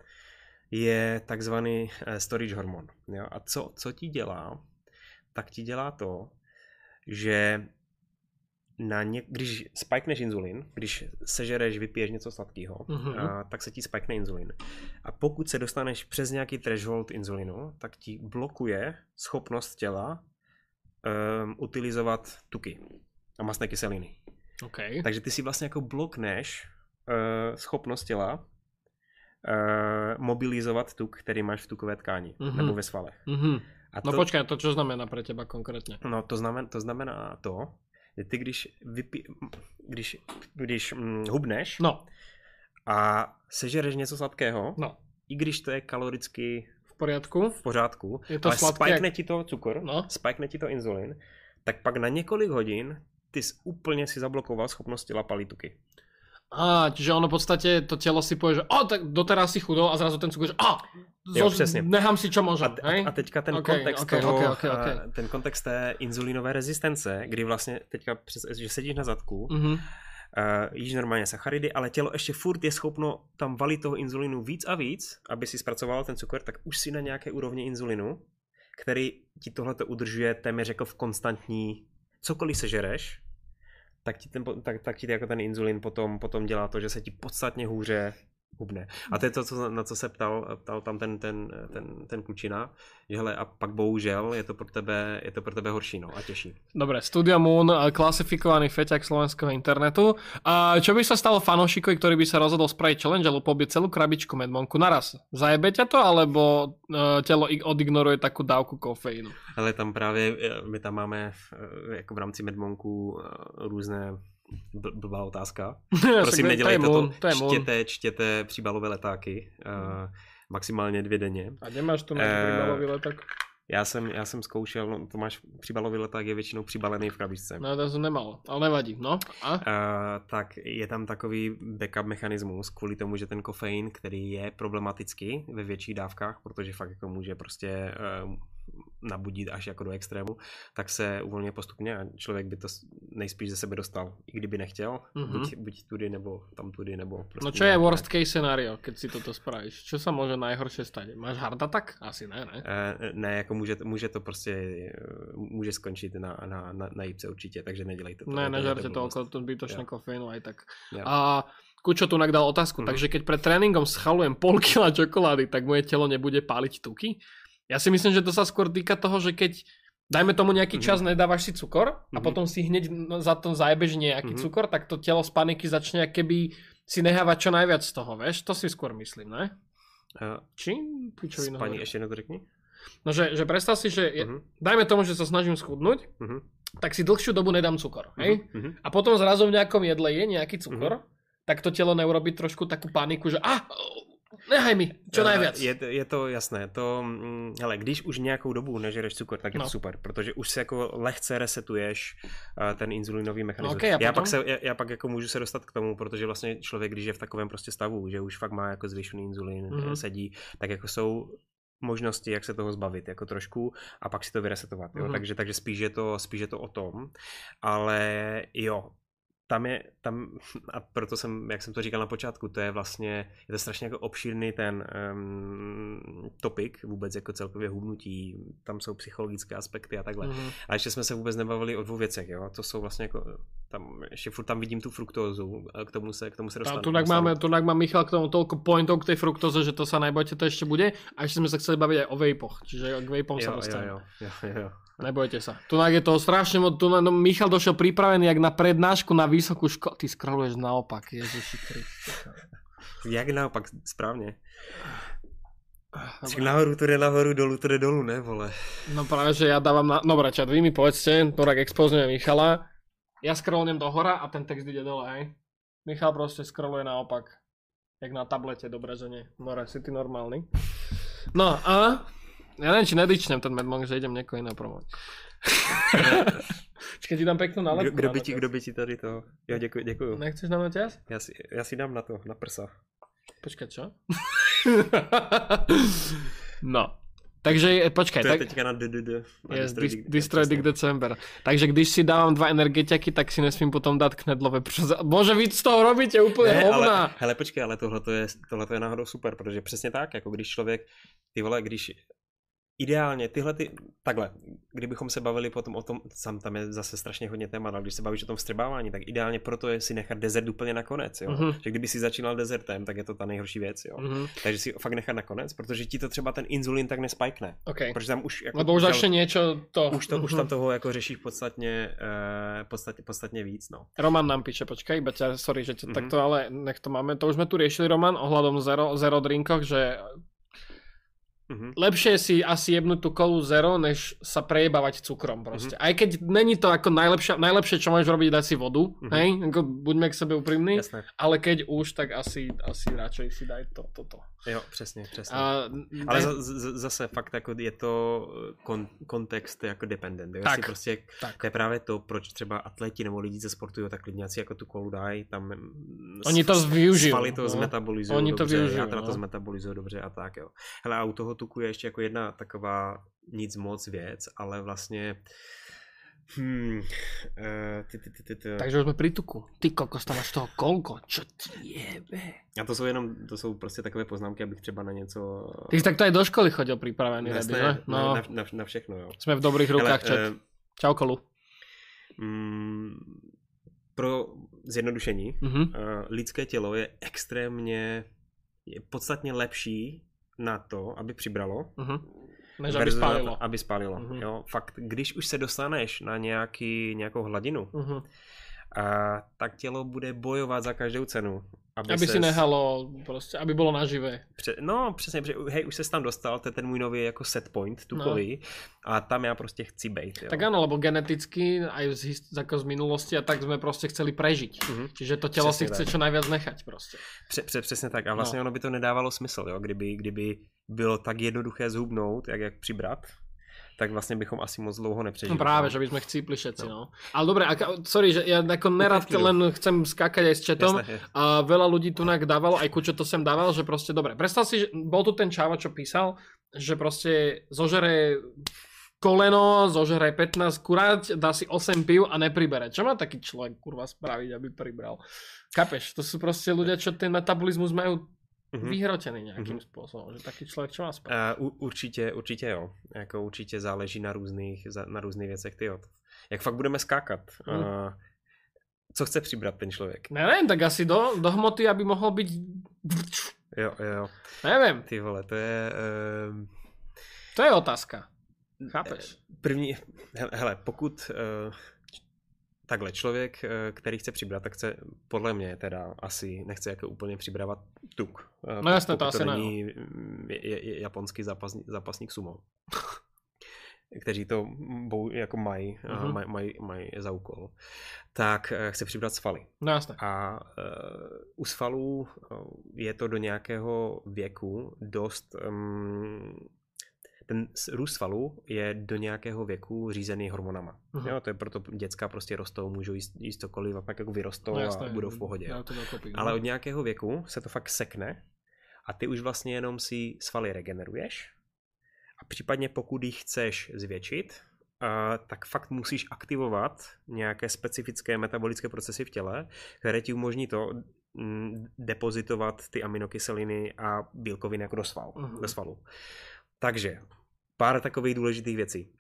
je takzvaný uh, storage hormon. Jo? A co, co ti dělá? Tak ti dělá to, že na ně, když spikneš inzulin, když sežereš, vypiješ něco sladkého, mm-hmm. uh, tak se ti spikne inzulin. A pokud se dostaneš přes nějaký threshold inzulinu, tak ti blokuje schopnost těla Um, utilizovat tuky a mastné kyseliny. Okay. Takže ty si vlastně jako blokneš uh, schopnost těla uh, mobilizovat tuk, který máš v tukové tkáni mm-hmm. nebo ve svalech. Mm-hmm. A to, no počkaj, to čo znamená pre teba konkrétně? No to znamená, to znamená to, že ty když, vypí, když, když hm, hubneš no. a sežereš něco sladkého, no. i když to je kaloricky poriadku. V pořádku, je to ale sladké, spikne jak... ti to cukor, no. spikne ti to inzulin, tak pak na několik hodin ty jsi úplně si zablokoval schopnost těla palit tuky. Á, čiže ono v podstate to telo si povie, že o, tak doteraz si chudol a zrazu ten cukor, že a, jo, přesně. nechám si čo môžem. A, te, hej? a teďka ten okay, kontext okay, toho, okay, okay, okay. ten kontext té inzulínové rezistence, kdy vlastně teďka, přes, že sedíš na zadku, mm-hmm. Uh, jíš normálně sacharidy, ale tělo ještě furt je schopno tam valit toho inzulinu víc a víc, aby si zpracoval ten cukor, tak už si na nějaké úrovni inzulinu, který ti tohleto udržuje téměř jako v konstantní, cokoliv sežereš, tak ti, ten, tak, tak ti jako ten inzulin potom, potom dělá to, že se ti podstatně hůře hubne. A to je to, co, na co se ptal, ptal tam ten, ten, ten, ten klučina, že hele, a pak bohužel je to pro tebe, je to pro tebe horší, no, a těžší. Dobre, Studio Moon, klasifikovaný feťak slovenského internetu. A čo by sa stalo fanúšikovi, ktorý by sa rozhodol spraviť challenge a lupobiť celú krabičku Medmonku naraz? Zajebe ťa to, alebo uh, telo odignoruje takú dávku kofeínu? Ale tam právě, my tam máme jako v rámci Medmonku různé blbá otázka. Prosím, nedělejte to, to, to čtěte, čtěte příbalové letáky, uh, maximálně dvě denně. A nemáš to máš uh, příbalový leták? Já jsem, já jsem zkoušel, no to máš, příbalový leták je většinou přibalený v krabičce. No to jsem nemal, ale nevadí, no. A? Uh, tak je tam takový backup mechanismus kvůli tomu, že ten kofein, který je problematický ve větších dávkách, protože fakt jako může prostě uh, nabudit až jako do extrému, tak se uvolňuje postupně a člověk by to nejspíš ze sebe dostal, i kdyby nechtěl, mm-hmm. buď, buď tudy, nebo tam tudy, nebo prostě... No čo je worst case scenario, keď si toto spravíš? Čo sa môže najhoršie stať? Máš heart attack? Asi ne, ne? E, ne, jako může, může to prostě, může skončit na, na, na, na jípce určitě, takže nedělejte to. Ne, nežerte to okolo zbytočné kofeínu aj tak. Ja. A Kučo tu dal otázku, mm-hmm. takže keď pred tréningom schalujem pol kila čokolády, tak moje telo nebude páliť tuky? Ja si myslím, že to sa skôr týka toho, že keď dajme tomu nejaký čas, mm-hmm. nedávaš si cukor a mm-hmm. potom si hneď za to zajebeš nejaký mm-hmm. cukor, tak to telo z paniky začne keby si nehávať čo najviac z toho, vieš? To si skôr myslím, ne? Uh, Či? Pičovinu. Pani, ešte jedno to řekni. No, že, že predstav si, že je, mm-hmm. dajme tomu, že sa snažím schudnúť, mm-hmm. tak si dlhšiu dobu nedám cukor, hej? Mm-hmm. A potom zrazu v nejakom jedle je nejaký cukor, mm-hmm. tak to telo neurobí trošku takú paniku, že ah, nehaj mi, čo najviac. Je, je to jasné, to, hele, když už nějakou dobu nežereš cukor, tak je no. to super, protože už se jako lehce resetuješ uh, ten inzulinový mechanismus. Okay, já, pak se, já, já pak jako můžu se dostat k tomu, protože vlastně člověk, když je v takovém prostě stavu, že už fakt má jako zvýšený inzulin, mm-hmm. sedí, tak jako jsou možnosti, jak se toho zbavit, jako trošku, a pak si to vyresetovat, jo? Mm-hmm. Takže, takže spíš, je to, spíš je to o tom, ale jo, tam je, tam, a proto jsem, jak jsem to říkal na počátku, to je vlastně, je to strašně jako obšírný ten um, topik, vůbec jako celkově hubnutí, tam jsou psychologické aspekty a takhle. Mm-hmm. A ještě jsme se vůbec nebavili o dvou věcech, jo, to jsou vlastně jako, tam, ještě furt tam vidím tu fruktózu, k tomu se, k tomu se dostanu. Tu tak máme, tu tak má Michal k tomu toľko pointov k tej fruktóze, že to sa nebojte, to ešte bude. A ešte sme sa chceli baviť aj o vapoch, čiže k vapom sa dostaneme. Jo, jo, jo, jo. Nebojte sa. Tu je toho strašne moc. Tu no, Michal došiel pripravený jak na prednášku na vysokú školu. Ty scrolluješ naopak, Ježiši Kriste. Jak naopak, správne. Však nahoru to jde nahoru, dolu to jde dolu, ne vole. No práve, že ja dávam na... Dobre, čat, vy mi povedzte, to tak expozňuje Michala. Ja scrollujem do hora a ten text ide dole, hej. Michal proste scrolluje naopak. Jak na tablete, dobre, že nie. More, si ty normálny. No a... Ja neviem, či nedičnem ten Madmonk, že idem niekoho iného promovať. Čekaj, ti dám peknú nálepku. Kdo by ti, kdo by ti tady to... Jo, děkuji, děkuji. Nechceš nám noťaz? Já si, já si dám na to, na prsa. Počkaj, čo? No. Takže, počkaj. To je tak... teďka na D D D. Yes, Destroy Dick December. Takže když si dávám dva energetiaky, tak si nesmím potom dát knedlové prsa. Bože, vy z toho robíte úplně ne, hovna. Ale, hele, počkej, ale tohle je, tohleto je náhodou super, protože přesně tak, jako když člověk, ty vole, když ideálně tyhle ty, takhle, kdybychom se bavili potom o tom, sam tam je zase strašně hodně témat, ale když se bavíš o tom vstřebávání, tak ideálně proto je si nechat desert úplně nakonec, jo. Mm-hmm. Že kdyby si začínal desertem, tak je to ta nejhorší věc, jo. Mm-hmm. Takže si fakt nechat nakonec, protože ti to třeba ten inzulin tak nespajkne. Okay. Protože tam už jako lebo už začne niečo to. Už, to, mm-hmm. už tam toho jako řešíš podstatně, uh, podstatně, podstatně víc, no. Roman nám píše, počkaj, iba ťa, sorry, že ťa mm-hmm. takto, ale nech to máme, to už sme tu riešili, Roman, ohľadom zero, zero drinkoch, že Mm-hmm. lepšie si asi jebnúť tú kolu zero, než sa prejebávať cukrom proste. Mm-hmm. Aj keď není to ako najlepšie, najlepšie, čo môžeš robiť, dať si vodu, mm-hmm. hej, ako buďme k sebe úprimní, Jasné. ale keď už, tak asi, asi radšej si daj to, toto. Jo, přesně, přesně. A, ale ne... zase fakt jako je to kon, kontext jako dependent. Jo? Tak, prostě, tak. To je právě to, proč třeba atleti nebo lidi ze sportují, tak klidně si jako tu kolu dají, tam oni to využijou. Svaly to no. zmetabolizují Oni dobře, to využijou, játra no. to zmetabolizují dobře a tak jo. Hele, a u toho tuku je ještě jako jedna taková nic moc věc, ale vlastně Hmm, uh, ty, ty, ty, ty, ty. Takže už jsme pri tuku. Ty kokos, tam máš toho kolko, čo ti jebe. A to jsou jenom, to jsou prostě takové poznámky, abych třeba na něco... Ty jsi takto aj do školy chodil připravený, Jasné, ne? No. Na, na, na všechno, jo. Jsme v dobrých rukách, čet. Uh, Čau, Kolu. Mm, pro zjednodušení, uh-huh. uh, lidské tělo je extrémně, je podstatně lepší na to, aby přibralo, uh-huh. než aby spálilo. To, aby spálilo. Uh-huh. Jo, fakt, když už se dostaneš na nějaký, nějakou hladinu, uh-huh. a, tak tělo bude bojovat za každou cenu. Aby, aby si nehalo, prostě, aby bylo naživé. Pře- no, přesně, pře- hej, už se tam dostal, to je ten můj nový jako set point, tukový, no. A tam já prostě chci bejt. Jo. Tak ano, lebo geneticky, aj z, hist- jako z minulosti a tak jsme prostě chceli prežiť. Mm-hmm. Čiže to tělo přesně si chce tak. Čo najviac nechať prostě. Pře- pře- přesně tak a vlastně no. Ono by to nedávalo smysl, jo, kdyby, kdyby bylo tak jednoduché zhubnout, jak, jak přibrat. Tak vlastně bychom asi moc dlouho nepřežili. No právě, že bychom chcípli všetci, no. no. Ale dobre, ako, sorry, že ja ako nerad len chcem skákať aj s chatom. Jasné, a veľa ľudí tu dávalo, aj Kučo to sem dával, že proste, dobre, predstav si, že bol tu ten čáva, čo písal, že proste zožere koleno, zožere pätnásť kurať, dá si osem pív a nepribere. Čo má taký človek, kurva, spraviť, aby pribral? Kapeš, to sú proste ľudia, čo ten metabolizmus majú Mm-hmm. vyhrotený nějakým mm-hmm. způsobem, že taky člověk čo má spát. Uh, určitě, určitě jo. Jako určitě záleží na různých, na různých věcech, ty jo. Jak fakt budeme skákat? Mm. Uh, co chce přibrat ten člověk? Nevím, tak asi do, do hmoty, aby mohl být... Jo, jo. Nevím. Ty vole, to je... Uh... To je otázka. Chápeš? První, hele, pokud... Uh... Takhle, člověk, který chce přibrat, tak chce, podle mě teda asi, nechce jako úplně přibravat tuk. No jasně, to asi není je, je, japonský zápasník, zápasník sumo. Kteří to bou, jako mají, uh-huh. maj, maj, maj za úkol. Tak chce přibrat svaly. No jasně. A uh, u svalů je to do nějakého věku dost... Um, ten růst svalů je do nějakého věku řízený hormonama. Uh-huh. Jo, to je proto děcka prostě rostou, můžou jíst, jíst cokoliv a pak jako vyrostou no, jasné, a budou v pohodě. Kopí, ale od nějakého věku se to fakt sekne a ty už vlastně jenom si svaly regeneruješ A případně pokud ji chceš zvětšit, Uh, tak fakt musíš aktivovat nějaké specifické metabolické procesy v těle, které ti umožní to mm, depozitovat ty aminokyseliny a bílkoviny jako do, sval, uh-huh. do svalu. Takže pár takových důležitých věcí.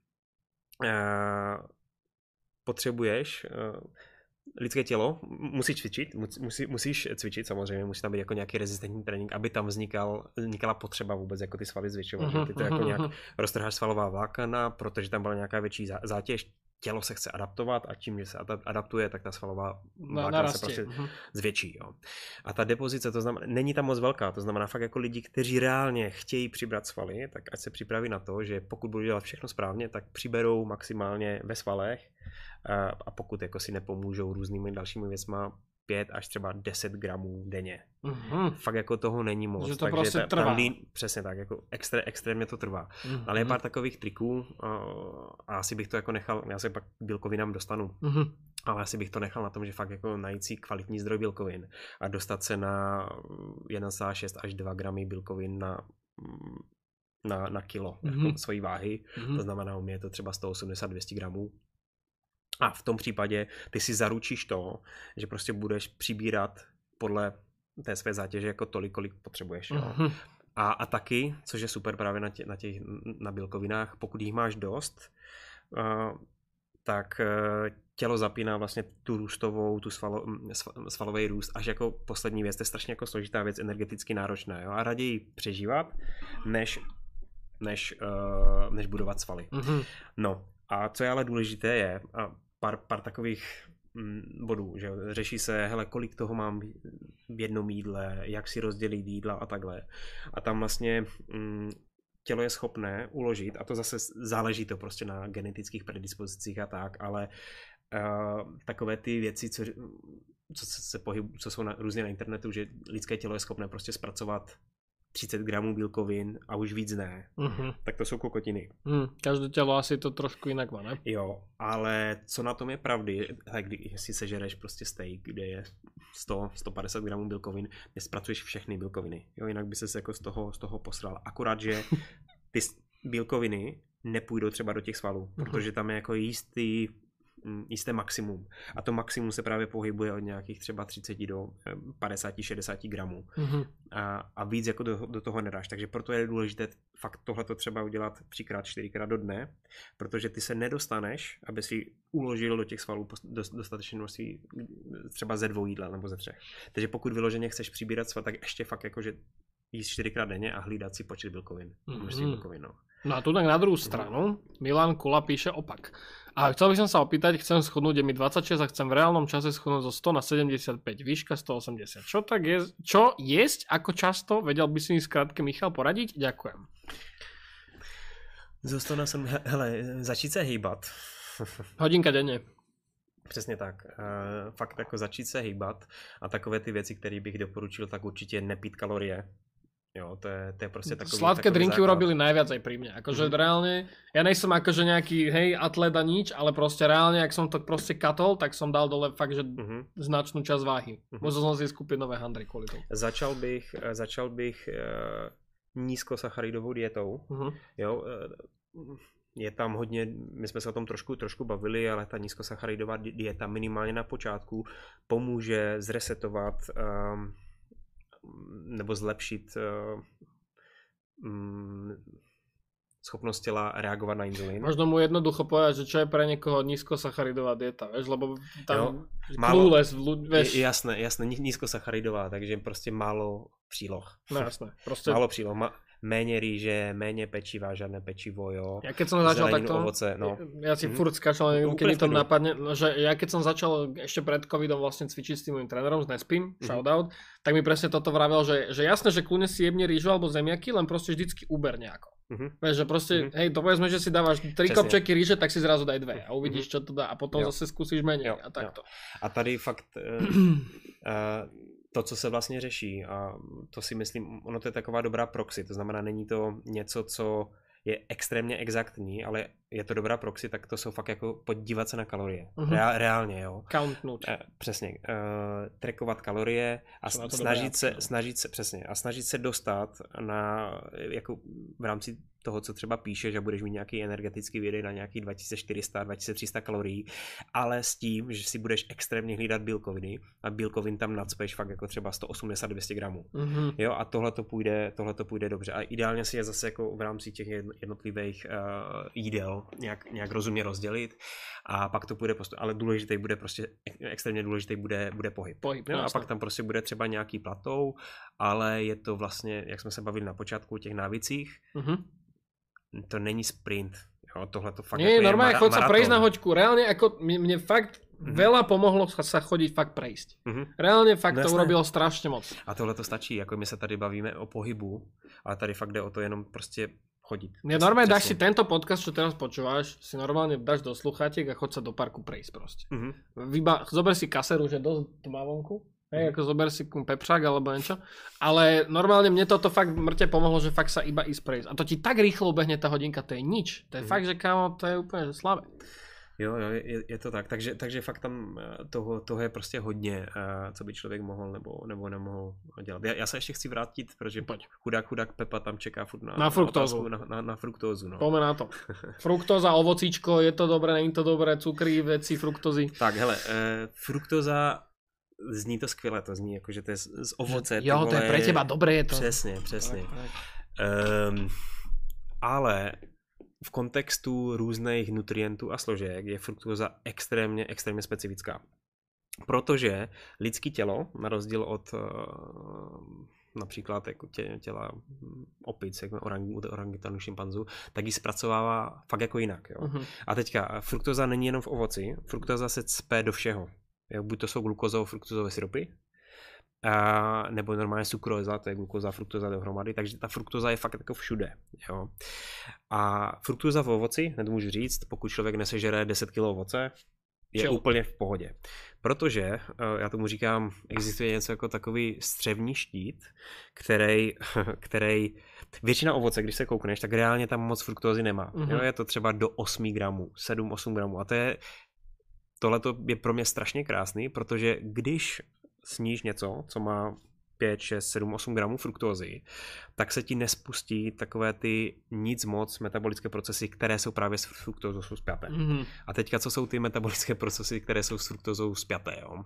Uh, potřebuješ uh, lidské tělo, musí cvičit, musí, musíš cvičit samozřejmě, musí tam být jako nějaký rezistentní trénink, aby tam vznikal, vznikala potřeba vůbec jako ty svaly zvětšovat, uh-huh, ty to uh-huh, jako nějak roztrháš svalová vlákna, protože tam byla nějaká větší zátěž, tělo se chce adaptovat a tím, že se adaptuje, tak ta svalová vlákna se prostě uh-huh. zvětší. Jo. A ta depozice, to znamená, není tam moc velká, to znamená fakt jako lidi, kteří reálně chtějí přibrat svaly, tak ať se připraví na to, že pokud budou dělat všechno správně, tak přiberou maximálně ve svalech. A pokud jako si nepomůžou různými dalšími věcma, pět až třeba deset gramů denně. Mm-hmm. Fakt jako toho není moc. Že to takže prostě ta, trvá. Lín, přesně tak, jako extré, extrémně to trvá. Mm-hmm. Ale je pár takových triků a asi bych to jako nechal, já se pak k bílkovinám dostanu, mm-hmm. ale asi bych to nechal na tom, že fakt jako najít si kvalitní zdroj bílkovin a dostat se na jedna celá šest až dva gramy bílkovin na na, na kilo mm-hmm. jako svojí váhy. Mm-hmm. To znamená, u mě je to třeba sto osmdesát až dvě stě gramů. A v tom případě ty si zaručíš to, že prostě budeš přibírat podle té své zátěže jako tolik, kolik potřebuješ. Jo. Uh-huh. A, a taky, což je super právě na, tě, na těch na bílkovinách, pokud jich máš dost, uh, tak uh, tělo zapíná vlastně tu růstovou, tu svalo, svalový růst až jako poslední věc. To je strašně jako složitá věc, energeticky náročná. Jo. A raději přežívat, než, než, uh, než budovat svaly. Uh-huh. No a co je ale důležité je, a pár, pár takových mm, bodů, že řeší se, hele, kolik toho mám v jednom jídle, jak si rozdělit jídla a takhle. A tam vlastně mm, tělo je schopné uložit, a to zase záleží to prostě na genetických predispozicích a tak, ale uh, takové ty věci, co, co, se pohyb, co jsou na, různě na internetu, že lidské tělo je schopné prostě zpracovat třicet gramů bílkovin a už víc ne. Uh-huh. Tak to jsou kokotiny. Mm, každé tělo asi to trošku jinak má, ne? Jo, ale co na tom je pravdy, když si sežereš prostě steak, kde je sto až sto padesát gramů bílkovin, nespracuješ všechny bílkoviny. Jo, jinak by ses jako z toho, z toho posral. Akorát, že ty bílkoviny nepůjdou třeba do těch svalů, uh-huh. protože tam je jako jistý jisté maximum. A to maximum se právě pohybuje od nějakých třeba třicet do padesát až šedesát gramů. Mm-hmm. A, a víc jako do, do toho nedáš. Takže proto je důležité fakt tohleto třeba udělat třikrát, čtyřikrát do dne, protože ty se nedostaneš, aby si uložil do těch svalů dostatečné množství třeba ze dvou jídla nebo ze třech. Takže pokud vyloženě chceš přibírat sval, tak ještě fakt jakože jíst čtyřikrát denně a hlídat si počet bílkovin. Mm-hmm. bílkovin no. No a tu tak na druhou stranu Milan Kula píše opak. A chcel by som sa opýtať, chcem schudnúť, je mi dvadsaťšesť a chcem v reálnom čase schudnúť zo sto na sedemdesiatpäť, výška sto osemdesiat. Čo tak je, čo jesť, ako často, vedel by si mi skrátke Michal poradiť? Ďakujem. Zo sto na sedm, hele, začít se hýbat. Hodinka denne. Přesně tak. Uh, fakt jako začít se hýbat a takové ty věci, které bych doporučil, tak určitě nepít kalorie. Jo, to je, to je prostě takový, sladké takový drinky základ. urobili najviac aj pri mne. Akože mm-hmm. reálne, ja nejsem akože nejaký hej atlet a nič, ale proste reálne, ak som to proste katol, tak som dal dole fakt, že mm-hmm. značnú časť váhy. Mm-hmm. Musel som si skúpiť nové handry kvôli tomu. Začal bych, začal bych uh, nízkosacharidovou dietou. Mm-hmm. Jo, uh, je tam hodně, my jsme se o tom trošku, trošku bavili, ale ta nízkosacharidová dieta minimálně na počátku pomůže zresetovat um, nebo zlepšit uh, um, schopnost těla reagovat na inzulín. Možno mu jednoducho povedať, že čo je pre niekoho nízkosacharidová dieta, vieš, lebo tam clueless, vieš. Jasné, jasné, nízkosacharidová, takže prostě málo příloh. No jasné, prostě. Málo příloh, ma- méně rýže, méně pečiva, žádné pečivo, jo. Ja keď som začal zeleninu, takto, ovoce, no. ja si mm-hmm. furt skáčal, keď mi to napadne, že ja keď som začal ešte pred covidom vlastne cvičiť s tým môjim trénerom, s Nespim, mm-hmm. shoutout, tak mi presne toto vravel, že, že jasné, že kľudne si jebne rýžu alebo zemiaky, len proste vždycky uber nejako. Mm-hmm. Vieš, že proste, mm-hmm. hej, to povedzme, že si dávaš tri kopčeky rýže, tak si zrazu daj dve a uvidíš, čo to dá a potom jo. zase skúsiš menej jo, a takto. Jo. A tady fakt... Uh, uh, to, co se vlastně řeší, a to si myslím, ono to je taková dobrá proxy, to znamená, není to něco, co je extrémně exaktní, ale je to dobrá proxy, tak to jsou fakt jako podívat se na kalorie. Mhm. Reál, reálně, jo. Countnout. Eh, přesně. Uh, trackovat kalorie a Jsou na to snažit dobré se, apky, no. snažit se, přesně, a snažit se dostat na, jako v rámci toho, co třeba píše, že budeš mít nějaký energetický výdej na nějaký dva tisíce čtyři sta, dva tisíce tři sta kalorií, ale s tím, že si budeš extrémně hlídat bílkoviny a bílkovin tam nacpeš fakt jako třeba sto osmdesát až dvě stě gramů. Mhm. Jo, a tohle to půjde, tohle to půjde dobře. A ideálně si je zase jako v rámci těch jednotlivých uh, jídel nějak, nějak rozumně rozdělit a pak to půjde postup. Ale důležitý bude prostě, extrémně důležitý bude, bude pohyb. Pohyb, Jo, a jasné. pak tam prostě bude třeba nějaký platou, ale je to vlastně, jak jsme se bavili na počátku o těch návicích, Mhm. to není sprint. Jo, tohle to fakt Nie, jako normálne je chod sa maratón. prejsť na hoďku. Reálne ako mne, mne fakt Mhm. veľa pomohlo sa, sa chodiť fakt prejsť. Mhm. Reálne fakt No to jasné. urobilo strašne moc. A tohle to stačí, jako my se tady bavíme o pohybu, ale tady fakt jde o to jenom prostě chodit. Mne normálne dáš si tento podcast, čo teraz počúvaš, si normálne dáš do sluchátiek a chod sa do parku prejsť proste. Mhm. Vyba, zober si kaseru, že dosť tma vonku, hej, Mhm. ako zober si pepřák alebo niečo, ale normálne mne toto fakt mŕte pomohlo, že fakt sa iba ísť prejsť. A to ti tak rýchlo ubehne tá hodinka, to je nič. To je Mhm. fakt, že kámo, to je úplne že slavé. Jo, jo, je, je to tak. Takže, takže fakt tam eh, toho, toho je prostě hodně, uh, co by člověk mohl nebo, nebo nemohl dělat. Já, já se ještě chci vrátit, protože Poď. chudák, chudák Pepa tam čeká furt na, Na fruktózu. otázku, Na, na, na fruktózu. No. Poďme na to. Fruktóza, ovocíčko, je to dobré, není to dobré, cukry, veci, fruktózy. Tak, hele, uh, fruktóza, zní to skvěle, to zní jako, že to je z, z ovoce. ty Jo, to je vole, pre teba, dobré je to. Přesně, přesně. Tak, tak. Um, ale v kontextu různých nutrientů a složek je fruktóza extrémně, extrémně specifická. Protože lidské tělo, na rozdíl od uh, například jako tě, těla opic, jako orang, orangutanů, šimpanzů, tak ji zpracovává fakt jako jinak. Jo. Mhm. A teďka, fruktóza není jenom v ovoci, fruktóza se cpe do všeho. Jo, buď to jsou glukozovo-fruktozové syrupy, a, nebo normálně sukróza, to je glukoza, fruktóza dohromady, takže ta fruktóza je fakt jako všude. Jo. A fruktóza v ovoci, hned můžu říct, pokud člověk nesežere deset kilo ovoce, je Chill. úplně v pohodě. Protože, já tomu říkám, existuje něco jako takový střevní štít, který, který většina ovoce, když se koukneš, tak reálně tam moc fruktózy nemá. Mhm. Jo, je to třeba do osm gramů, sedm osm gramů. A to je, tohleto je pro mě strašně krásný, protože když sníš něco, co má pět, šest, sedm, osm gramů fruktózy, tak se ti nespustí takové ty nic moc metabolické procesy, které jsou právě s fruktózou jsou spjaté. Mhm. A teďka, co jsou ty metabolické procesy, které jsou s fruktózou spjaté, jo?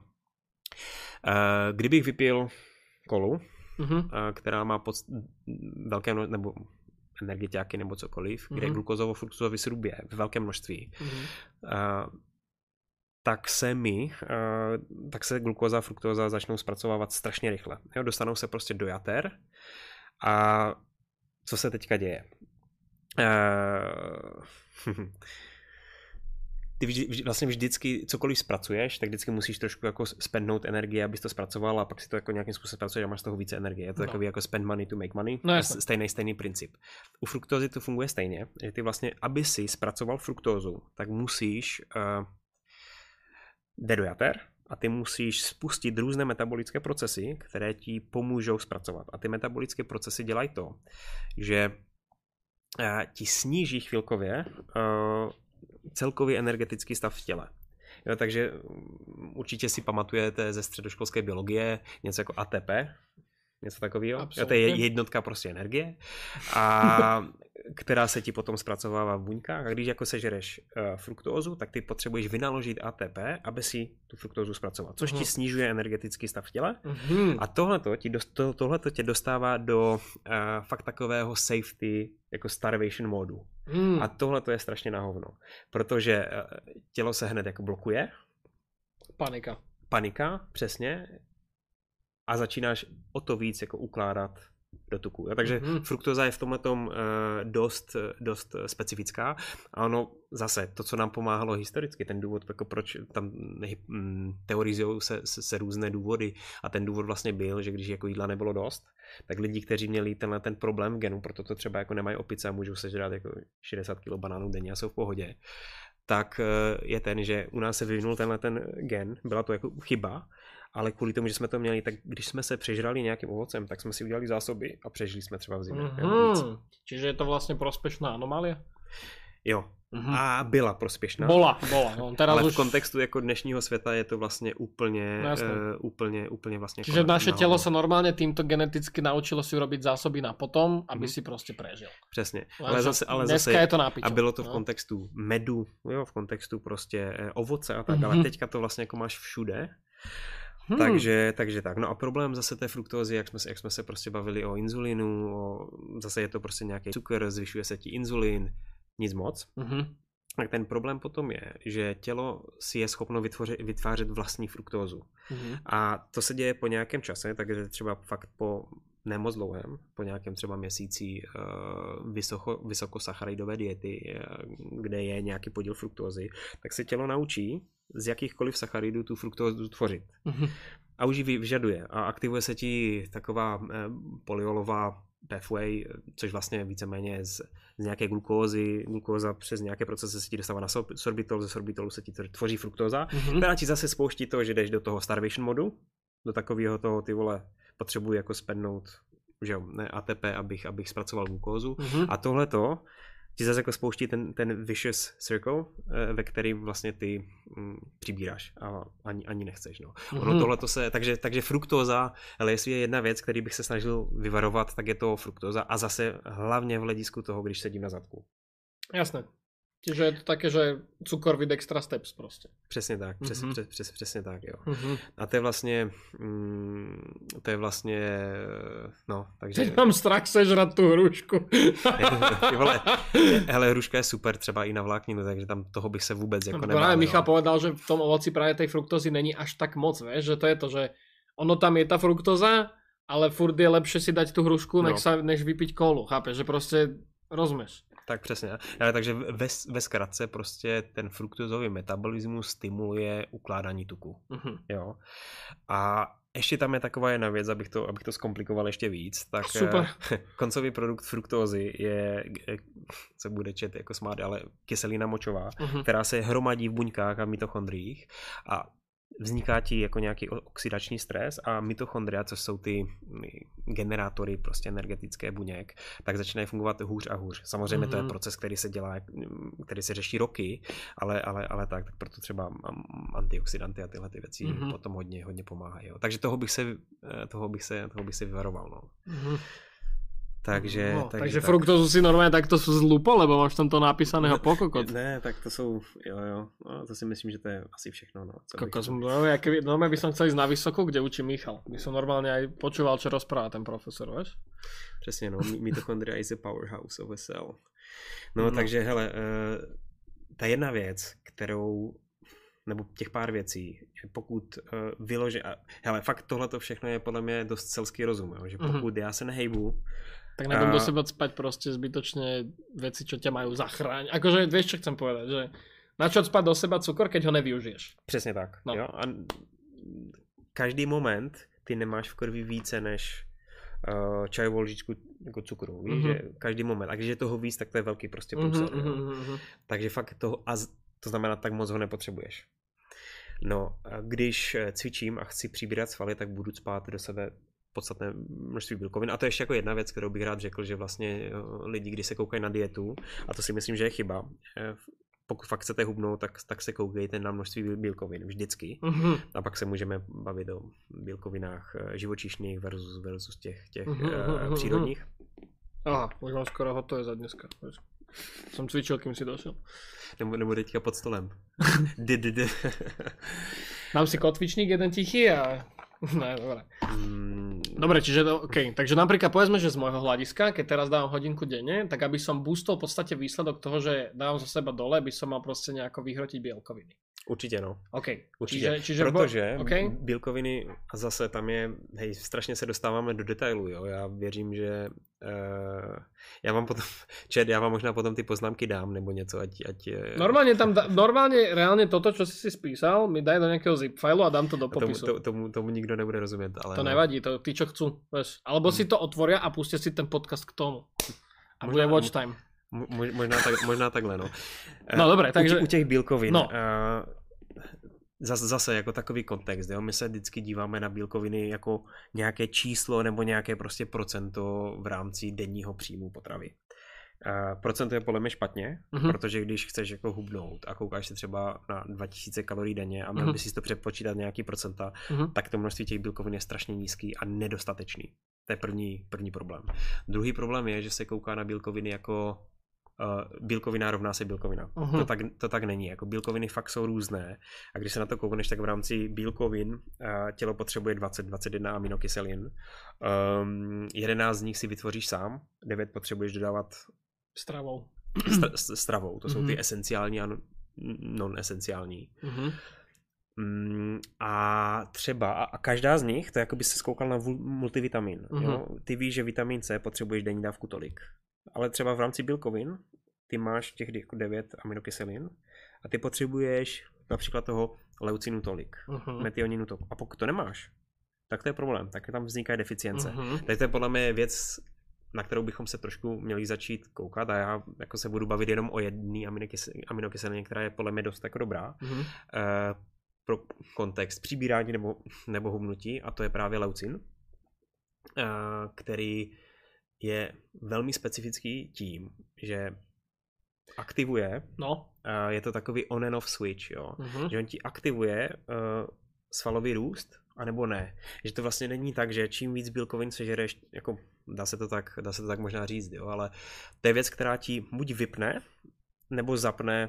Eh, Kdybych vypil kolu, Mhm. eh, která má pod velké mno- nebo energetiáky nebo cokoliv, kde Mhm. glukozovo-fruktozový sirup je ve velkém množství, Mhm. eh, tak se mi, uh, tak se glukóza a fruktóza začnou zpracovávat strašně rychle. Jo, dostanou se prostě do jater a co se teďka děje? Uh, ty vždy, vždy, vlastně vždycky cokoliv zpracuješ, tak vždycky musíš trošku jako spendnout energii, abys to zpracoval a pak si to jako nějakým způsobem zpracuješ a máš z toho více energie. Je to No. takový jako spend money to make money. No, jasně. stejný, stejný princip. U fruktózy to funguje stejně, že ty vlastně, aby si zpracoval fruktózu, tak musíš uh, jde do jater a ty musíš spustit různé metabolické procesy, které ti pomůžou zpracovat. A ty metabolické procesy dělají to, že uh, ti sníží chvilkově uh, celkový energetický stav v těle. Jo, takže určitě si pamatujete ze středoškolské biologie něco jako A T P, něco takového. Jo, to je jednotka prostě energie, a která se ti potom zpracovává v buňkách. A když jako sežereš uh, fruktózu, tak ty potřebuješ vynaložit A T P, aby si tu fruktózu zpracoval, což Uhum. ti snižuje energetický stav v těle. Mhm. A tohleto, ti dost, to, tohleto tě dostává do uh, fakt takového safety, jako starvation módu. Mhm. A tohle to je strašně na hovno, protože tělo se hned jako blokuje. Panika. Panika, přesně. A začínáš o to víc jako ukládat do tuku. Jo? Takže Mhm. fruktóza je v tomhletom uh, dost, dost specifická. A ono zase, to, co nám pomáhalo historicky, ten důvod, jako proč tam mm, teorizují se, se, se různé důvody. A ten důvod vlastně byl, že když jako jídla nebylo dost, tak lidi, kteří měli tenhle ten problém v genu, proto to třeba jako nemají opice a můžou sežrat jako šedesát kilo banánů denně a jsou v pohodě, tak je ten, že u nás se vyvinul tenhle ten gen, byla to jako chyba, ale kvůli tomu, že jsme to měli, tak když jsme se přežrali nějakým ovocem, tak jsme si udělali zásoby a přežili jsme třeba v zimě. Mhm. Čiže je to vlastně prospešná anomália? Jo, mm-hmm. a byla prospěšná. Bola, bola. No, teraz ale už... v kontextu jako dnešního světa je to vlastně úplně, no, uh, úplně, úplně vlastně... Čiže naše nahodou. Tělo sa normálne týmto geneticky naučilo si urobiť zásoby na potom, aby mm-hmm. si prostě prežil. Přesně. Ale zase, ale dneska zase, je to nápičo. A bylo to v no. kontextu medu, jo, v kontextu prostě ovoce a tak, mm-hmm. ale teďka to vlastně jako máš všude. Hmm. Takže, takže tak. No a problém zase té fruktózy, jak jsme, jak jsme se prostě bavili o inzulinu, o, zase je to prostě nějaký cukr, zvyšuje se ti inzulin, nic moc. Hmm. Tak ten problém potom je, že tělo si je schopno vytvořit, vytvářet vlastní fruktózu. Hmm. A to se děje po nějakém čase, takže třeba fakt po nemoc dlouhém, po nějakém třeba měsíci uh, vysoko, vysokosacharidové diety, uh, kde je nějaký podíl fruktózy, tak se tělo naučí z jakýchkoliv sacharidů tu fruktózu tvořit. Mm-hmm. A už ji vyžaduje. A aktivuje se ti taková uh, polyolová pathway, což vlastně víceméně z, z nějaké glukózy, glukóza přes nějaké procesy se ti dostává na sorbitol, ze sorbitolu se ti tvoří fruktóza, mm-hmm. která ti zase spouští to, že jdeš do toho starvation modu, do takového toho, ty vole, potřebuji jako spadnout, že jo, ne, A T P, abych, abych zpracoval glukózu. Mm-hmm. A tohleto ti zase jako spouští ten, ten vicious circle, ve kterým vlastně ty mm, přibíráš a ani, ani nechceš. No. Mm-hmm. Ono tohleto se, takže, takže fruktóza, ale jestli je jedna věc, který bych se snažil vyvarovat, tak je to fruktóza a zase hlavně v hledisku toho, když sedím na zadku. Jasné. Čiže je to také, že cukor with extra steps prostě. Přesně tak, přes, mm-hmm. přes, přes, přesně tak, jo. Mm-hmm. A to je vlastně, mm, to je vlastně, no, takže... Teď mám strach sežrat tu hrušku. Vole, hele, hruška je super třeba i na vlákninu, takže tam toho bych se vůbec jako nebál. Právě Michal povedal, že v tom ovoci právě tej fruktózy není až tak moc, vieš, že to je to, že ono tam je ta fruktóza, ale furt je lepšie si dať tu hrušku, no. než, sa, než vypiť kolu, chápeš, že prostě rozumieš. Tak přesně. Ale takže ve, ve zkratce prostě ten fruktózový metabolismus stimuluje ukládání tuku. Uh-huh. Jo. A ještě tam je taková jedna věc, abych to, abych to zkomplikoval ještě víc. Tak super. Koncový produkt fruktózy je, se bude čet jako smát, ale kyselina močová, uh-huh. která se hromadí v buňkách a mitochondriích a vzniká ti jako nějaký oxidační stres a mitochondria, což jsou ty generátory prostě energetické buněk, tak začínají fungovat hůř a hůř. Samozřejmě mm-hmm. to je proces, který se dělá, který se řeší roky, ale, ale, ale tak, tak proto třeba antioxidanty a tyhle ty věci mm-hmm. potom hodně, hodně pomáhají. Jo. Takže toho bych se, toho bych se, toho bych se vyvaroval. No. Mm-hmm. Takže, no, takže, takže tak. Fruktózu si normálně takto zlupo, lebo máš tam to napísaného pokokot. Ne, tak to jsou, jo, jo, no, to si myslím, že to je asi všechno. No, Kokos, no, ja keby, normálně by som chcel ísť na vysoko, kde učí Michal. By som normálně aj počúval, čo rozpráva ten profesor, vieš? Přesně, no, mitochondria is a powerhouse of a cell. No, no. takže, hele, uh, ta jedna věc, kterou nebo těch pár věcí, pokud uh, vyloží, a hele, fakt tohleto všechno je podle mě dost selský rozum, jo, že pokud mm-hmm. já se nehejbu, tak nebudem a... do seba spať proste zbytočne veci, čo ťa majú zachrániť. Akože vieš, čo chcem povedať, že na čo spať do seba cukor, keď ho nevyužiješ. Přesně tak, no. Jo, a každý moment ty nemáš v krvi více než uh, čajovou lžičku jako cukru, víš, mm-hmm. že každý moment, a když je toho víc, tak to je velký prostě průser, mm-hmm, mm-hmm. takže fakt toho, a to znamená, tak moc ho nepotřebuješ. No, a když cvičím a chci přibírat svaly, tak budu spát do sebe podstatné množství bílkovin. A to je ještě jako jedna věc, kterou bych rád řekl, že vlastně lidi, když se koukají na dietu, a to si myslím, že je chyba, pokud fakt chcete hubnout, tak, tak se koukejte na množství bílkovin vždycky. Mm-hmm. A pak se můžeme bavit o bílkovinách živočišných versus, versus těch, těch mm-hmm. uh, přírodních. Aha, už mám skoro hotové za dneska. Som cvičil, kým si došel. Nebo, nebo teďka pod stolem. Dám si kotvičník jeden tichý a... Ne, dobre. Mm. Dobre, čiže to, OK. Takže napríklad povedzme, že z môjho hľadiska, keď teraz dávam hodinku denne, tak aby som boostol v podstate výsledok toho, že dávam zo seba dole, by som mal proste nejako vyhrotiť bielkoviny. Určitě no. OK. Určitě. Čiže, čiže Protože bo... okay. bílkoviny, a zase tam je, hej, strašně se dostáváme do detailu, jo. Já věřím, že uh, já vám potom, čet, já vám možná potom ty poznámky dám, nebo něco, ať... ať normálně tam, da, normálně reálně toto, čo si si spísal, mi daj do nějakého zip failu a dám to do popisu. Tomu, tomu, tomu nikdo nebude rozumět, ale... To no. nevadí, to ty, čo chcú, vieš. Alebo hmm. si to otvoria a pustia si ten podcast k tomu. A možná, bude watch time. Možná, tak, možná takhle, no. No dobré, takže... U, u těch bílkovin, no. uh, zase, zase jako takový kontext, jo? My se vždycky díváme na bílkoviny jako nějaké číslo nebo nějaké prostě procento v rámci denního příjmu potravy. Uh, procento je podle mě špatně, uh-huh. protože když chceš jako hubnout a koukáš se třeba na dva tisíce kalorií denně a měl uh-huh. bys si to přepočítat nějaký procenta, uh-huh. tak to množství těch bílkovin je strašně nízký a nedostatečný. To je první, první problém. Druhý problém je, že se kouká na bílkoviny jako uh, bílkovina rovná se bílkovina. Uh-huh. To, tak, to tak není. Jako bílkoviny fakt jsou různé a když se na to koukneš, tak v rámci bílkovin uh, tělo potřebuje dvacet dvacet jedna aminokyselin. Um, jedenáct z nich si vytvoříš sám, devět potřebuješ dodávat stravou. Stra- stravou. To jsou mm-hmm. ty esenciální a non-esenciální. Mm-hmm. Mm, a třeba, a každá z nich, to je jako by se zkoukal na multivitamin. Mm-hmm. Jo? Ty víš, že vitamin C potřebuješ denní dávku tolik. Ale třeba v rámci bílkovin, ty máš těch devět aminokyselin a ty potřebuješ například toho leucinu tolik, mm-hmm. metioninu tolik. A pokud to nemáš, tak to je problém. Tak tam vznikají deficience. Mm-hmm. Takže to je podle mě věc, na kterou bychom se trošku měli začít koukat a já jako se budu bavit jenom o jedné aminokyselině, která je podle mě dost jako dobrá mm-hmm. uh, pro kontext přibírání nebo, nebo hubnutí a to je právě leucin, uh, který je velmi specifický tím, že aktivuje, no. uh, je to takový on and off switch, jo? Mm-hmm. Že on ti aktivuje uh, svalový růst, anebo ne. Že to vlastně není tak, že čím víc bílkovin sežereš, jako dá se to tak, dá se to tak možná říct, jo, ale to je věc, která ti buď vypne, nebo zapne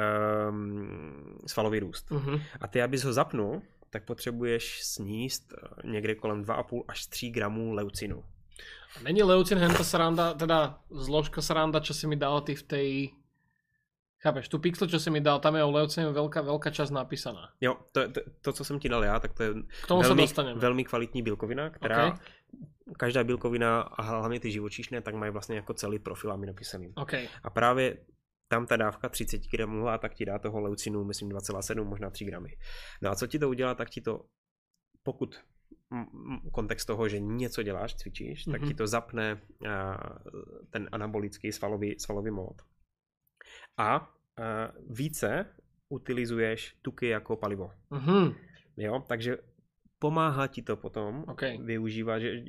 um, svalový růst. Mm-hmm. A ty, abys ho zapnul, tak potřebuješ sníst někde kolem dva a půl až tři gramů leucinu. Není leucin henta sranda, teda zložka sranda, čo si mi dal ty v tej... Chápeš, tu pixel, čo si mi dal, tam je o leucinu veľká, veľká časť napísaná. Jo, to, to, to, co jsem ti dal já, tak to je velmi, velmi kvalitní bílkovina, která okay. Každá bílkovina a hlavně ty živočišné, tak mají vlastně jako celý profil aminokyselin. Okay. A právě tam ta dávka třicet gramů a tak ti dá toho leucinu, myslím dva celá sedm, možná tři gramy. No a co ti to udělá, tak ti to, pokud kontext toho, že něco děláš, cvičíš, mm-hmm. tak ti to zapne uh, ten anabolický svalový, svalový mód. A uh, více utilizuješ tuky jako palivo. Mm-hmm. Jo, takže pomáhá ti to potom okay. využívať. Že...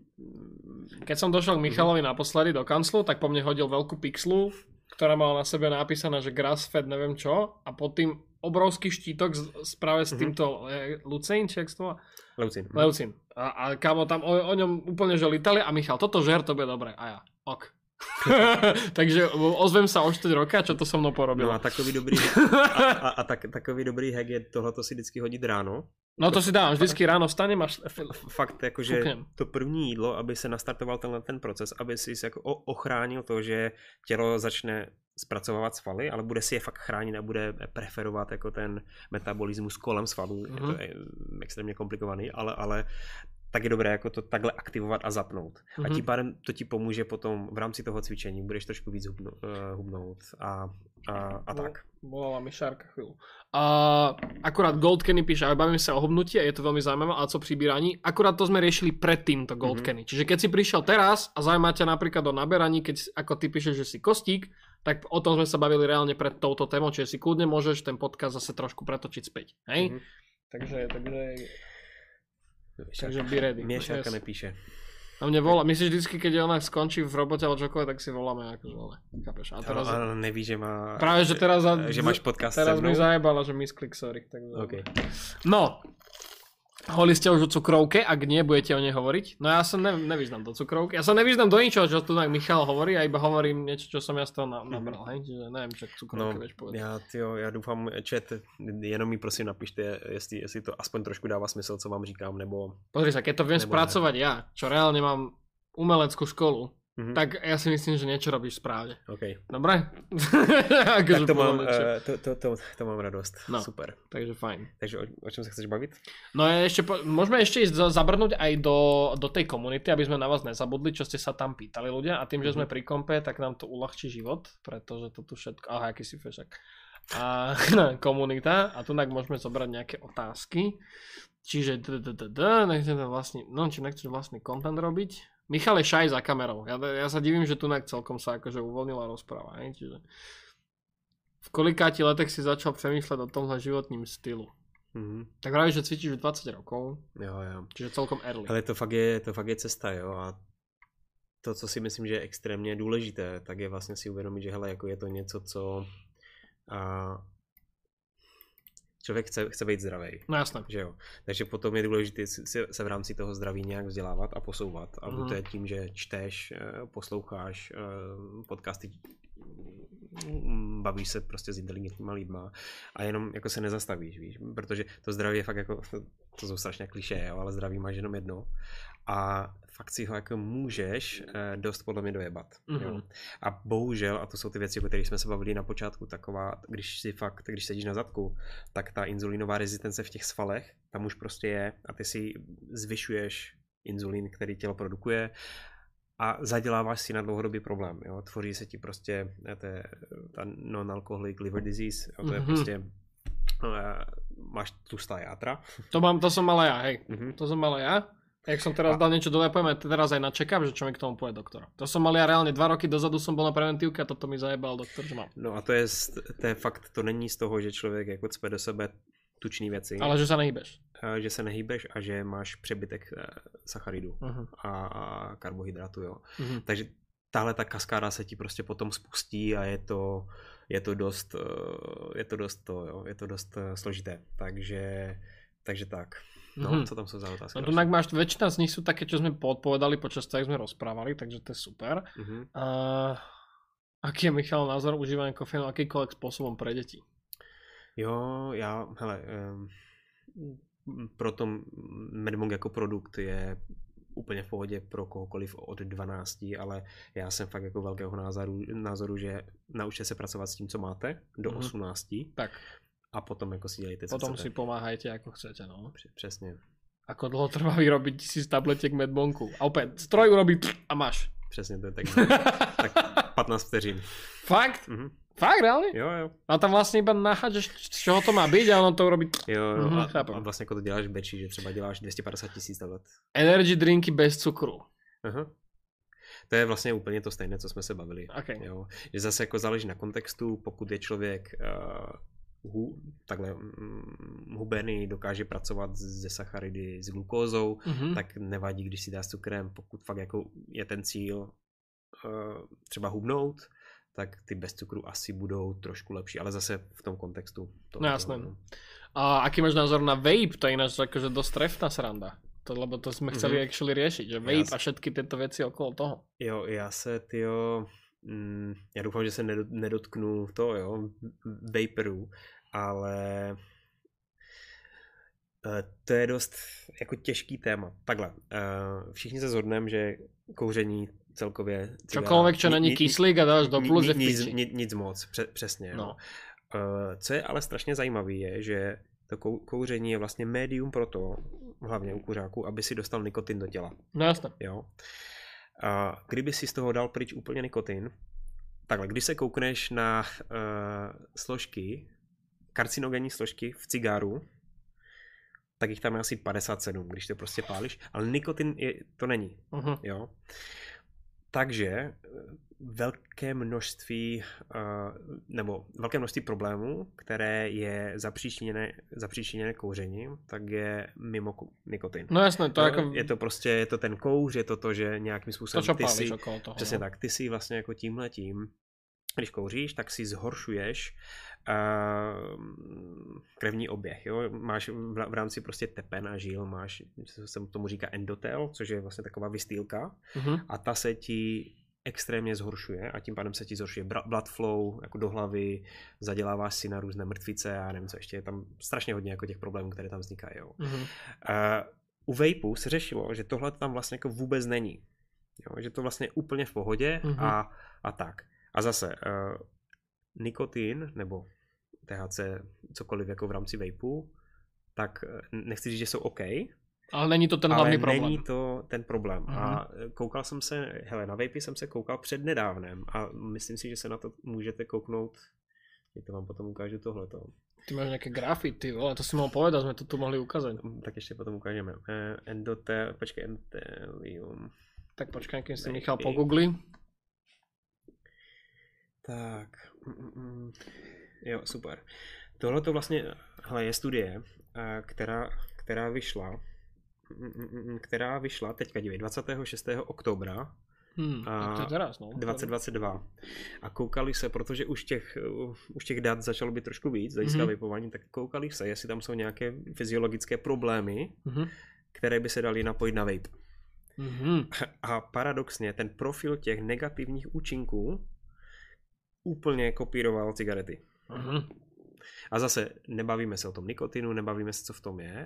Keď som došiel k Michalovi naposledy do kanclu, tak po mne hodil veľkú pixlu, ktorá mala na sebe napísané, že grass-fed neviem čo a pod tým obrovský štítok s, práve s týmto mm-hmm. Leucin, či jak to má? Leucin. Leucin. A, a kámo tam o, o ňom úplne že litali a Michal, toto žer, to bude dobré. A ja, ok. Takže ozvem sa o štyri roka, čo to so mnou porobil. No a takový dobrý a, a, a tak, takový dobrý hack je tohleto si vždycky hodit ráno. No to si dám, vždycky ráno vstanem až... Fakt, jakože to první jídlo, aby se nastartoval tenhle ten proces, aby si jako ochránil to, že tělo začne zpracovávat svaly, ale bude si je fakt chránit a bude preferovat jako ten metabolismus kolem svalů. Mm-hmm. Je to je extrémně komplikovaný, ale, ale tak je dobré jako to takhle aktivovat a zapnout. Mm-hmm. A tím pádem to ti pomůže potom v rámci toho cvičení, budeš trošku víc hubno, uh, hubnout a, a, a tak. Volala mi Šárka chvíľu. A akurát Gold Kenny píše, ale bavíme sa o hubnutí a je to veľmi zaujímavé, ale co přibíraní. Akurát to sme riešili predtým, to Gold mm-hmm. Kenny. Čiže keď si prišiel teraz a zaujíma ťa napríklad o naberaní, keď ako ty píšeš, že si kostík, tak o tom sme sa bavili reálne pred touto témou, čiže si kľudne môžeš ten podcast zase trošku pretočiť späť. Hej? Mm-hmm. Takže, takže... Takže be ready. Mne Šárka yes. nepíše. A mne volá, myslíš vždycky, keď ona skončí v robote alebo čokoľvek, tak si voláme akože ale, chápeš? A teraz... Ale neví, že má... Práve, že teraz... Že máš podcast teraz mi zajebala, že misklik, sorry. Takže... Okay. No, hovorili ste už o cukrovke, ak nie, budete o nej hovoriť. No ja sa ne, nevyznam do cukrovky. Ja sa nevyznam do ničoho, čo tu tak Michal hovorí, a iba hovorím niečo, čo som ja z toho na, nabral, hej? Čiže neviem, čo cukrovke no, vieš povedať. Ja, tyjo, ja dúfam, chat, jenom mi prosím napište, jestli, jestli to aspoň trošku dáva smysl, co vám říkám, nebo... Pozri sa, keď to viem spracovať ne. Ja, čo reálne mám umeleckú školu, mm-hmm. tak ja si myslím, že niečo robíš správne. OK. Dobre? Tak to mám, uh, to, to, to, to mám radost. No, super. Takže fajn. Takže o, o čom sa chceš baviť? No ešte, po, môžeme ešte ísť zabrnúť aj do, do tej komunity, aby sme na vás nezabudli, čo ste sa tam pýtali ľudia. A tým, že mm-hmm. sme pri kompe, tak nám to uľahčí život, pretože to tu všetko... Aha, aký si fešak. A komunita. A tu môžeme zobrať nejaké otázky. Čiže nechcem tam vlastný, no či nechceš vlastný content robiť. Michal je šaj za kamerou. Ja, ja sa divím, že tu celkom sa akože uvoľnila rozpráva. Ne? Čiže v kolikáti letech si začal premýšľať o tomhle životním stylu. Mm-hmm. Tak pravíš, že cvičíš už dvadsať rokov. Jo, jo. Čiže celkom early. Ale to fakt je, to fakt je cesta, jo. A to, co si myslím, že je extrémně důležité, tak je vlastně si uvědomit, že hele, jako je to něco, co a, člověk chce, chce být zdravý. No jasné. Že jo? Takže potom je důležité si, se v rámci toho zdraví nějak vzdělávat a posouvat. A buď to je tím, že čteš, posloucháš podcasty, bavíš se prostě s inteligentníma lidma a jenom jako se nezastavíš, víš, protože to zdraví je fakt jako, to jsou strašně klišé, jo, ale zdraví máš jenom jedno a fakt si ho jako můžeš dost podle mě dojebat. Mm-hmm. Jo. A bohužel, a to jsou ty věci, o kterých jsme se bavili na počátku, taková, když si fakt, když sedíš na zadku, tak ta inzulínová rezistence v těch svalech, tam už prostě je a ty si zvyšuješ inzulín, který tělo produkuje a zaděláváš si na dlouhodobý problém. Jo? Tvoří se ti prostě té, ta non-alcoholic liver disease, jo? To je mm-hmm. prostě máš tlustá játra. To, mám, to som mal ja, hej. Mm-hmm. To som mal ja. Jak som teraz a... dal niečo dole, poďme teraz aj na check-up, že čo mi k tomu povie doktor. To som mal ja reálne dva roky dozadu som bol na preventívke a toto mi zajebal doktor, že mám. No a to je, to je fakt, to není z toho, že člověk jako cpe do sebe tučný věci. Ale že sa nehýbeš. Že se nehýbeš a že máš přebytek sacharidů uh-huh. a, a karbohydrátu, jo. Uh-huh. Takže tahle ta kaskáda se ti prostě potom spustí a je to, je to dost, je to dost to, jo, je to dost složité. Takže, takže tak. No, uh-huh. Co tam sú za otázky? No tu máš, väčšina z nich sú také, čo sme podpovedali počas toho, jak sme rozprávali, takže to je super. Uh-huh. Uh, aký je, Michal, názor užívania kofeínu akýkoľvek spôsobom pre deti? Jo, já, hele, um, proto Medmong jako produkt je úplně v pohodě pro kohokoliv od dvanácti, ale já jsem fakt jako velkého názoru, názoru že naučte se pracovat s tím, co máte, do mm-hmm. osmnácti. Tak. A potom jako si dělejte, co Potom chcete. si pomáhajte, ako chcete, no. Přesně. Ako dlho trvá vyrobiť tisíc tabletiek Medmonku. A opäť, stroj urobí a máš. Přesně, to je tak, tak patnáct vteřin. Fakt? Mm-hmm. Fakt, reálne? Jo, jo. A tam vlastně iba nachádžeš, z čeho to má být a ono to urobí. Jo, jo. Mm-hmm, a, a vlastně jako to děláš v beči, že třeba děláš dvě stě padesát tisíc tablet. Energy drinky bez cukru. Aha. To je vlastně úplně to stejné, co jsme se bavili. Okay. Jo. Že zase jako záleží na kontextu, pokud je člověk uh, hu, takhle um, hubený, dokáže pracovat se sacharidy, s glukózou, mm-hmm. tak nevadí, když si dá s cukrem, pokud fakt jako je ten cíl uh, třeba hubnout, tak ty bez cukru asi budou trošku lepší, ale zase v tom kontextu. No jasné. No. A aký máš názor na vape? To je ináč akože dosť trefná sranda. To, lebo to jsme chceli mm-hmm. actually riešiť, že vape já a všetky tyto věci okolo toho. Jo, já se, tyjo, mm, já doufám, že se nedotknu to, jo, vaporů, ale uh, to je dost jako těžký téma. Takhle, uh, všichni se shodneme, že kouření celkově... Čokoľvek, čo není kyslík a dáš do plus, je v piči. Nic, nic moc, pře, přesně. No. Uh, co je ale strašně zajímavé je, že to kou, kouření je vlastně médium pro to, hlavně u kuřáků, aby si dostal nikotin do těla. No jasně. Jo. A kdyby si z toho dal pryč úplně nikotin, takhle, když se koukneš na uh, složky, karcinogenní složky v cigáru, tak jich tam je asi padesát sedm, když to prostě pálíš, ale nikotin je, to není. Uh-huh. Jo. Takže velké množství, nebo velké množství problémů, které je zapříčiněné, zapříčiněné kouřením, tak je mimo nikotin. No jasné, to no, jako... Je to prostě, je to ten kouř, je to to, že nějakým způsobem to, ty si, okolo toho, přesně tak, ty si vlastně jako tímhletím, když kouříš, tak si zhoršuješ uh, krevní oběh, jo? Máš v, v rámci prostě tepen a žil, máš, se tomu říká endotel, což je vlastně taková vystýlka uh-huh. a ta se ti extrémně zhoršuje a tím pádem se ti zhoršuje blood flow jako do hlavy, zaděláváš si na různé mrtvice a nevím co ještě, je tam strašně hodně jako těch problémů, které tam vznikají. Jo? Uh-huh. Uh, u vapeu se řešilo, že tohle tam vlastně jako vůbec není, jo? Že to vlastně je úplně v pohodě uh-huh. a, a tak. A zase uh, nikotin nebo T H C, cokoliv jako v rámci vapeu, tak nechci říct, že jsou OK, ale není to ten hlavní problém. Ale není to ten problém. Uh-huh. A koukal jsem se, hele, na vapey jsem se koukal před nedávnem a myslím si, že se na to můžete kouknout, já to vám potom ukážu tohleto. Ty máš nějaké grafy, ty vole, to si mohl povedat, jsme to tu mohli ukázat. Tak ještě potom ukážeme. Eh, endotel, počkej, endotelium. Tak počkej, když si Michal pogoogli. Tak, mm, mm, jo, super. Tohle to vlastně, hele, je studie, která, která vyšla, která vyšla, teďka dívej, dvacátého šestého oktobra Hmm, tak to je teraz, no. dvacet dvacet dva. A koukali se, protože už těch, už těch dat začalo být trošku víc, zajisté mm-hmm. vypování, tak koukali se, jestli tam jsou nějaké fyziologické problémy, mm-hmm. které by se daly napojit na vape. Mm-hmm. A paradoxně ten profil těch negativních účinků úplně kopíroval cigarety. Mm-hmm. A zase nebavíme se o tom nikotinu, nebavíme se, co v tom je,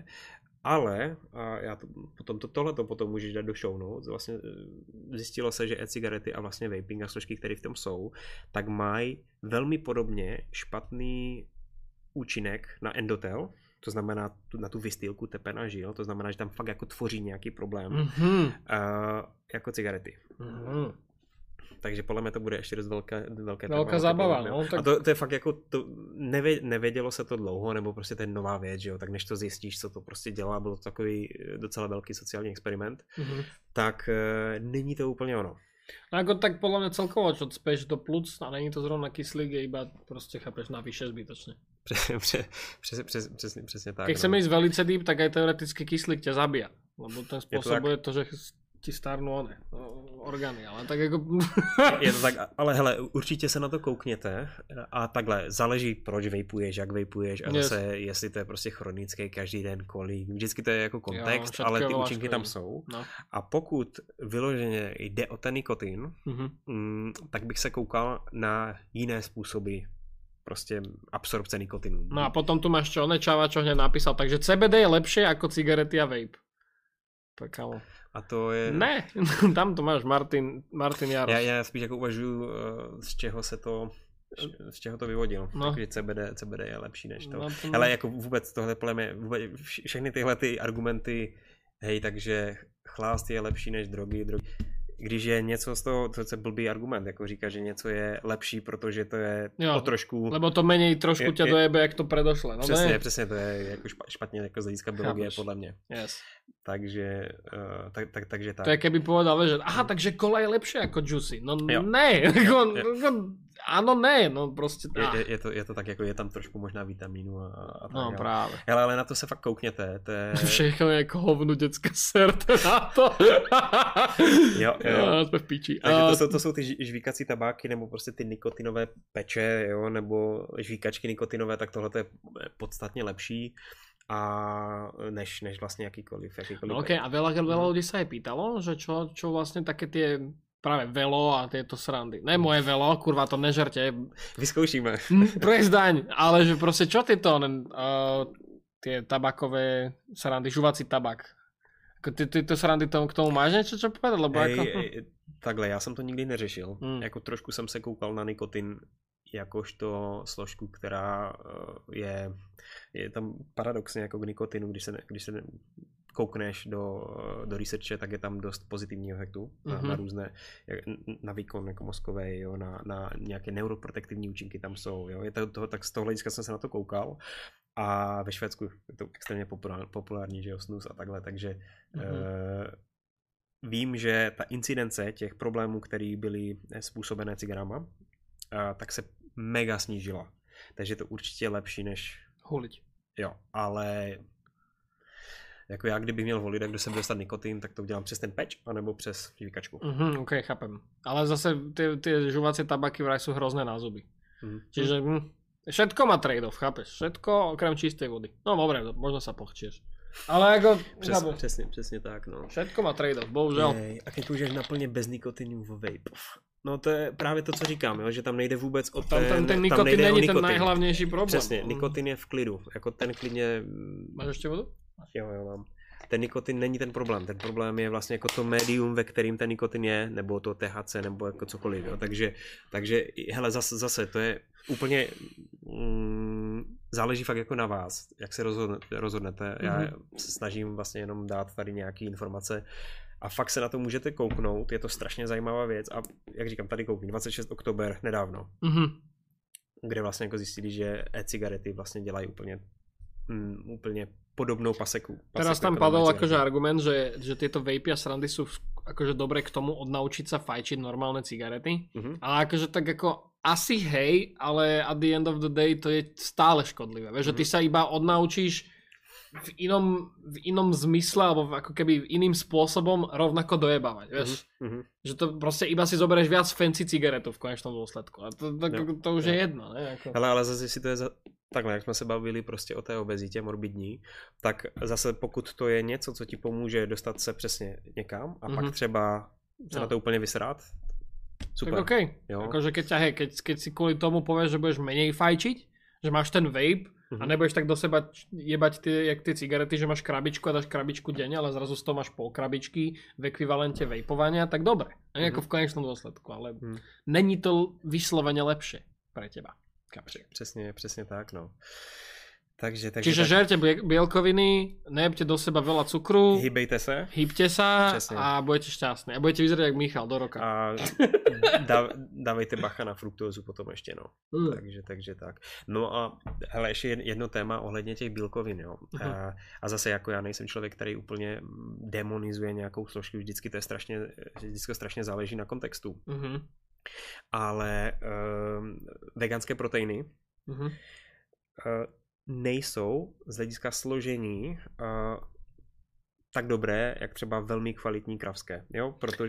ale a já to, potom to, tohleto potom můžeš dát do show notes. Vlastně zjistilo se, že e-cigarety a vlastně vaping a složky, které v tom jsou, tak mají velmi podobně špatný účinek na endotel, to znamená tu, na tu vystýlku tepena žil, to znamená, že tam fakt jako tvoří nějaký problém, mm-hmm. uh, jako cigarety. Mm-hmm. Takže podle mě to bude ještě dost velké, velké velká zábava. No, tak... A to, to je fakt jako, to nevě, nevědělo se to dlouho, nebo prostě to je nová věc, že jo, tak než to zjistíš, co to prostě dělá, bylo to takový docela velký sociální experiment, mm-hmm. tak e, není to úplně ono. A ako tak podľa mňa celkovo, čo speš do plúc a není to zrovna kyslík, je iba proste chápeš navyše zbytočne. Přesně, přesně, přesně, přesně tak. Keď chceme ísť velice deep, tak aj teoreticky kyslík ťa zabíja, lebo ten spôsobuje to, že ti starnú one, orgány, ale tak jako... Je to tak, ale hele, určitě se na to koukněte a takhle, záleží proč vejpuješ, jak vejpuješ a zase yes. jestli to je prostě chronický každý den kolik, vždycky to je jako kontext, jo, ale ty účinky tam jsou no. A pokud vyloženě jde o ten nikotin, mm-hmm. m, tak bych se koukal na jiné způsoby prostě absorpce nikotinu. No a potom tu máš čo, Čava, čo hneď napísal, takže C B D je lepšie ako cigarety a vape. Pekalo. A to je... Ne, tam to máš Martin, Martin Jaroš. Já, já spíš jako uvažuji, z čeho se to, z čeho to vyvodil. No. Takže C B D, C B D je lepší než to. No to... Ale jako vůbec tohle podle mě, vůbec, všechny tyhle ty argumenty, hej, takže chlást je lepší než drogy, drogy. Když je něco z toho, to je blbý argument, jako říká, že něco je lepší, protože to je jo, o trošku... Lebo to menej trošku tě dojebe, jak to predošle. No přesně, ne? přesně, to je jako špatně jako z hlediska biologie, podle mě. Yes. Takže, uh, tak, tak, takže tak. To je keby povedal, že aha, takže kola je lepšie ako juicy. No jo. Ne, jo, jo. Áno, ne, no prostě je, je, je, to, je to tak, jako je tam trošku možná vitamínu a, a tak. No jo. Právě. Hele, ale na to se fakt koukněte. To je... Všechno je jako hovnu dětská serte na to. jo, jo. No, jsme v píči. Takže to jsou, to jsou ty žvíkací tabáky, nebo prostě ty nikotinové peče, jo, nebo žvíkačky nikotinové, tak tohle je podstatně lepší. A než, než vlastne jakýkoliv, jakýkoliv. No, okay. A veľa, veľa ľudí sa aj pýtalo, že čo, čo vlastne také tie práve velo a tieto srandy. Ne moje velo, kurva, to nežerte. Vyskoušíme. Prezdaň, ale že proste čo tieto uh, tie tabakové srandy, žuvací tabak. Ty, ty to srandy tomu, k tomu máš niečo čo povedať? Lebo ej, ako... ej, takhle, já jsem to nikdy neřešil. Hmm. Jako trošku jsem se koukal na nikotin jakožto složku, která je, je tam paradoxně jako k nikotinu, když se, když se koukneš do, do researche, tak je tam dost pozitivního efektu na, mm-hmm. na různé, na výkon jako mozkové, jo, na, na nějaké neuroprotektivní účinky tam jsou, jo, je to, toho, tak z toho hlediska jsem se na to koukal a ve Švédsku je to extrémně populár, populární, že jo, snus a takhle, takže mm-hmm. uh, vím, že ta incidence těch problémů, které byly způsobené cigarama, uh, tak se mega snížila. Takže to určitě je lepší než... Huliť. Jo, ale jako já, kdybych měl volit, kdo se bude dostat nikotin, tak to udělám přes ten peč, anebo přes žvíkačku. Mhm, ok, chápem. Ale zase ty, ty žuvacie tabaky vraj sú hrozné na zuby. Mhm. Čiže hm, všetko má trade-off, chápeš? Všetko okrem čistej vody. No dobre, možno sa pochčieš. Ale jako... Přes, přesně, přesně tak, no. Všetko má trade-off, bohužel. Jej, a keď použiješ naplně bez nikotinu v vape. No to je právě to, co říkám, jo? Že tam nejde vůbec o ten... Tam ten, ten nikotin není ten nejhlavnější problém. Přesně, nikotin je v klidu, jako ten klidně... Máš ještě vodu? Jo, jo, mám. Ten nikotin není ten problém, ten problém je vlastně jako to médium, ve kterým ten nikotin je, nebo to T H C, nebo jako cokoliv, jo? Takže, takže hele, zase, zase, to je úplně... Mm, záleží fakt jako na vás, jak se rozhodne, rozhodnete. Já mm-hmm. se snažím vlastně jenom dát tady nějaké informace a fakt se na to můžete kouknout, je to strašně zajímavá věc a jak říkám, tady koukni, dvacátého šestého oktober nedávno, mm-hmm. kde vlastně jako zjistili, že e-cigarety vlastně dělají úplně, mm, úplně podobnou paseku. paseku Teraz tam padol akože argument, že, že tieto vape a srandy sú akože dobre k tomu odnaučiť sa fajčiť normálne cigarety, mm-hmm. ale akože tak ako asi hej, ale at the end of the day to je stále škodlivé. Vieš, mm-hmm. že ty sa iba odnaučíš v inom, v inom zmysle, alebo ako keby iným spôsobom rovnako dojebávať, vieš. Mm-hmm. Že to proste iba si zoberieš viac fancy cigaretu v konečnom dôsledku. A to, to, to, to už jo. je jedno, ne? Ako... Ale, ale zase si to je za... takhle, jak jsme se bavili prostě o té obezitě morbidní, tak zase pokud to je něco, co ti pomůže dostat se přesně někam a mm-hmm. pak třeba se no. na to úplně vysrát, super. Tak okej. Okay. Akože keď, hej, keď, keď si kvôli tomu povieš, že budeš menej fajčiť, že máš ten vape mm-hmm. a nebudeš tak do seba jebať tie, jak tie cigarety, že máš krabičku a dáš krabičku denne, ale zrazu z toho máš pol krabičky v ekvivalente vapovania, tak dobre. Mm-hmm. Ako v konečnom dôsledku, ale mm. není to vyslovene lepšie pre teba. Přesně, přesně tak, no. Takže, takže Čiže tak... žerte bielkoviny, nejebte do seba veľa cukru. Hýbejte se. Hýbte sa Přesně. A budete šťastní. A budete vyzerať jak Michal do roka. A dá, dávejte bacha na fruktózu potom ještě, no. Mm. Takže, takže tak. No a hele, ještě jedno téma ohledně těch bílkovin, jo. Mm. A, a zase jako já nejsem člověk, který úplně demonizuje nějakou složku, vždycky to je strašně, vždycky strašně záleží na kontextu. Mm. Ale uh, veganské proteiny mm-hmm. uh, nejsou z hlediska složení uh, tak dobré, jak třeba velmi kvalitní kravské, jo, protože...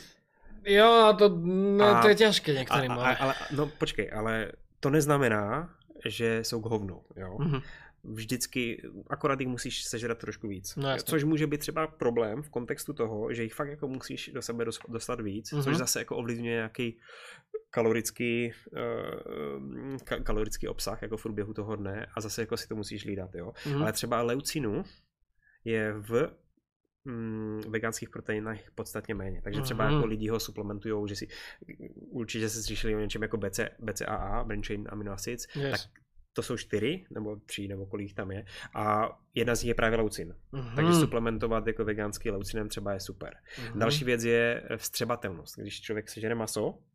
Jo, to, no, a, to je těžké některým, a, a, ale... No počkej, ale to neznamená, že jsou k hovnu, jo. Mm-hmm. Vždycky, akorát jich musíš sežrat trošku víc. No, což může být třeba problém v kontextu toho, že jich fakt jako musíš do sebe dostat víc, mm-hmm. což zase jako ovlivňuje nějaký kalorický, uh, ka- kalorický obsah jako v průběhu toho dne a zase jako si to musíš hlídat, jo. Mm-hmm. Ale třeba leucinu je v mm, veganských proteinách podstatně méně. Takže třeba mm-hmm. jako lidi ho suplementujou, že si určitě se slyšeli o něčem jako B C, B C A A, Branched Chain Amino Acids, yes. tak to jsou čtyři, nebo tři, nebo kolik tam je. A jedna z nich je právě leucin. Mm-hmm. Takže suplementovat jako veganský leucinem třeba je super. Mm-hmm. Další věc je vstřebatelnost. Když člověk sežere maso, uh,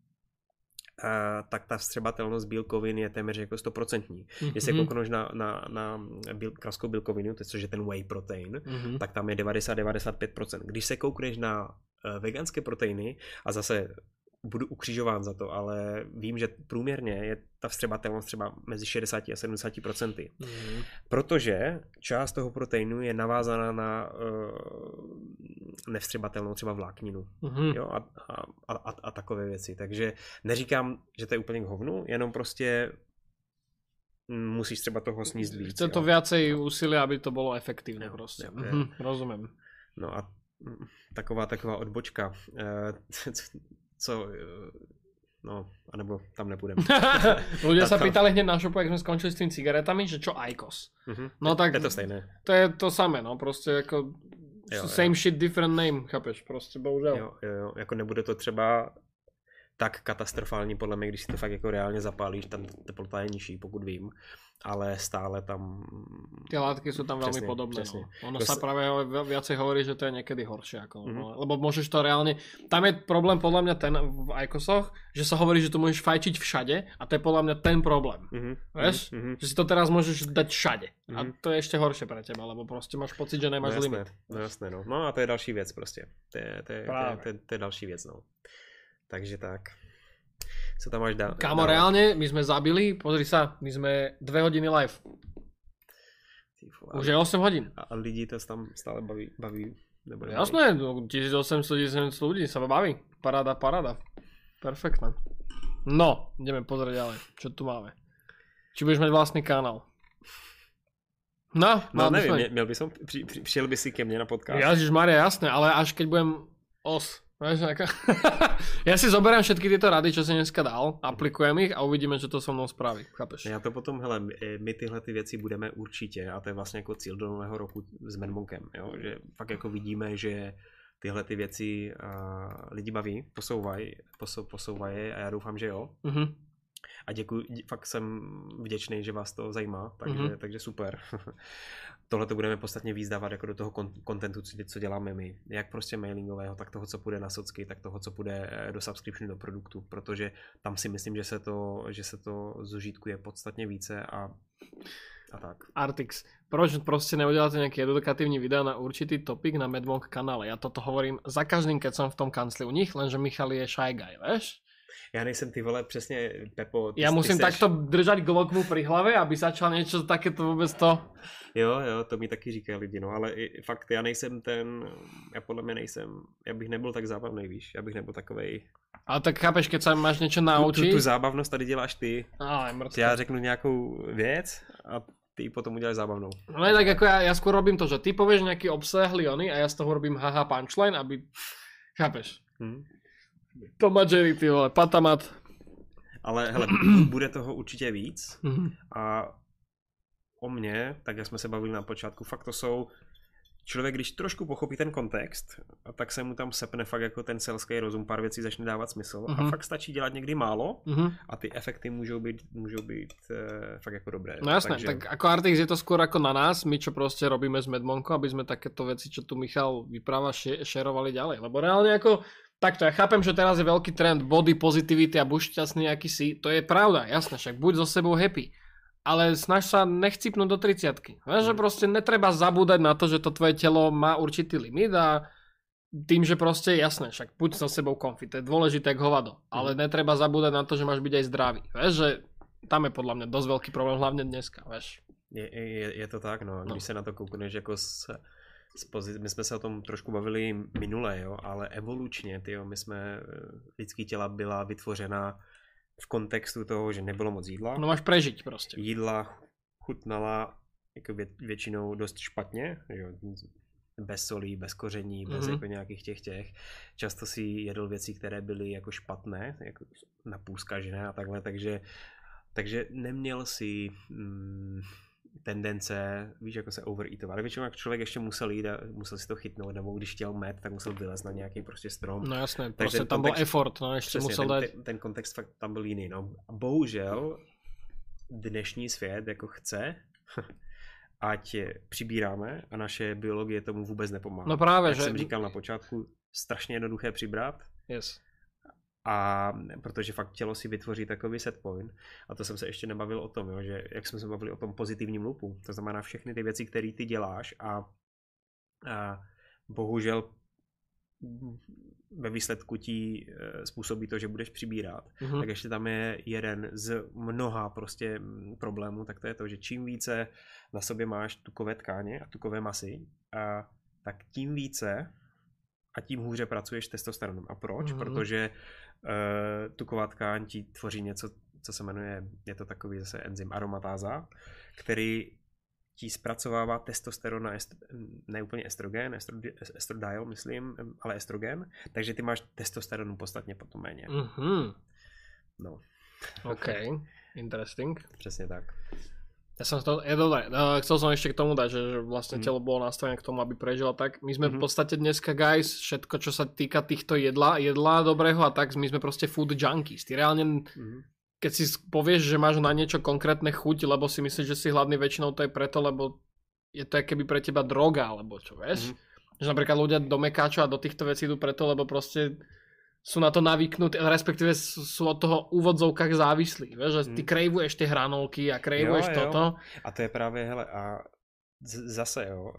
tak ta vstřebatelnost bílkovin je téměř jako stoprocentní. Mm-hmm. Jestli koukneš na, na, na bíl, kravskou bílkovinu, to je ten whey protein, mm-hmm. tak tam je devadesát až devadesát pět procent. Když se koukneš na uh, veganské proteiny, a zase budu ukřižován za to, ale vím, že průměrně je ta vstřebatelnost třeba mezi šedesát a sedmdesát procent. Mm. Protože část toho proteinu je navázaná na uh, nevstřebatelnou třeba vlákninu. Mm. Jo, a, a, a, a takové věci. Takže neříkám, že to je úplně k hovnu, jenom prostě musíš třeba toho sníst víc. Chce to viacej úsilia, aby to bylo efektivné. Jo, prostě. Jo, mhm, rozumím. No a taková taková odbočka. Co, no, anebo tam nepůjdeme. Ľudia sa pýtali hneď na šopu, jak sme skončili s tými cigaretami, že čo í kos. Uh-huh. No tak je to stejné. To je to samé, no, prostě jako jo, same jo. shit, different name, chápeš, prostě bohužel. Jo, jo, jo, jako nebude to třeba tak katastrofální podle mě, když si to fakt jako reálně zapálíš, tam teplota je nižší, pokud vím, ale stále tam... Tie látky sú tam veľmi podobné. No. Ono sa práve viacej hovorí, že to je niekedy horšie. Ako, mm-hmm. no, lebo môžeš to reálne... Tam je problém podľa mňa ten v ajkosoch, že sa hovorí, že to môžeš fajčiť všade a to je podľa mňa ten problém. Mm-hmm. Vieš? Mm-hmm. Že si to teraz môžeš dať všade. Mm-hmm. A to je ešte horšie pre teba, lebo proste máš pocit, že nemáš no, limit. No jasné, no. No a to je další věc prostě. To je, to je, to je, to je, to je další věc, no. Takže tak. Co tam máš dá? Kámo, dá... reálne, my sme zabili, pozri sa, my sme dve hodiny live. Už je osem hodín. A lidi to tam stále baví, baví nebo jasné, tisíc osemsto tisíc ľudí sa baví. Paráda, paráda. Perfektné. No, ideme pozrieť ďalej, čo tu máme. Či budeš mať vlastný kanál? No, no nevím, sme... měl by som, při, při, přišel by si ke mne na podcast. Ježišmaria, jasné, ale až keď budem os. Ja si zoberám všetky tieto rady, čo si dneska dal, aplikujem ich a uvidíme, čo to so mnou spraví. Chápeš? Já to potom, hele, my tyhle ty věci budeme určitě, a to je vlastně jako cíl do nového roku s Medmonkem, jo? Že fakt jako vidíme, že tyhle ty věci uh, lidi baví, posouvají, posou, posouvají a já doufám, že jo. Mm-hmm. A děkuji, fakt jsem vděčný, že vás to zajímá, takže, mm-hmm. takže super. Tohle to budeme podstatně víc dávat jako do toho kontentu, co děláme my. Jak prostě mailingového, tak toho, co půjde na socky, tak toho, co půjde do subscription, do produktu, protože tam si myslím, že se to, že se to zužitkuje podstatně více a, a tak. Artix, proč prostě neuděláte nějaký edukatívny video na určitý topik na Medmonk kanále? Ja toto hovorím za každým, keď som v tom kancli u nich, lenže Michal je shy guy, vieš? Já nejsem ty vole přesně Pepo. Ty, ja musím ty seš... takto držať glokmu pri hlave, aby začal niečo takéto vôbec to. Jo, jo, to mi taky říkají lidi, no, ale i, fakt já nejsem ten, já podle mě nejsem, já bych nebyl tak zábavný, víš, já bych nebyl takovej. Ale tak chápeš, keď sa máš niečo Tu, naučiť. tu, tu zábavnost tady děláš ty. Ale mrzko. Já řeknu nějakou věc a ty ji potom uděláš zábavnou. No je tak ako ja, ja skôr robím to, že ty povieš nejaký obsahlý ony a ja z toho robím haha punchline, aby... Chápeš? Hmm. To Jerry, ty vole, patamat. Ale hele, bude toho určitě víc a o mně, tak jak jsme se bavili na počátku, fakt to jsou, člověk, když trošku pochopí ten kontext, a tak se mu tam sepne fakt jako ten selský rozum, pár věcí začne dávat smysl uh-huh. a fakt stačí dělat někdy málo uh-huh. a ty efekty můžou být, můžou být e, fakt jako dobré. No jasné, takže... tak ako Artix je to skôr ako na nás, my čo proste robíme s Medmonko, aby sme takéto veci, čo tu Michal vypráva, šerovali ďalej, lebo reálne ako takto, ja chápem, že teraz je veľký trend body positivity a buď šťastný aký si, to je pravda, jasné, však buď so sebou happy. Ale snaž sa nechcipnúť do tridsiatky. Vieš, že proste netreba zabúdať na to, že to tvoje telo má určitý limit a tým, že proste jasné, však buď so sebou konfi, to je dôležité ako hovado. Ale netreba zabúdať na to, že máš byť aj zdravý. Vieš, že tam je podľa mňa dosť veľký problém, hlavne dneska, vieš. Je, je, je to tak, no. Když no. se na to koukneš jako z, z pozic... My jsme se o tom trošku bavili minule, jo, ale evolučně, tyjo, my jsme, lidský těla byla vytvořena v kontextu toho, že nebylo moc jídla. No máš prežiť prostě. Jídla chutnala jako vě, většinou dost špatně, jo, bez solí, bez koření, bez mm-hmm. jako nějakých těch těch. Často si jedl věci, které byly jako špatné, jako napůzkažené a takhle, takže, takže neměl si mm, tendence, víš, jako se overeatovat. Ale většinou jak člověk ještě musel jít a musel si to chytnout, nebo když chtěl med, tak musel vylézt na nějaký prostě strom. No jasné, prostě tam kontext, byl effort, no ještě musel ten, dát. Ten, ten kontext fakt tam byl jiný, no. Bohužel dnešní svět jako chce, ať přibíráme a naše biologie tomu vůbec nepomáhá. No právě, jak že... jsem říkal na počátku, strašně jednoduché přibrat. Yes. A protože fakt tělo si vytvoří takový set point. A to jsem se ještě nebavil o tom, jo, že jak jsme se bavili o tom pozitivním loopu. To znamená všechny ty věci, které ty děláš a, a bohužel ve výsledku ti způsobí to, že budeš přibírat. Mm-hmm. Tak ještě tam je jeden z mnoha prostě problémů, tak to je to, že čím více na sobě máš tukové tkáně a tukové masy, a, tak tím více a tím hůře pracuješ testosteronem. A proč? Mm-hmm. Protože uh, tuková tkáň ti tvoří něco, co se jmenuje, je to takový zase enzym aromatáza, který ti zpracovává testosteron na est- ne úplně estrogen, estro- estradiol, myslím, ale estrogen, takže ty máš testosteronu podstatně potom méně. Mm-hmm. No. OK, interesting. Přesně tak. Ja som to, je dobré, no, chcel som ešte k tomu dať, že, že vlastne mm. telo bolo nastavené k tomu, aby prežilo tak. My sme mm-hmm. v podstate dneska, guys, všetko, čo sa týka týchto jedla, jedla dobrého a tak, my sme proste food junkies. Ty reálne, mm-hmm. keď si povieš, že máš na niečo konkrétne chuť, lebo si myslíš, že si hladný, väčšinou to je preto, lebo je to keby pre teba droga, alebo čo, vieš? Mm-hmm. Že napríklad ľudia do mekáčov a do týchto vecí idú preto, lebo proste sú na to navyknutí, respektíve sú od toho úvodzovkách závislí, vieš, že ty krejvuješ tie hranolky a krejvuješ jo, jo. toto. A to je právě, hele, a z- zase, jo,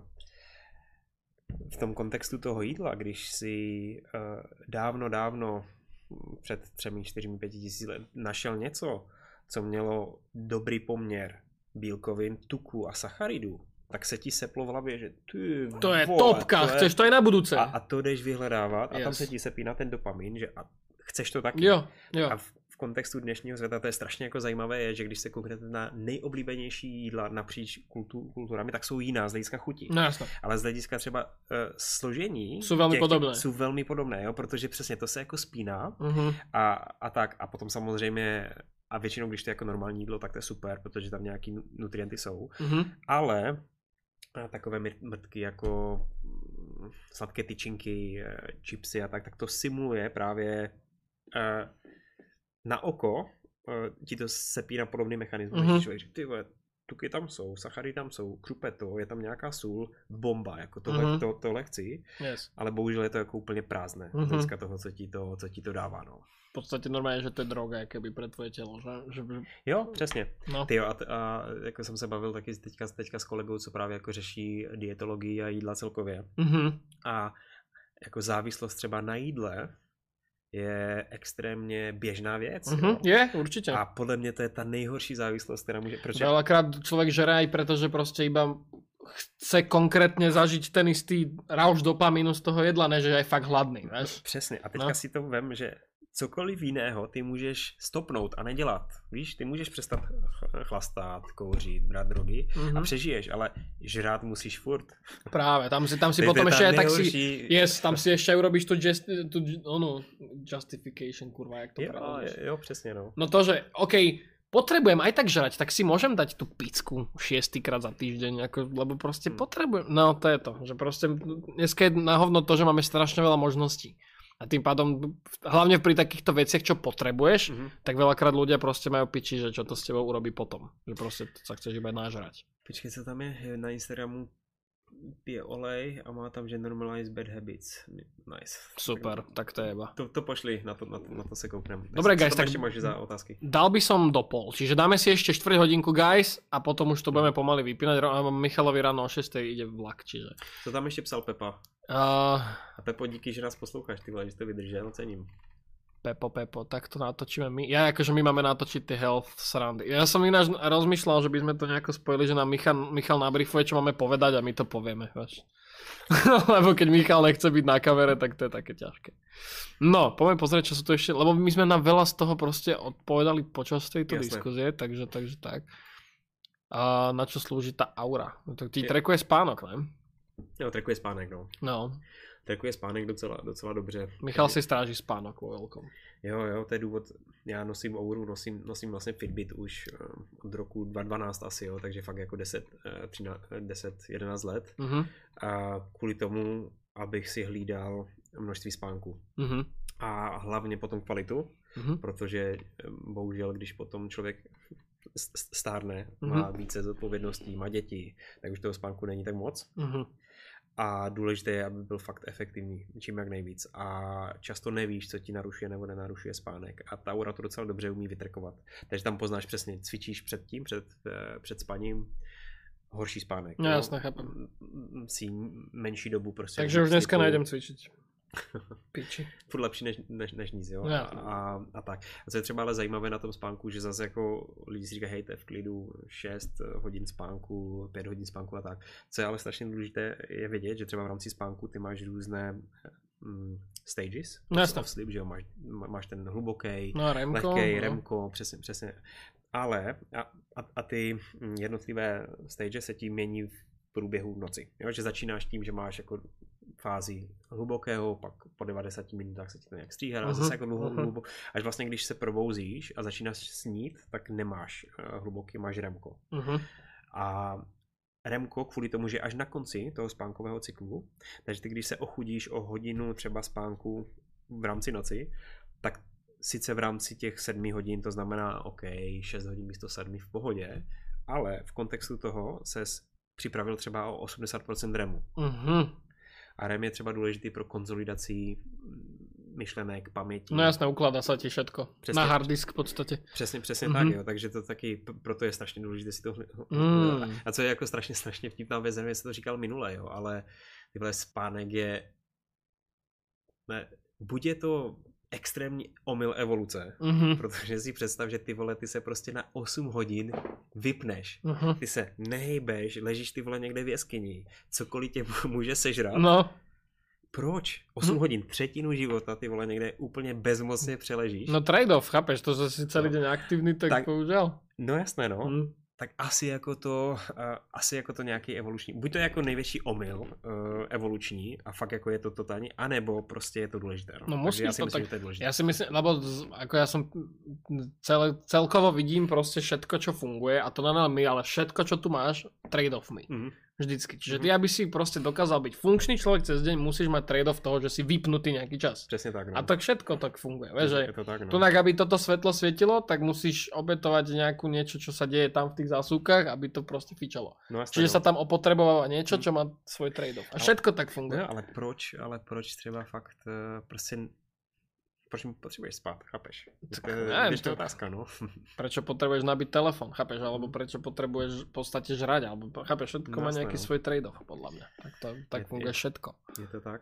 v tom kontextu toho jídla, když si dávno, dávno, před třemi, čtyřmi, pěti tisíci let našel něco, co mělo dobrý poměr bílkovin, tuku a sacharidů, tak se ti seplo v hlavě, že ty to je vole, topka, to je... chceš to aj na budúce. A, a to jdeš vyhledávat a yes. tam se ti sepíná ten dopamin, že a chceš to taky. Jo, jo. A v, v kontextu dnešního světa to je strašně jako zajímavé, je, že když se kouknete na nejoblíbenější jídla napříč kultu, kulturami, tak jsou jiná z hlediska chutí. No jasno. Ale z hlediska třeba uh, složení jsou velmi těch, podobné. Jsou velmi podobné, jo, protože přesně to se jako spíná uh-huh. a, a tak. A potom samozřejmě a většinou, když to je jako normální jídlo, tak to je super, protože tam nějaký nutrienty jsou. Uh-huh. Ale takové mrtky jako sladké tyčinky, chipsy a tak, tak to simuluje právě uh, na oko, uh, ti to sepíná podobný mechanismus, mm-hmm. člověk říká, ty vole, tuky tam jsou, sachary tam jsou, krupeto, je tam nějaká sůl, bomba, jako tohle, mm-hmm. to, tohle chci, yes. ale bohužel je to jako úplně prázdné, mm-hmm. dneska toho, co ti to, co ti to dává, no. V podstate normálne, že to je droga, keby pre tvoje telo, že? že... Jo, přesně. No. Tyjo, a, a jako jsem se bavil taky teďka, teďka s kolegou, co právě jako řeší dietologii a jídla celkově. Mm-hmm. A jako závislost třeba na jídle je extrémně běžná věc. Mm-hmm, je, určitě. A podle mě to je ta nejhorší závislost, která může... Proč Veľakrát človek žere aj preto, že proste iba chce konkrétně zažiť ten istý rauš dopamínu z toho jedla, než je aj fakt hladný, víš? Přesně. A teďka No. si to vem, že cokoliv jiného ty můžeš stopnout a nedělat. Víš, ty můžeš přestat ch- chlastat, kouřit, brát drogy Mhm. a přežiješ, ale žrát musíš furt. Práve, tam si, tam si To je potom tá ešte aj tak si... nejhorší- Yes, tam si ešte aj urobíš tu, just, tu onu, justification, kurva, jak to Jo, preložíš. jo, jo, přesně, no. No to, že OK, potrebujem aj tak žrať, tak si môžem dať tú picku šiestýkrát za týždeň, ako, lebo proste Hmm. potrebujem. No to je to, že proste dneska je na hovno to, že máme strašne veľa možností. A tým pádom, hlavne pri takýchto veciach, čo potrebuješ, Mhm. tak veľakrát ľudia proste majú piči, že čo to s tebou urobí potom. Že proste sa chceš iba nažrať. Počkej, co tam je na Instagramu? Pije olej a má tam, že normalize bad habits. Nice. Super, tak to je iba. To, to pošli, na to, na to, na to se kouknem. Dobre, Co guys, tam tak- ešte máš za otázky? Dal by som do pol, čiže dáme si ešte štvrť hodinku, guys, a potom už to budeme pomaly vypínať. Ro- a Michalovi ráno o šiestej ide vlak, čiže... Co tam ještě psal Pepa? Uh, A Pepo, díky, že nás posloucháš, ty vole, že jsi to vydržel, cením. Pepo, Pepo, tak to natočíme my. Ja akože my máme natočiť tie health srandy. Ja som ináč rozmýšľal, že by sme to nejako spojili, že nám Michal, Michal nabrifuje, čo máme povedať a my to povieme, vieš. Lebo keď Michal nechce byť na kamere, tak to je také ťažké. No, poďme pozrieť, čo sú tu ešte, lebo my sme na veľa z toho proste odpovedali počas tejto Jasné. diskuzie, takže, takže tak. A na čo slúži tá aura? No, tak ti Je- trekuje spánok, ne? Jo, trekuje spánek, no. No, Trekuje spánek docela, docela dobře. Michal si stráží spánok vo veľkom. Jo, jo, to je důvod. Já nosím Ouru, nosím, nosím vlastně Fitbit už eh, od roku dva tisíce dvanáct asi, jo, takže fakt jako deset, deset jedenáct let. Mhm, A kvůli tomu, abych si hlídal množství spánku. mhm, A hlavně potom kvalitu, mhm. protože eh, bohužel, když potom člověk s- s- stárne, Mhm. má více zodpovědností, má děti, tak už toho spánku není tak moc. Mhm. A důležité je, aby byl fakt efektivní, čím jak nejvíc. A často nevíš, co ti narušuje nebo nenarušuje spánek. A ta Oura to docela dobře umí vytrekovat. Takže tam poznáš přesně, cvičíš před tím, před, eh, před spaním, horší spánek. No, jo? jasné, chápem. M- Si menší dobu prostě. Takže už dneska slipu. najdem cvičiť. Piči. Furt lepší než, než, než nic, jo. No, A, jasně. a, a tak. A co je třeba ale zajímavé na tom spánku, že zase jako lidi si říkají, hej, to je v klidu šest hodin spánku, pět hodin spánku a tak. Co je ale strašně důležité je vědět, že třeba v rámci spánku ty máš různé mm, stages No, jasně. of sleep, že jo, máš, má- máš ten hluboký, No a Remko. lehký, no. remko, přesně, přesně. Ale a, a, a ty mm, jednotlivé stage se ti mění v průběhu noci. Jo? Že začínáš tím, že máš jako fázi hlubokého, pak po devadesáti minutách se ti to nějak stříhá, a Mhm, zase jako dlouho, mhm. hlubo, až vlastně když se probouzíš a začínáš snít, tak nemáš uh, hluboký, máš remko. Mhm. A remko kvůli tomu, že až na konci toho spánkového cyklu, takže ty když se ochudíš o hodinu třeba spánku v rámci noci, tak sice v rámci těch sedmi hodin, to znamená OK, šest hodin místo sedmi v pohodě, ale v kontextu toho ses připravil třeba o osmdesát procent remu. Mhm. A R E M je třeba důležitý pro konzolidaci myšlenek, paměti. No jasné, ukladá sa ti všetko. Přesně. Na hard disk v podstate. Přesně, přesně Mhm. tak, jo. Takže to taky, p- proto je strašně důležité si to hl- Mm. A co je jako strašně, strašně vtipná věc, nevím, jestli to říkal minule, jo, ale tyhle spánek je, ne, buď je to extrémní omyl evoluce, Mhm. protože si představ, že ty vole, ty se prostě na osm hodin vypneš. Mhm. Ty se nehejbeš, ležíš ty vole někde v jeskyni, cokoliv tě může sežrat. No, Proč? osm Hm. hodin, třetinu života ty vole někde úplně bezmocně přeležíš. no trade-off, chápeš, to, že si celý No. deň aktívny, tak, Tak- bohužiaľ. No jasné, no. Mm. Tak asi jako to, uh, asi jako to nějaký evoluční, buď to je jako největší omyl uh, evoluční a fakt jako je to totální, anebo prostě je to důležité. No, No Takže musí já si to myslím, tak- že to je důležité. Ja si myslím, lebo z- ako ja som celé, celkovo vidím proste všetko, čo funguje a to na my, ale všetko, čo tu máš, trade-off mi. Mhm. Vždycky. Čiže Mhm. ty, aby si proste dokázal byť funkčný človek cez deň, musíš mať trade-off toho, že si vypnutý nejaký čas. Přesně tak, no. A tak všetko tak funguje. Vieš, že je to tak, no. tunak, aby toto svetlo svietilo, tak musíš obetovať nejakú niečo, čo sa deje tam v tých zásuvkách, aby to proste fičalo. no jasné, Čiže no. sa tam opotrebováva niečo, čo má svoj trade-off. A Ale- všetko tak funguje. No, ale proč, ale proč třeba fakt uh, prostě, proč potřebuješ spát, chápeš? Tak To je neviem, běžná to- otázka, no. Prečo potrebuješ nabiť telefón, chápeš? Alebo prečo potrebuješ v podstate žrať, alebo chápeš? Všetko No má jasné, nejaký no. svoj trade-off, podľa mňa. Tak, to, tak Je- funguje je- všetko. Je to tak?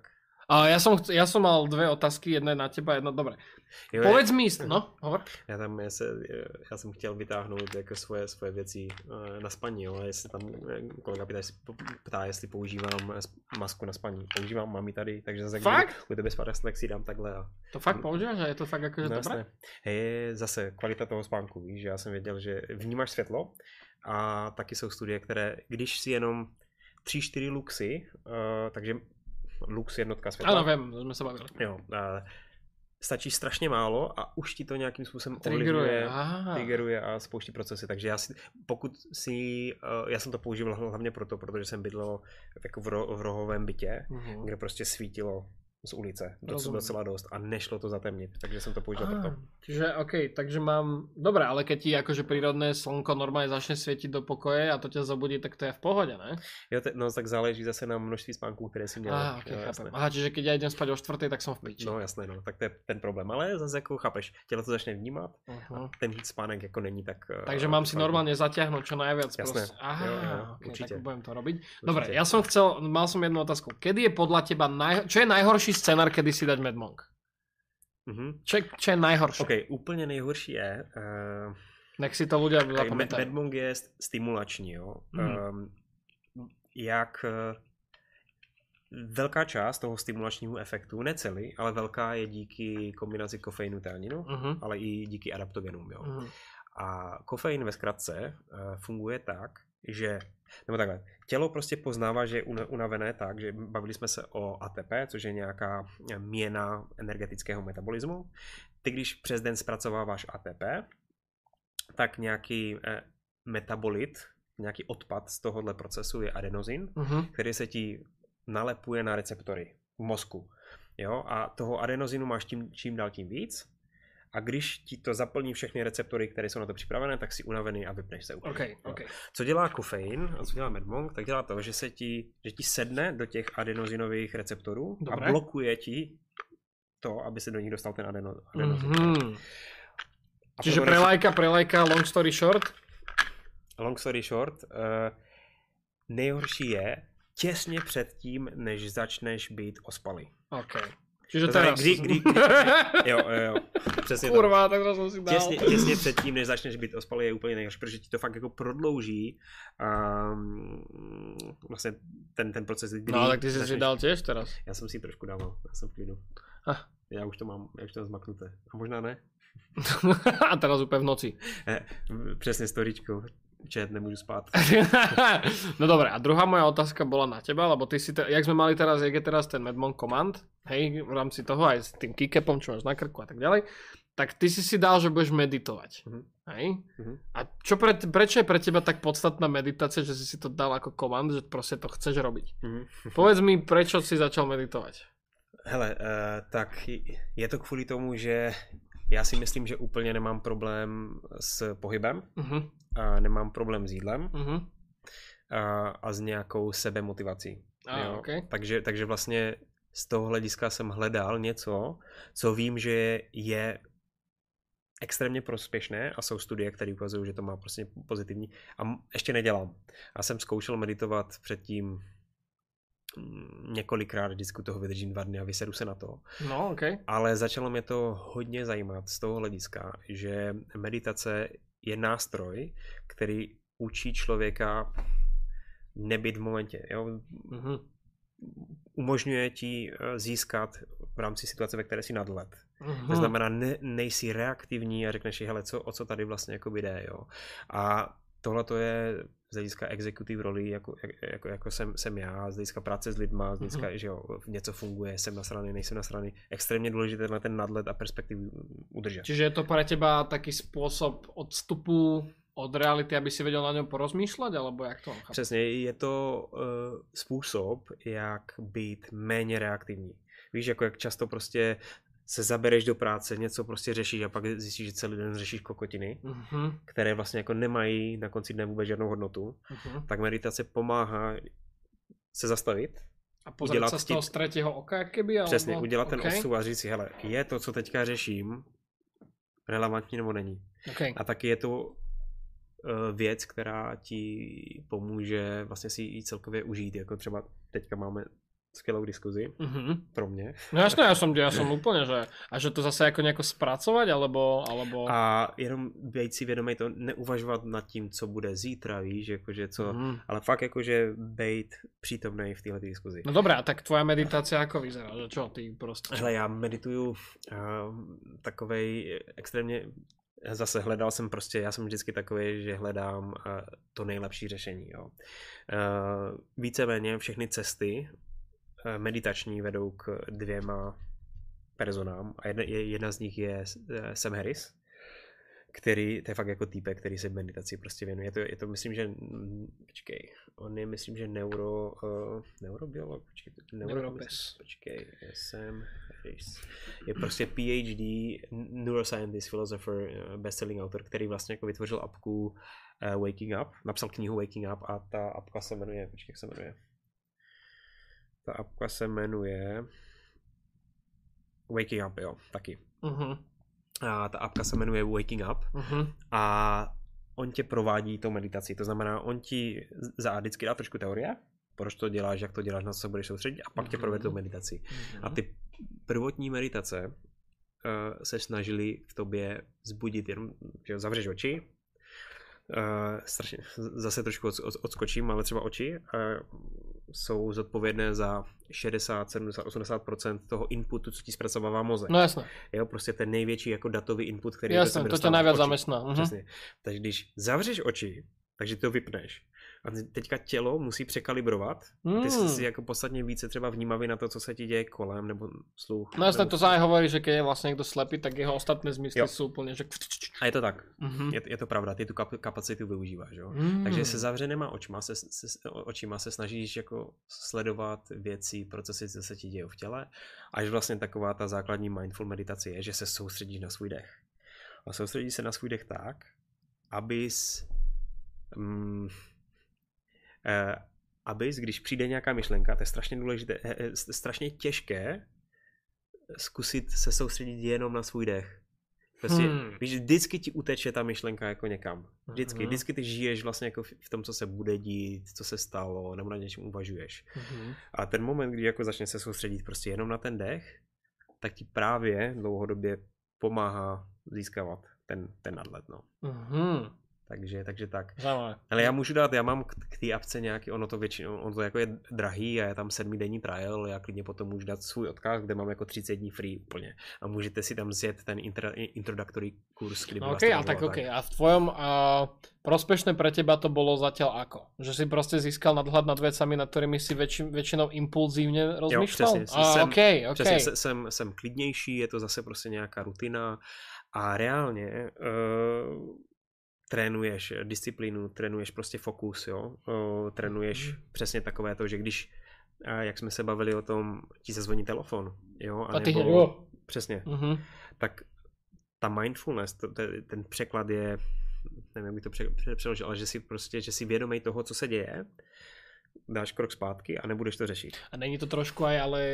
A ja som, ja som mal dve otázky, jedna je na teba, jedna, dobre. Jo, Povedz mi, no, hovor. Já tam, já, se, já jsem chtěl vytáhnout jako svoje, svoje věci na spaní, jo, a jestli tam kolega ptá, jestli, ptá, jestli používám masku na spaní. Používám, mám ji tady, takže zase fakt? u tebe spadá tak si dám takhle. A... To fakt používáš a je to fakt akože no, dobré? Je zase kvalita toho spánku, víš, že já jsem věděl, že vnímáš světlo a taky jsou studie, které, když si jenom tři čtyři luxy, uh, takže lux jednotka světla. Ano, vím, jsme se bavili. Jo, uh, stačí strašně málo a už ti to nějakým způsobem triggeruje, triggeruje a spouští procesy. Takže já si, pokud si, uh, já jsem to používal hlavně proto, protože jsem bydlel jako v, ro, v rohovém bytě, uh-huh. kde prostě svítilo z ulice, docela, docela dost a nešlo to zatemnit, takže jsem to použil ah, proto. Čiže OK, takže mám, dobré, ale keď ti akože prírodné slnko normálne začne svietiť do pokoje a to ťa zobudí, tak to je v pohode, ne? Jo, te, no tak záleží zase na množství spánků, které si měl. Ah, okay, jo, chápem. Aha, čiže keď ja idem spať o štvrtej, tak som v piči. No jasné, no, tak to je ten problém, ale zase jako chápeš, tělo to začne vnímat uh-huh. a ten spánek jako není tak... Takže mám si normálne zatiahnuť čo najviac. Jasné, aha, jo, jo, okay, určite. Tak budem to robiť. Určite. Dobre, ja som chcel, mal som jednu otázku. Kedy je podľa teba, naj... čo je najhorší scenár, kedy si dať Mad Monk? Uh-huh. Čo, čo je najhorší? OK, úplně nejhorší je... Uh... Nech si to ľudia zapamätajú. Mad Monk je stimulační, jo. Mm-hmm. Um, jak uh, velká část toho stimulačního efektu, ne celý, ale velká je díky kombinaci kofeinu teaninu, mm-hmm. ale i díky adaptogenům, jo. Mm-hmm. A kofein ve zkratce uh, funguje tak, že, nebo takhle, tělo prostě poznává, že je unavené tak, že bavili jsme se o A T P, což je nějaká měna energetického metabolismu. Ty, když přes den zpracováváš A T P, tak nějaký eh, metabolit, nějaký odpad z tohohle procesu je adenozin, uh-huh. který se ti nalepuje na receptory v mozku. Jo? A toho adenozinu máš tím, čím dál tím víc. A když ti to zaplní všechny receptory, které jsou na to připravené, tak si unavený a vypneš se úplně. Okay, okay. Co dělá kofein a co dělá Mad Monk, tak dělá to, že se ti, že ti sedne do těch adenozinových receptorů. Dobre. A blokuje ti to, aby se do nich dostal ten adeno, adenozin. Mm-hmm. Čiže pre lajka, pre lajka, long story short? Long story short, uh, nejhorší je těsně před tím, než začneš být ospalý. OK. Čiže to teraz. Kdy, kdy, kdy, jo, jo, přesně Kurva, tak to jsem si dal. Těsně, těsně před tím, než začneš být ospalý, je úplně nejhorší, protože ti to fakt jako prodlouží um, vlastně ten, ten proces, kdy... No, tak ty jsi si dal těž teraz. Já jsem si trošku dával, já jsem v klidu. Ah. Já už to mám, já už to mám zmaknuté. A možná ne. A teraz úplně v noci. Přesně storičko. Čet, nemůžu spát. No dobré, a druhá moja otázka bola na teba, lebo ty si, te, jak sme mali teraz, jak je teraz ten Mad Monk Command, hej, v rámci toho aj s tým keycapom, čo máš na krku a tak ďalej, tak ty si si dal, že budeš meditovať, uh-huh. hej? Uh-huh. A čo pre, prečo je pre teba tak podstatná meditácia, že si si to dal ako command, že proste to chceš robiť? Uh-huh. Povedz mi, prečo si začal meditovať? Hele, uh, tak je to kvůli tomu, že já si myslím, že úplně nemám problém s pohybem, uh-huh. a nemám problém s jídlem uh-huh. a, a s nějakou sebemotivací. Ah, okay. takže, takže vlastně z toho hlediska jsem hledal něco, co vím, že je extrémně prospěšné a jsou studie, které ukazují, že to má prostě pozitivní a ještě nedělám. Já jsem zkoušel meditovat předtím několikrát, vždycky toho vydržím dva dny a vysedu se na to. No, okay. Ale začalo mě to hodně zajímat z toho hlediska, že meditace je nástroj, který učí člověka nebyt v momentě. Jo? Mm-hmm. Umožňuje ti získat v rámci situace, ve které jsi nadhled. Mm-hmm. To znamená, ne, nejsi reaktivní a řekneš si, hele, co, o co tady vlastně jako jde. Jo? A tohle to je z hlediska executive roli, jako, jako, jako jsem, jsem já, z hlediska práce s lidma, z hlediska, mm-hmm. že jo, něco funguje, jsem nasraný, nejsem nasraný, extrémně důležité na ten nadhled a perspektivu udržet. Čiže je to pre teba taký spôsob odstupu od reality, aby si vedel na ňom porozmýšľať, alebo jak to? Přesně, je to uh, způsob, jak být méně reaktivní. Víš, jako jak často prostě se zabereš do práce, něco prostě řešíš a pak zjistíš, že celý den řešíš kokotiny, uh-huh. které vlastně jako nemají na konci dne vůbec žádnou hodnotu, uh-huh. tak meditace pomáhá se zastavit. A pozrieť sa z toho z tretieho oka, keby? Alebo... Přesně, udělat okay. ten odstup a říct si, hele, je to, co teďka řeším, relevantní nebo není. Okay. A taky je to uh, věc, která ti pomůže vlastně si ji celkově užít, jako třeba teďka máme skvělou diskuzi. Mm-hmm. Pro mě. No jasné, ja som, ja som úplne, že a že to zase jako nejako spracovať, alebo, alebo... A jenom být si vědomý to, neuvažovat nad tím, co bude zítra, víš, jakože co, mm. ale fakt jakože být přítomný v téhle diskuzi. No dobré, a tak tvoja meditácia ako vyzerá, že čo, ty prostě... Hele, já medituju uh, takovej extrémně, zase hledal jsem prostě, já jsem vždycky takový, že hledám uh, to nejlepší řešení, jo. Uh, víceméně všechny cesty uh, meditační vedou k dvěma personám a jedna, jedna z nich je uh, Sam Harris, který, to je fakt jako týpek, který se meditaci prostě věnuje. Je to, je to myslím, že, počkej, on je myslím, že neuro, uh, neurobiolog, počkej, neuropes. Počkej, Sam Harris. Je prostě PhD, neuroscientist, philosopher, bestselling autor, který vlastně jako vytvořil apku uh, Waking Up, napsal knihu Waking Up a ta apka se jmenuje, počkej, jak se jmenuje. Ta apka se jmenuje Waking Up, jo, taky. Uh-huh. A ta apka se jmenuje Waking Up uh-huh. a on tě provádí tou meditací, to znamená, on ti za vždycky dá trošku teorie, proč to děláš, jak to děláš, na co se budeš soustředit a pak uh-huh. tě provede tou meditací. Uh-huh. A ty prvotní meditace uh, se snažili v tobě vzbudit jenom, že zavřeš oči, uh, strašně, zase trošku od, od, odskočím, ale třeba oči uh, jsou zodpovědné za šedesát, sedmdesát, osmdesát procent toho inputu, co ti zpracovává mozek. No jasné. Jo, prostě ten největší jako datový input, který jasné, to tě najviac zamestná. Uh-huh. Přesně. Takže když zavřeš oči, takže to vypneš. A teďka tělo musí překalibrovat. Mm. Ty jsi si jako podstatně více třeba vnímavý na to, co se ti děje kolem, nebo sluch. No jasné, nebo... to sa aj hovorí, že keď je vlastne niekto slepý, tak jeho ostatné zmysly sú úplne, že... A je to tak. Mm-hmm. Je, je to pravda, ty tu kap- kapacitu využíváš. Jo? Mm. Takže se zavřenýma očima se, se, očima se snažíš jako sledovat věci, procesy, co se ti dějí v těle. Až vlastně taková ta základní mindful meditace je, že se soustředíš na svůj dech. A soustředíš se na svůj dech tak, abys... Mm, Uh, abys, když přijde nějaká myšlenka, to je strašně důležité, je strašně těžké zkusit se soustředit jenom na svůj dech. Prostě, hmm. víš, vždycky ti uteče ta myšlenka jako někam. Vždycky, uh-huh. vždycky ty žiješ vlastně jako v tom, co se bude dít, co se stalo, nebo na něčem uvažuješ. Uh-huh. A ten moment, kdy jako začne se soustředit prostě jenom na ten dech, tak ti právě dlouhodobě pomáhá získávat ten, ten nadhled, no. Uh-huh. Takže, takže tak. Zajímavé. Ale já můžu dát, já mám k, k té apce nějaký, ono to většinou, ono to jako je drahý a je tam sedmidenní trial, já klidně potom můžu dát svůj odkaz, kde mám jako třicet dní free úplně. A můžete si tam zjet ten intro, introductory kurz, kdy by no, vás okay, to a tak tak. OK. A v tvojom uh, prospešné pre teba to bolo zatiaľ ako? Že si proste získal nadhľad nad vecami, nad ktorými si väčši, väčšinou impulzívně rozmýšľal? Jo, přesně. A, jsem, okay, okay. přesně, jsem, jsem klidnější, je to zase prostě nějaká rutina a reálně uh, trénuješ disciplínu, trénuješ prostě fokus, jo, o, trénuješ mm. přesně takové to, že když, a jak jsme se bavili o tom, ti zazvoní telefon, jo, a, a nebo, jo. přesně, mm-hmm. tak ta mindfulness, to, to, ten překlad je, nevím, jak bych to pře, pře, přeložil, ale že si prostě, že si vědomej toho, co se děje, dáš krok zpátky a nebudeš to řešit. A není to trošku aj, ale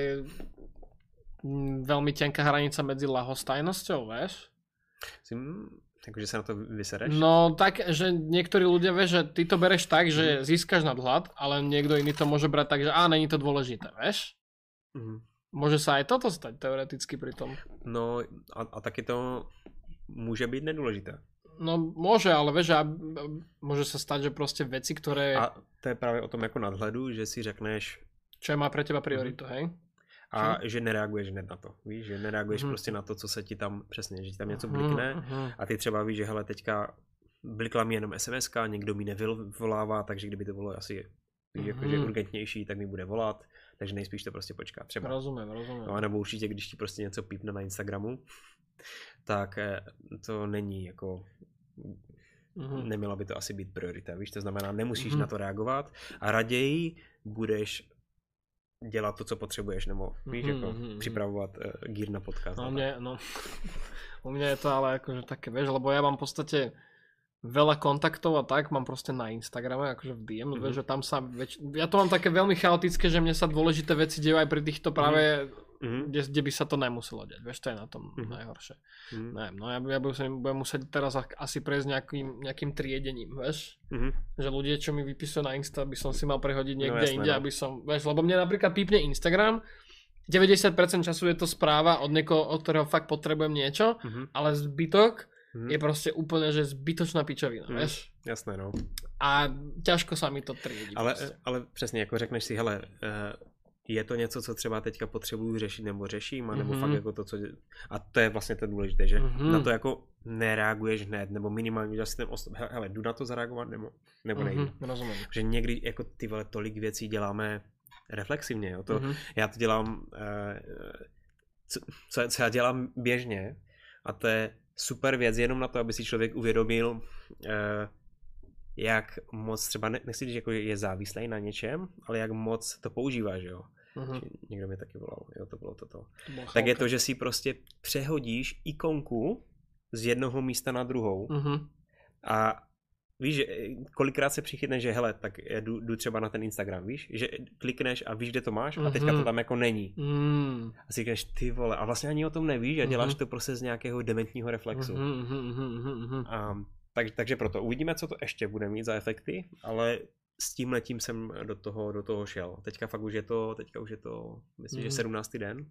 veľmi tenká hranica medzi ľahostajnosťou, vieš? Takže sa na to vysereš? No tak, že niektorí ľudia, vieš, že ty to bereš tak, že mm. získaš nadhľad, ale niekto iný to môže brať tak, že á, není to dôležité, vieš? Mm. Môže sa aj toto stať teoreticky pri tom. No a, a taky to môže byť nedôležité. No môže, ale vieš, a môže sa stať, že proste veci, ktoré... A to je práve o tom ako nadhledu, že si řekneš... Čo má pre teba prioritu, mm. hej? A že nereaguješ hned na to, víš, že nereaguješ mm. prostě na to, co se ti tam, přesně, že ti tam něco blikne mm. a ty třeba víš, že hele, teďka blikla mi jenom es em eska, někdo mi nevolává, takže kdyby to bylo asi víš, mm. jakože urgentnější, tak mi bude volat, takže nejspíš to prostě počká třeba. Rozumím, rozumím. No a nebo určitě, když ti prostě něco pípne na Instagramu, tak to není jako... Mm. Neměla by to asi být priorita, víš, to znamená, nemusíš mm. na to reagovat a raději budeš dělat to, co potřebuješ, nebo víš, mm-hmm, jako mm-hmm. připravovat uh, gear na podcast. No, mne, no. U mňa je to ale akože také, vieš, lebo ja mám v podstate veľa kontaktov a tak, mám proste na Instagrame, akože v dé em, mm-hmm. vieš, že tam sa, väč... ja to mám také veľmi chaotické, že mne sa dôležité veci dejú aj pri týchto práve mm-hmm. mm-hmm. kde, kde by sa to nemuselo deť. Vieš, to je na tom mm-hmm. najhoršie. Mm-hmm. Neviem, no ja, ja budem, budem musieť teraz asi prejsť nejakým, nejakým triedením, vieš. Mm-hmm. Že ľudia, čo mi vypisujú na Insta, by som si mal prehodiť niekde no, jasné, inde, no. aby som, vieš, lebo mne napríklad pípne Instagram, deväťdesiat percent času je to správa od niekoho, od ktorého fakt potrebujem niečo, mm-hmm. ale zbytok mm-hmm. je proste úplne, že zbytočná pičovina, mm-hmm. vieš. Jasné, no. A ťažko sa mi to triedí. Ale, ale přesně, jako řekneš si, hele, je to něco, co třeba teďka potřebuju řešit nebo řeším, anebo mm-hmm. fakt jako to, co... A to je vlastně to důležité, že mm-hmm. na to jako nereaguješ hned, nebo minimálně uděláš si ten osm... Hele, jdu na to zareagovat, nebo, nebo nejdu. Mm-hmm, rozumím. Že někdy jako ty vole tolik věcí děláme reflexivně, jo. To, mm-hmm. Já to dělám, co, co, co já dělám běžně, a to je super věc jenom na to, aby si člověk uvědomil, jak moc třeba, nechci říct, jako je závislý na něčem, ale jak moc to používáš, jo. Uh-huh. Někdo mi taky volal, jo, to bylo toto. To tak je to, že si prostě přehodíš ikonku z jednoho místa na druhou uh-huh. a víš, že kolikrát se přichytne, že hele, tak jdu, jdu třeba na ten Instagram, víš, že klikneš a víš, kde to máš a teďka to tam jako není. Uh-huh. A si říkáš, ty vole, a vlastně ani o tom nevíš a děláš to prostě z nějakého dementního reflexu. Uh-huh, uh-huh, uh-huh. A Tak, takže proto uvidíme, co to ještě bude mít za efekty, ale s tímhletím jsem do toho, do toho šel. Teďka fakt už je to, teďka už je to, myslím, mm. že sedmnáctý den.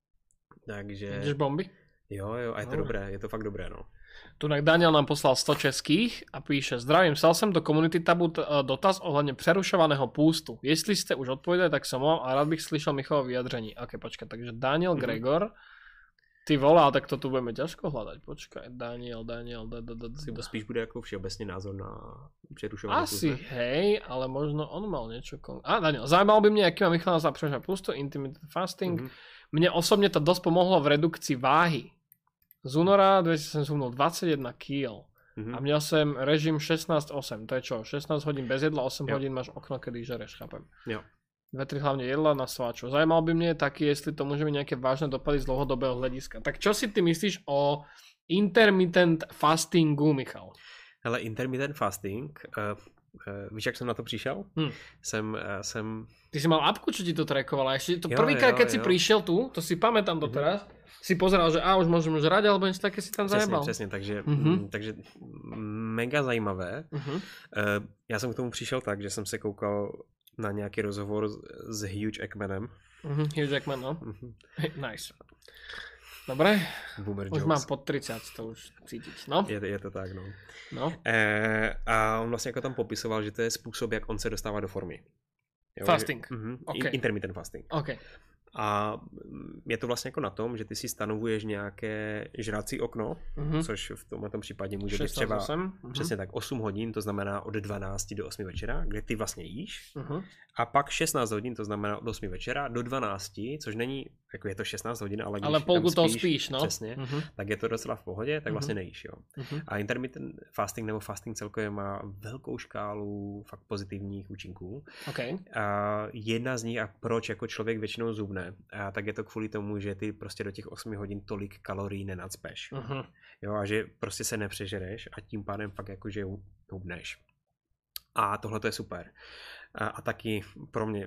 Takže... Jdeš bomby? Jo, jo, a je to no. dobré, je to fakt dobré, no. Tunak Daniel nám poslal sto českých a píše: Zdravím, psal jsem do komunity tabu dotaz ohledně přerušovaného půstu. Jestli jste už odpověděli, tak som vám a rád bych slyšel Michalovo vyjadření. Ok, počkaj, takže Daniel mm. Gregor. Ty volá, tak to tu budeme ťažko hľadať. Počkaj, Daniel, Daniel, da, da, da, da. To spíš bude ako všeobecný názor na přerušovanie pustu. Asi, hej, ale možno on mal niečo... Kon... A Daniel, zaujímalo by mňa, aký má Michal za přerušovanie pustu, intermittent fasting. Mm-hmm. Mne osobne to dosť pomohlo v redukcii váhy. Z února dvetisícsedem som mal dvadsaťjeden kíl. Mm-hmm. A měl jsem režim šestnásť osem. To je čo? šestnásť hodín bez jedla, osem jo. hodín máš okno, kedy žereš, chápem. Jo. Dve, tri hlavne jedla na sváčo. Zajímalo by mne taky, jestli to môže mať nejaké vážne dopady z dlhodobého hľadiska. Tak čo si ty myslíš o intermittent fastingu, Michal? Hele, intermittent fasting, uh, uh, víš, jak jsem na to přišel? Hmm. Jsem, uh, jsem... Ty si mal apku, čo ti to trackovala? Ešte to prvýkrát, keď jo. si prišiel tu, to si pamätám doteraz, mm-hmm. si pozeral, že a už môžem žrať, alebo niečo také si tam zajebal. Přesně, takže, mm-hmm. takže mega zajímavé. Mm-hmm. Uh, já jsem k tomu přišel tak, že jsem se koukal na nějaký rozhovor s, s Hugh Jackmanem. Mm-hmm, Hugh Jackman, no. Mm-hmm. Nice. Dobre, Boomer už jokes. Mám pod tridsať, to už cítiť, no. Je, je to tak, no. no. E, a on vlastně jako tam popisoval, že to je způsob, jak on se dostává do formy. Jo, fasting. Že, mm-hmm, okay. Intermittent fasting. Okay. A je to vlastně jako na tom, že ty si stanovuješ nějaké žrací okno, mm-hmm. což v tomhle případě může být třeba mm-hmm. přesně tak osm hodin, to znamená od dvanácti do osmi večera, kde ty vlastně jíš. Mm-hmm. A pak šestnáct hodin, to znamená od osmi večera do dvanácti, což není, jako je to šestnáct hodin, ale když ale polku tam toho spíš, spíš, no. Přesně, mm-hmm. tak je to docela v pohodě, tak mm-hmm. vlastně nejíš, jo. Mm-hmm. A intermittent fasting nebo fasting celkově má velkou škálu fakt pozitivních účinků. Okay. A jedna z nich, a proč jako člověk většinou zubne, a tak je to kvůli tomu, že ty prostě do těch osmi hodin tolik kalorií nenacpeš. Uh-huh. Jo, a že prostě se nepřežereš a tím pádem fakt jakože hubneš. A tohle to je super. A, a taky pro mě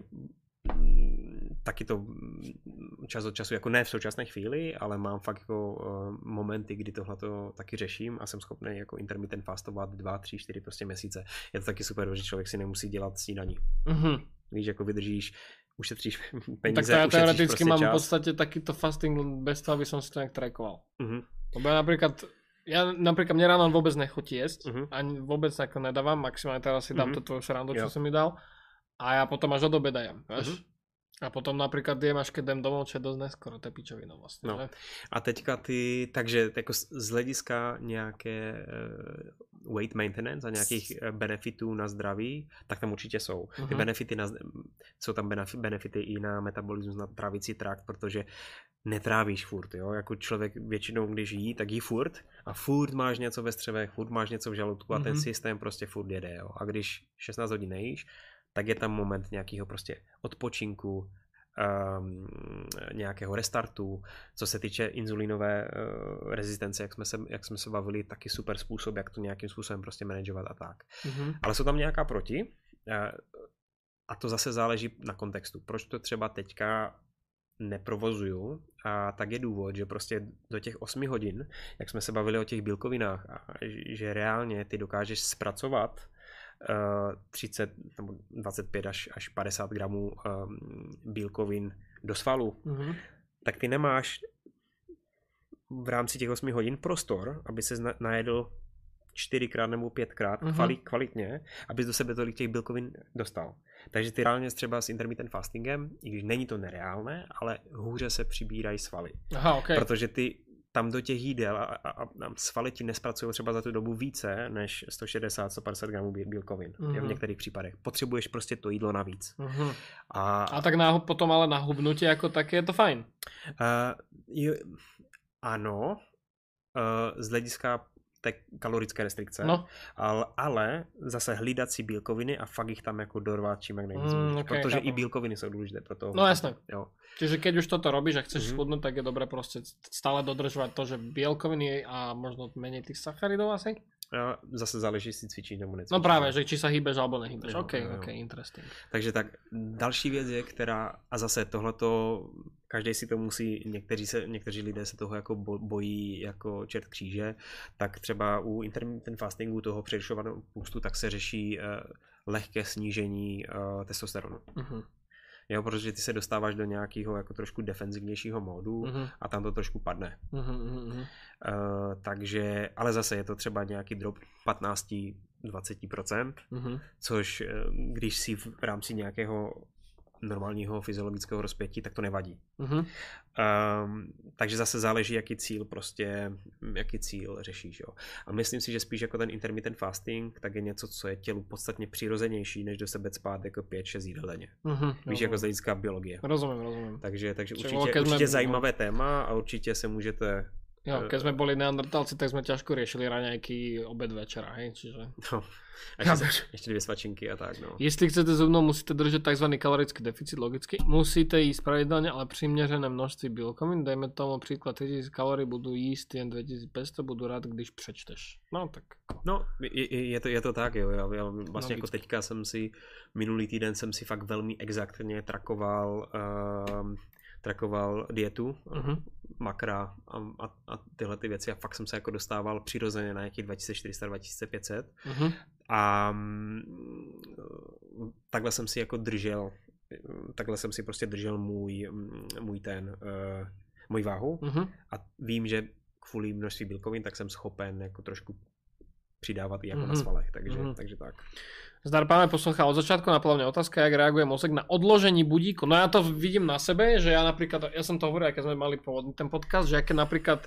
taky to čas od času, jako ne v současné chvíli, ale mám fakt jako uh, momenty, kdy tohle to taky řeším a jsem schopný jako intermittent fastovat dva, tři, čtyři prostě měsíce. Je to taky super, že člověk si nemusí dělat snídaní. Uh-huh. Víš, jako vydržíš, ušetříš peníze, tak to ja teoreticky prostě mám čas. V podstate takýto fasting bez toho, aby som si to nejak trackoval. Uh-huh. Lebo ja napríklad, ja napríklad mne ráno vôbec nechutí jesť, uh-huh. ani vôbec ako nedávam, maximálne teraz si dám uh-huh. to tvoju srandu, čo jo. som mi dal a ja potom až od obeda jem, vieš? Uh-huh. A potom napríklad jem, až keď jdem domov, čo je dosť neskoro, to je pičovina vlastne. No. A teďka ty, takže jako z hlediska nějaké uh, weight maintenance a nějakých benefitů na zdraví, tak tam určitě jsou. Ty uh-huh. benefity na, jsou tam benefity i na metabolismus, na trávicí trakt, protože netrávíš furt, jo, jako člověk většinou, když jí, tak jí furt a furt máš něco ve střevech, furt máš něco v žaludku a uh-huh. ten systém prostě furt jede, jo. A když šestnáct hodin nejíš, tak je tam moment nějakého prostě odpočinku, um, nějakého restartu. Co se týče inzulínové uh, rezistence, jak jsme, se, jak jsme se bavili, taky super způsob, jak to nějakým způsobem prostě manažovat a tak. Mm-hmm. Ale jsou tam nějaká proti uh, a to zase záleží na kontextu. Proč to třeba teďka neprovozuju, a tak je důvod, že prostě do těch osmi hodin, jak jsme se bavili o těch bílkovinách, a že reálně ty dokážeš zpracovat uh, třicet nebo dvacet pět až, až padesát gramů um, bílkovin do svalu, mm-hmm. tak ty nemáš v rámci těch osmi hodin prostor, aby se najedl čtyřikrát nebo pětkrát mm-hmm. kvalitně, abys do sebe tolik těch bílkovin dostal. Takže ty reálně třeba s intermittent fastingem, i když není to nereálné, ale hůře se přibírají svaly. Aha, okay. Protože ty tam do těch jídel a, a, a svaly ti nespracují třeba za tu dobu více než sto šedesát až sto padesát gramů bílkovin. Mm-hmm. V některých případech. Potřebuješ prostě to jídlo navíc. Mm-hmm. A, a tak na, potom ale na hubnutí jako tak je to fajn. Uh, jo, ano, uh, z hlediska té kalorické restrikce, no. ale, ale zase hlídat si bílkoviny a fakt jich tam jako dorvat čím jak nejvíc, mm, okay, protože chápu. I bílkoviny jsou důležité pro to. No jasné. Jo. Čiže keď už toto robíš a chceš mm-hmm. schudnúť, tak je dobré prostě stále dodržovať to, že bílkoviny a možno menej tých sacharidov asi? A zase záleží, jestli cvičíš nebo necvičíš. No právě, že či se hýbeš alebo nehýbeš. Jo, ok, jo. ok, interesting. Takže tak další věc je, která, a zase tohleto, každý si to musí, někteří, se, někteří lidé se toho jako bojí jako čert kříže, tak třeba u intermittent fastingu toho přerušovaného půstu tak se řeší uh, lehké snížení uh, testosteronu. Uh-huh. Jo, protože ty se dostáváš do nějakého jako trošku defenzivnějšího módu uh-huh. a tam to trošku padne. Uh-huh, uh-huh. Uh, takže, ale zase je to třeba nějaký drop patnáct až dvacet procent, uh-huh. což když si v rámci nějakého normálního fyziologického rozpětí, tak to nevadí. Uh-huh. Um, takže zase záleží, jaký cíl prostě, jaký cíl řešíš. Jo. A myslím si, že spíš jako ten intermittent fasting, tak je něco, co je tělu podstatně přirozenější, než do sebe cpát jako pět šest jídel denně. Uh-huh. Víš, jako z hlediska biologie. Rozumím, rozumím. Takže, takže určitě, určitě zajímavé téma a určite se můžete... Jo, keď sme boli neandertálci, tak sme ťažko riešili raňajky, obed, večera, hej, čiže... No, ešte, ešte dvě svačinky a tak, no. Jestli chcete so mnou, musíte držať tzv. Kalorický deficit, logicky. Musíte jísť pravidelne, ale přiměřené množství bílkovín. Dejme tomu příklad tritisíc kalórií, budu jíst jen dva tisíce päť sto, budu rád, když přečteš. No, tak... No, je, je, to, je to tak, jo. Já, já vlastně no, jako teďka jsem si, minulý týden jsem si fakt velmi exaktně trakoval... Uh, trakoval dietu, uh-huh. makra a, a, a tyhle ty věci a fakt jsem se jako dostával přirozeně na nějakých dva tisíce čtyři sta až dva tisíce pět set uh-huh. a um, takhle jsem si jako držel, takhle jsem si prostě držel můj, můj ten, uh, můj váhu uh-huh. a vím, že kvůli množství bílkovin tak jsem schopen jako trošku přidávat i jako uh-huh. na svalech, takže, uh-huh. takže tak. Zdar páne posluchá, od začiatku napadla mňa otázka, jak reaguje mozek na odložení budíku. No ja to vidím na sebe, že ja napríklad, ja som to hovoril, keď sme mali pôvodný ten podcast, že ja keď napríklad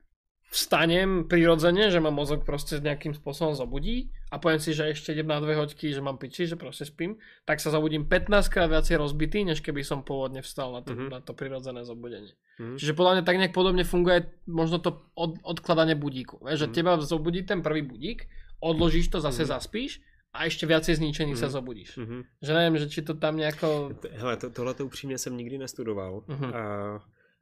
vstanem prirodzene, že ma mozog proste nejakým spôsobom zobudí a poviem si, že ešte idem na dve hoďky, že mám piči, že proste spím, tak sa zobudím pätnásťkrát viacej rozbitý, než keby som pôvodne vstal na to, mm-hmm. na to prirodzené zobudenie. Mm-hmm. Čiže podľa mňa tak nejak podobne funguje možno to od, odkladanie budíku. Vieš, že mm-hmm. teba zobudí ten prvý budík, odložíš to, zase mm-hmm. zaspíš a ještě viacej zničený mm. se zobudíš. Mm-hmm. Že nevím, že či to tam nějako... Hele, to, tohleto upřímně jsem nikdy nestudoval. Mm-hmm. A,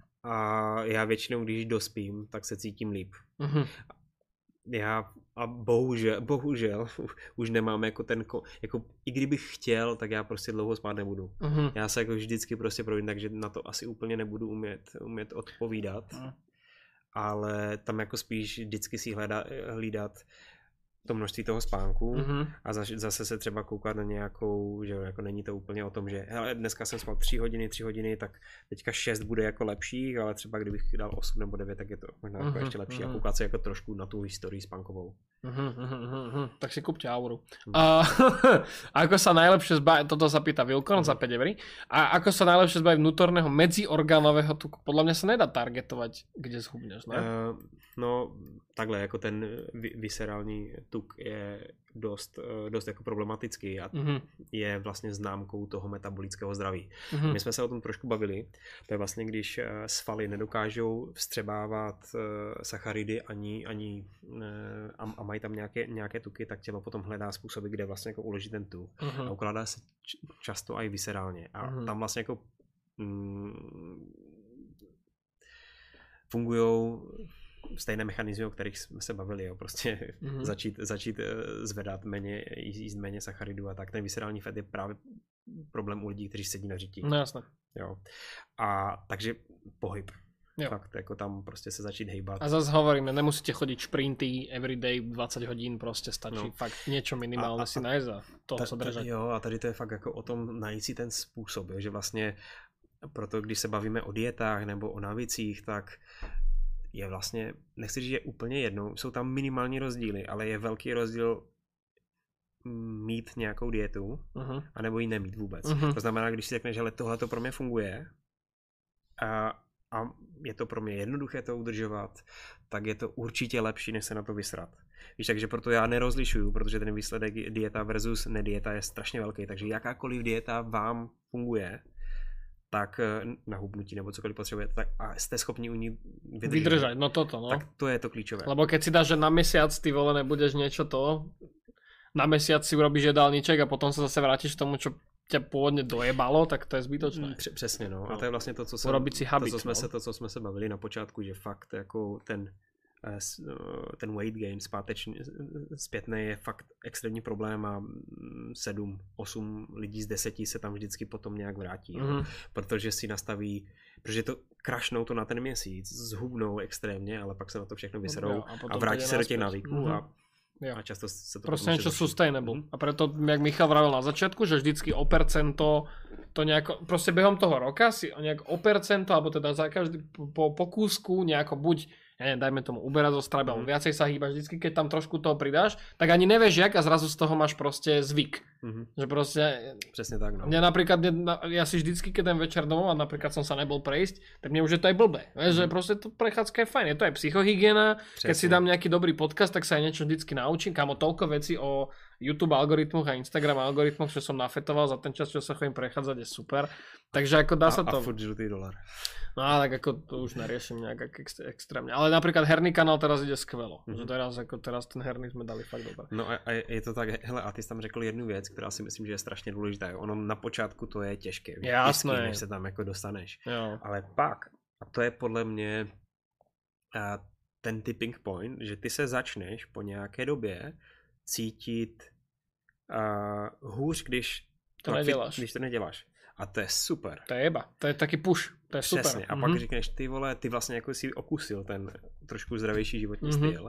a já většinou, když dospím, tak se cítím líp. Mm-hmm. Já a bohužel, bohužel už nemám jako ten, jako i kdybych chtěl, tak já prostě dlouho spát nebudu. Mm-hmm. Já se jako vždycky prostě projím, takže na to asi úplně nebudu umět, umět odpovídat. Mm. Ale tam jako spíš vždycky si hledá, hlídat to množství toho spánku mm-hmm. a zase se třeba koukat na nějakou, že jako není to úplně o tom, že hele, dneska jsem spal tři hodiny, tři hodiny, tak teďka šest bude jako lepší, ale třeba kdybych dal osm nebo devět, tak je to možná mm-hmm. jako ještě lepší mm-hmm. a koukat se jako trošku na tu historii spánkovou. Mm-hmm, mm-hmm. Tak si kúpte Auru. Mm. A, a ako sa najlepšie zbaviť, toto sa pýta Vilkorn mm. za päť eur, a ako sa najlepšie zbaviť vnútorného medziorgánového tuku? Podľa mňa sa nedá targetovať, kde zhubneš, ne? Uh, no, takhle, jako ten viscerální tuk je dost, dost jako problematický a mm-hmm. je vlastně známkou toho metabolického zdraví. Mm-hmm. My jsme se o tom trošku bavili, to je vlastně, když svaly nedokážou vstřebávat sacharidy ani, ani a, a mají tam nějaké, nějaké tuky, tak tělo potom hledá způsoby, kde vlastně jako uložit ten tuk mm-hmm. a ukládá se často i viscerálně a mm-hmm. tam vlastně jako mm, fungujou stejné mechanizmy, o kterých jsme se bavili, jo. Prostě mm-hmm. začít, začít zvedat méně, jíst méně sacharidů a tak. Ten viscerální fat je právě problém u lidí, kteří sedí na řití. No jasné. Jo. A takže pohyb. Jo. Fakt, jako tam prostě se začít hejbat. A zase hovoríme, nemusíte chodiť šprinty everyday dvadsať hodín, prostě stačí No. fakt niečo minimálne A- a- si nájsť a toho Ta- sa ta- držať. Jo, a tady to je fakt jako o tom najít si ten způsob, jo, že vlastně proto, když se bavíme o dietách nebo o návicích, tak je vlastně, nechci říct, že je úplně jedno, jsou tam minimální rozdíly, ale je velký rozdíl mít nějakou dietu, Uh-huh. anebo ji nemít vůbec. Mhm. To znamená, když si řekneš, že tohle to pro mě funguje a, a je to pro mě jednoduché to udržovat, tak je to určitě lepší, než se na to vysrat. Víš, takže proto já nerozlišuju, protože ten výsledek dieta versus nedieta je strašně velký, takže jakákoliv dieta vám funguje, tak na hubnutí nebo cokoliv potřebujete, tak a jste schopni u ní vydržet. Vydržať, no toto, no. Tak to je to klíčové. Lebo keď si dáš, že na mesiac ty vole nebudeš niečo to, na mesiac si urobíš jedálniček a potom sa zase vrátiš k tomu, čo ťa pôvodne dojebalo, tak to je zbytočné. Př- Přesně, no. A No. to je vlastně to, co, jsem, Urobiť si habit, to, co jsme no. se, to, co jsme se bavili na počátku, že fakt jako ten, eh, s- eh, ten weight gain zpátečný, zpětný je fakt extrémní problém a sedm, osm lidí z deseti se tam vždycky potom nějak vrátí. Mhm. Mm-hmm. Protože si nastaví, protože to krašnou to na ten měsíc, zhubnou extrémně, ale pak se na to všechno vyserou Jo, a a, potom a to vrátí ide se do těch naspäť. návyků Mhm. a, Jo. a často se to Proste potom niečo zhorší. sustainable. Mhm. A preto, jak Michal vravel na začiatku, že vždycky o percento to nejako, proste behom toho roka si nejak o percento, alebo teda za každý po, po kúsku nejako buď, ja neviem, dajme tomu uberať zo stravy, alebo Mhm. viacej sa hýbaš, vždycky keď tam trošku toho pridáš, tak ani nevieš jak a zrazu z toho máš proste zvyk. Mhm. Že proste, Přesně tak, no. mňa napríklad, mne- ja si vždycky, keď ten večer domov a napríklad som sa nebol prejsť, tak mne už je to aj blbé. Vieš, že proste to prechádzka je fajn, je to aj psychohygiena, keď si Přesně. dám nejaký dobrý podcast, tak sa aj niečo vždycky naučím. Kámo, toľko vecí o YouTube algoritmoch a Instagram algoritmoch, čo som nafetoval za ten čas, čo sa chodím prechádzať, je super. Takže ako dá sa A, to... a furt žlutý dolar. No ale tak ako to už neriešim nejak ex- extrémne. Ale napríklad herný kanál teraz ide skvelo. Mhm. Že teraz, ako teraz ten herný sme dali fakt dobre. No a, a je to tak, hele, a ty jsi tam řekl jednu věc, která si myslím, že je strašně důležitá. Jo. Ono na počátku to je těžké, Jasné. vždycky, než se tam jako dostaneš. Jo. Ale pak, a to je podle mě a, ten tipping point, že ty se začneš po nějaké době cítit a, hůř, když To no, neděláš. Když to neděláš. A to je super. To je jeba. To je taký push. To je super. Přesně. A Mhm. pak říkáš, ty vole, ty vlastně jako si okusil ten trošku zdravější životní Mhm. styl.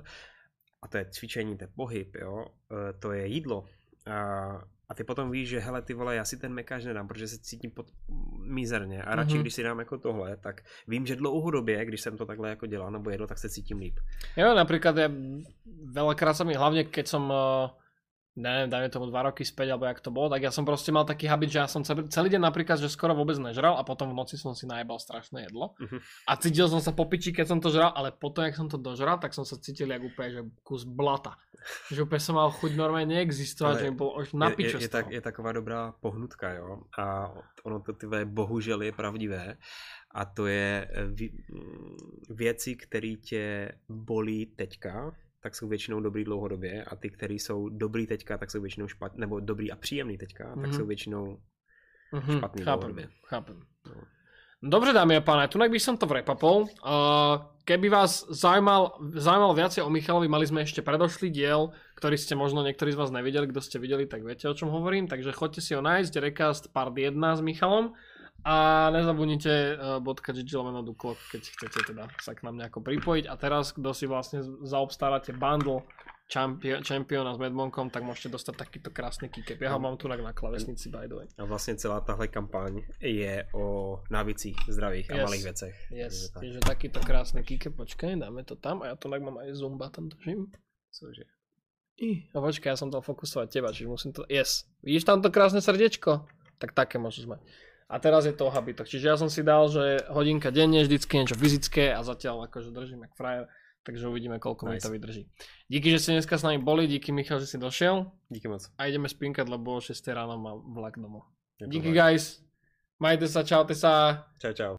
A to je cvičení, to je pohyb, jo. E, to je jídlo. A, a ty potom víš, že hele, ty vole, já si ten mekáč nedám, protože se cítím pod mizerně. A radši, Mhm. když si dám jako tohle, tak vím, že dlouhodobě, když jsem to takhle jako dělal nebo jedl, tak se cítím líp. Jo, napríklad ja veľakrát sa mi, hlavne keď som, uh, neviem, dajme tomu dva roky späť, alebo jak to bolo, tak ja som proste mal taký habit, že ja som celý, celý deň napríklad, že skoro vôbec nežral a potom v noci som si najebal strašné jedlo. Mhm. A cítil som sa po piči, keď som to žral, ale potom, jak som to dožral, tak som sa cítil jak úplne, že kus blata. Že úplne som mal chuť normálne neexistovať, Ale že mi bolo už na je, piču je, je, z toho. tak, je taková dobrá pohnutka, jo. A ono to tyhle bohužel je pravdivé. A to je vě- věci, které tě bolí teďka, tak jsou většinou dobrý dlouhodobě a ty, které jsou dobrý teďka, tak jsou většinou špatný, nebo dobrý a příjemný teďka, mm-hmm. tak Mhm. jsou většinou Mhm, špatný chápem, dlouhodobě. chápem. No. Dobre, dámy a páni, tunak by som to vrepapol. Uh, keby vás zaujímal, zaujímalo viacej o Michalovi, mali sme ešte predošlý diel, ktorý ste možno niektorí z vás nevideli, kto ste videli, tak viete, o čom hovorím, takže choďte si ho nájsť, Recast part jedna s Michalom a nezabudnite uh, .gg lomeno duklok, keď chcete teda sa k nám nejako pripojiť. A teraz, kto si vlastne zaobstaráte bundle Champion, Championa s Medmonkom, tak môžete dostať takýto krásny kikep. Ja ho mám tu na klávesnici, by the way. A vlastně celá tahle kampaň je o návicích zdravých Yes. a malých věcech. Yes, Takže tak. takže takýto krásny kikep, počkaj, dáme to tam a ja to tak mám aj zumba tam držím. Cože? I, a počkaj, ja som dal fokusovať teba, čiže musím to... Yes. Vidíš tam to krásne srdiečko? Tak také môžeš mať. A teraz je to o habitoch. Čiže ja som si dal, že hodinka denne, vždycky niečo fyzické a zatiaľ akože držím jak frajer. Takže uvidíme, koľko mi Nice. to vydrží. Díky, že ste dneska s nami boli, díky Michal, že si došiel. Díky moc. A ideme spinkať, lebo o šesť ráno mám vlak domov. Je to Díky tak. guys. Majte sa, čaute sa. Čau, čau.